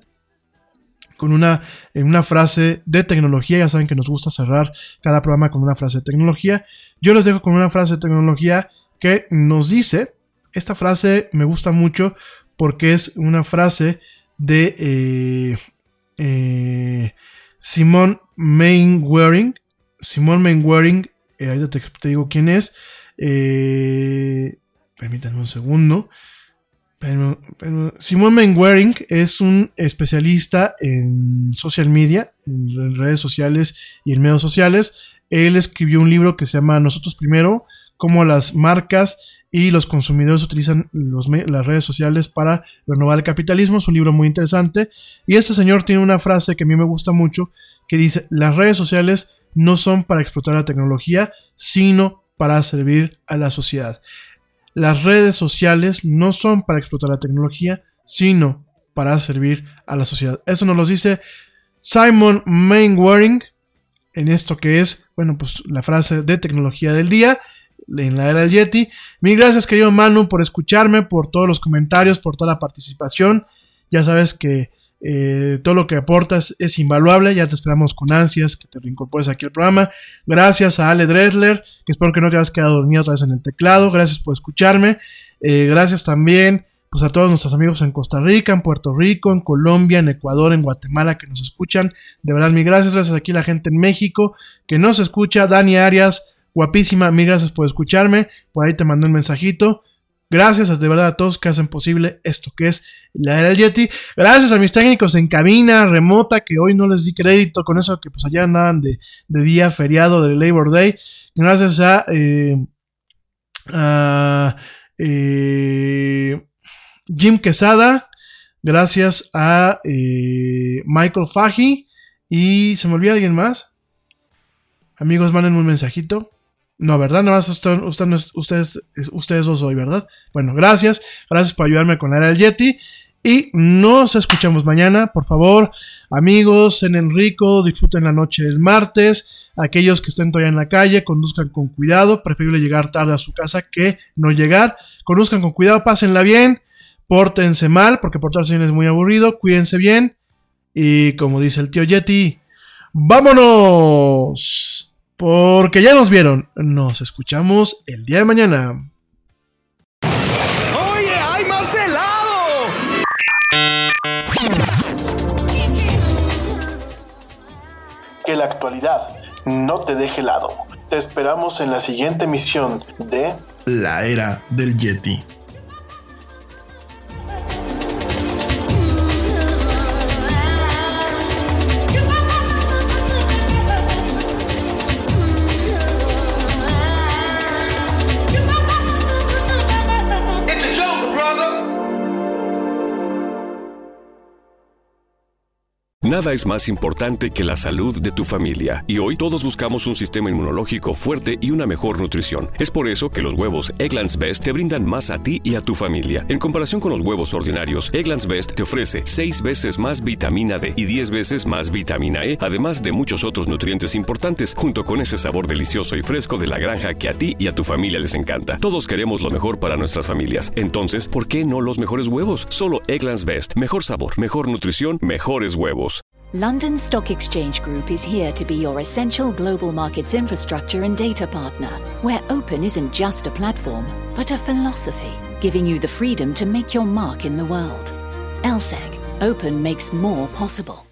Con una, una frase de tecnología. Ya saben que nos gusta cerrar cada programa con una frase de tecnología. Yo les dejo con una frase de tecnología que nos dice... Esta frase me gusta mucho porque es una frase de eh, eh, Simon Mainwaring. Simon Mainwaring, eh, ahí te, te digo quién es. Eh, permítanme un segundo. Pero, pero, Simon Mainwaring es un especialista en social media, en redes sociales y en medios sociales. Él escribió un libro que se llama Nosotros Primero, cómo las marcas y los consumidores utilizan los, las redes sociales para renovar el capitalismo. Es un libro muy interesante. Y este señor tiene una frase que a mí me gusta mucho, que dice, las redes sociales no son para explotar la tecnología, sino para servir a la sociedad. Las redes sociales no son para explotar la tecnología, sino para servir a la sociedad. Eso nos lo dice Simon Mainwaring, en esto que es, bueno, pues la frase de tecnología del día, en la era del Yeti. Mil gracias, querido Manu, por escucharme, por todos los comentarios, por toda la participación. Ya sabes que eh, todo lo que aportas es invaluable. Ya te esperamos con ansias que te reincorpores aquí al programa. Gracias a Ale Dresler, que espero que no te hayas quedado dormido otra vez en el teclado. Gracias por escucharme. Eh, gracias también pues a todos nuestros amigos en Costa Rica, en Puerto Rico, en Colombia, en Ecuador, en Guatemala, que nos escuchan. De verdad, mil gracias. Gracias aquí a la gente en México que nos escucha. Dani Arias, guapísima, mil gracias por escucharme. Por ahí te mandé un mensajito. Gracias a, de verdad, a todos que hacen posible esto que es la era del Yeti. Gracias a mis técnicos en cabina remota, que hoy no les di crédito con eso, que pues allá andaban de, de día feriado de Labor Day. Gracias a... Eh, a eh, Jim Quesada, gracias a eh, Michael Faji, y se me olvida alguien más. Amigos, mándenme un mensajito. No, ¿verdad? Nada más usted, usted, ustedes, ustedes dos hoy, ¿verdad? Bueno, gracias, gracias por ayudarme con la era del Yeti, y nos escuchamos mañana. Por favor, amigos, en Enrico, disfruten la noche del martes. Aquellos que estén todavía en la calle, conduzcan con cuidado. Preferible llegar tarde a su casa que no llegar. Conduzcan con cuidado, pásenla bien. Pórtense mal, porque portarse bien es muy aburrido. Cuídense bien. Y como dice el tío Yeti, ¡vámonos! Porque ya nos vieron. Nos escuchamos el día de mañana. ¡Oye, hay más helado! Que la actualidad no te deje helado. Te esperamos en la siguiente emisión de La Era del Yeti. Nada es más importante que la salud de tu familia, y hoy todos buscamos un sistema inmunológico fuerte y una mejor nutrición. Es por eso que los huevos Eggland's Best te brindan más a ti y a tu familia. En comparación con los huevos ordinarios, Eggland's Best te ofrece seis veces más vitamina D y diez veces más vitamina E, además de muchos otros nutrientes importantes, junto con ese sabor delicioso y fresco de la granja que a ti y a tu familia les encanta. Todos queremos lo mejor para nuestras familias. Entonces, ¿por qué no los mejores huevos? Solo Eggland's Best. Mejor sabor, mejor nutrición, mejores huevos. London Stock Exchange Group is here to be your essential global markets infrastructure and data partner, where open isn't just a platform, but a philosophy, giving you the freedom to make your mark in the world. L S E C, open makes more possible.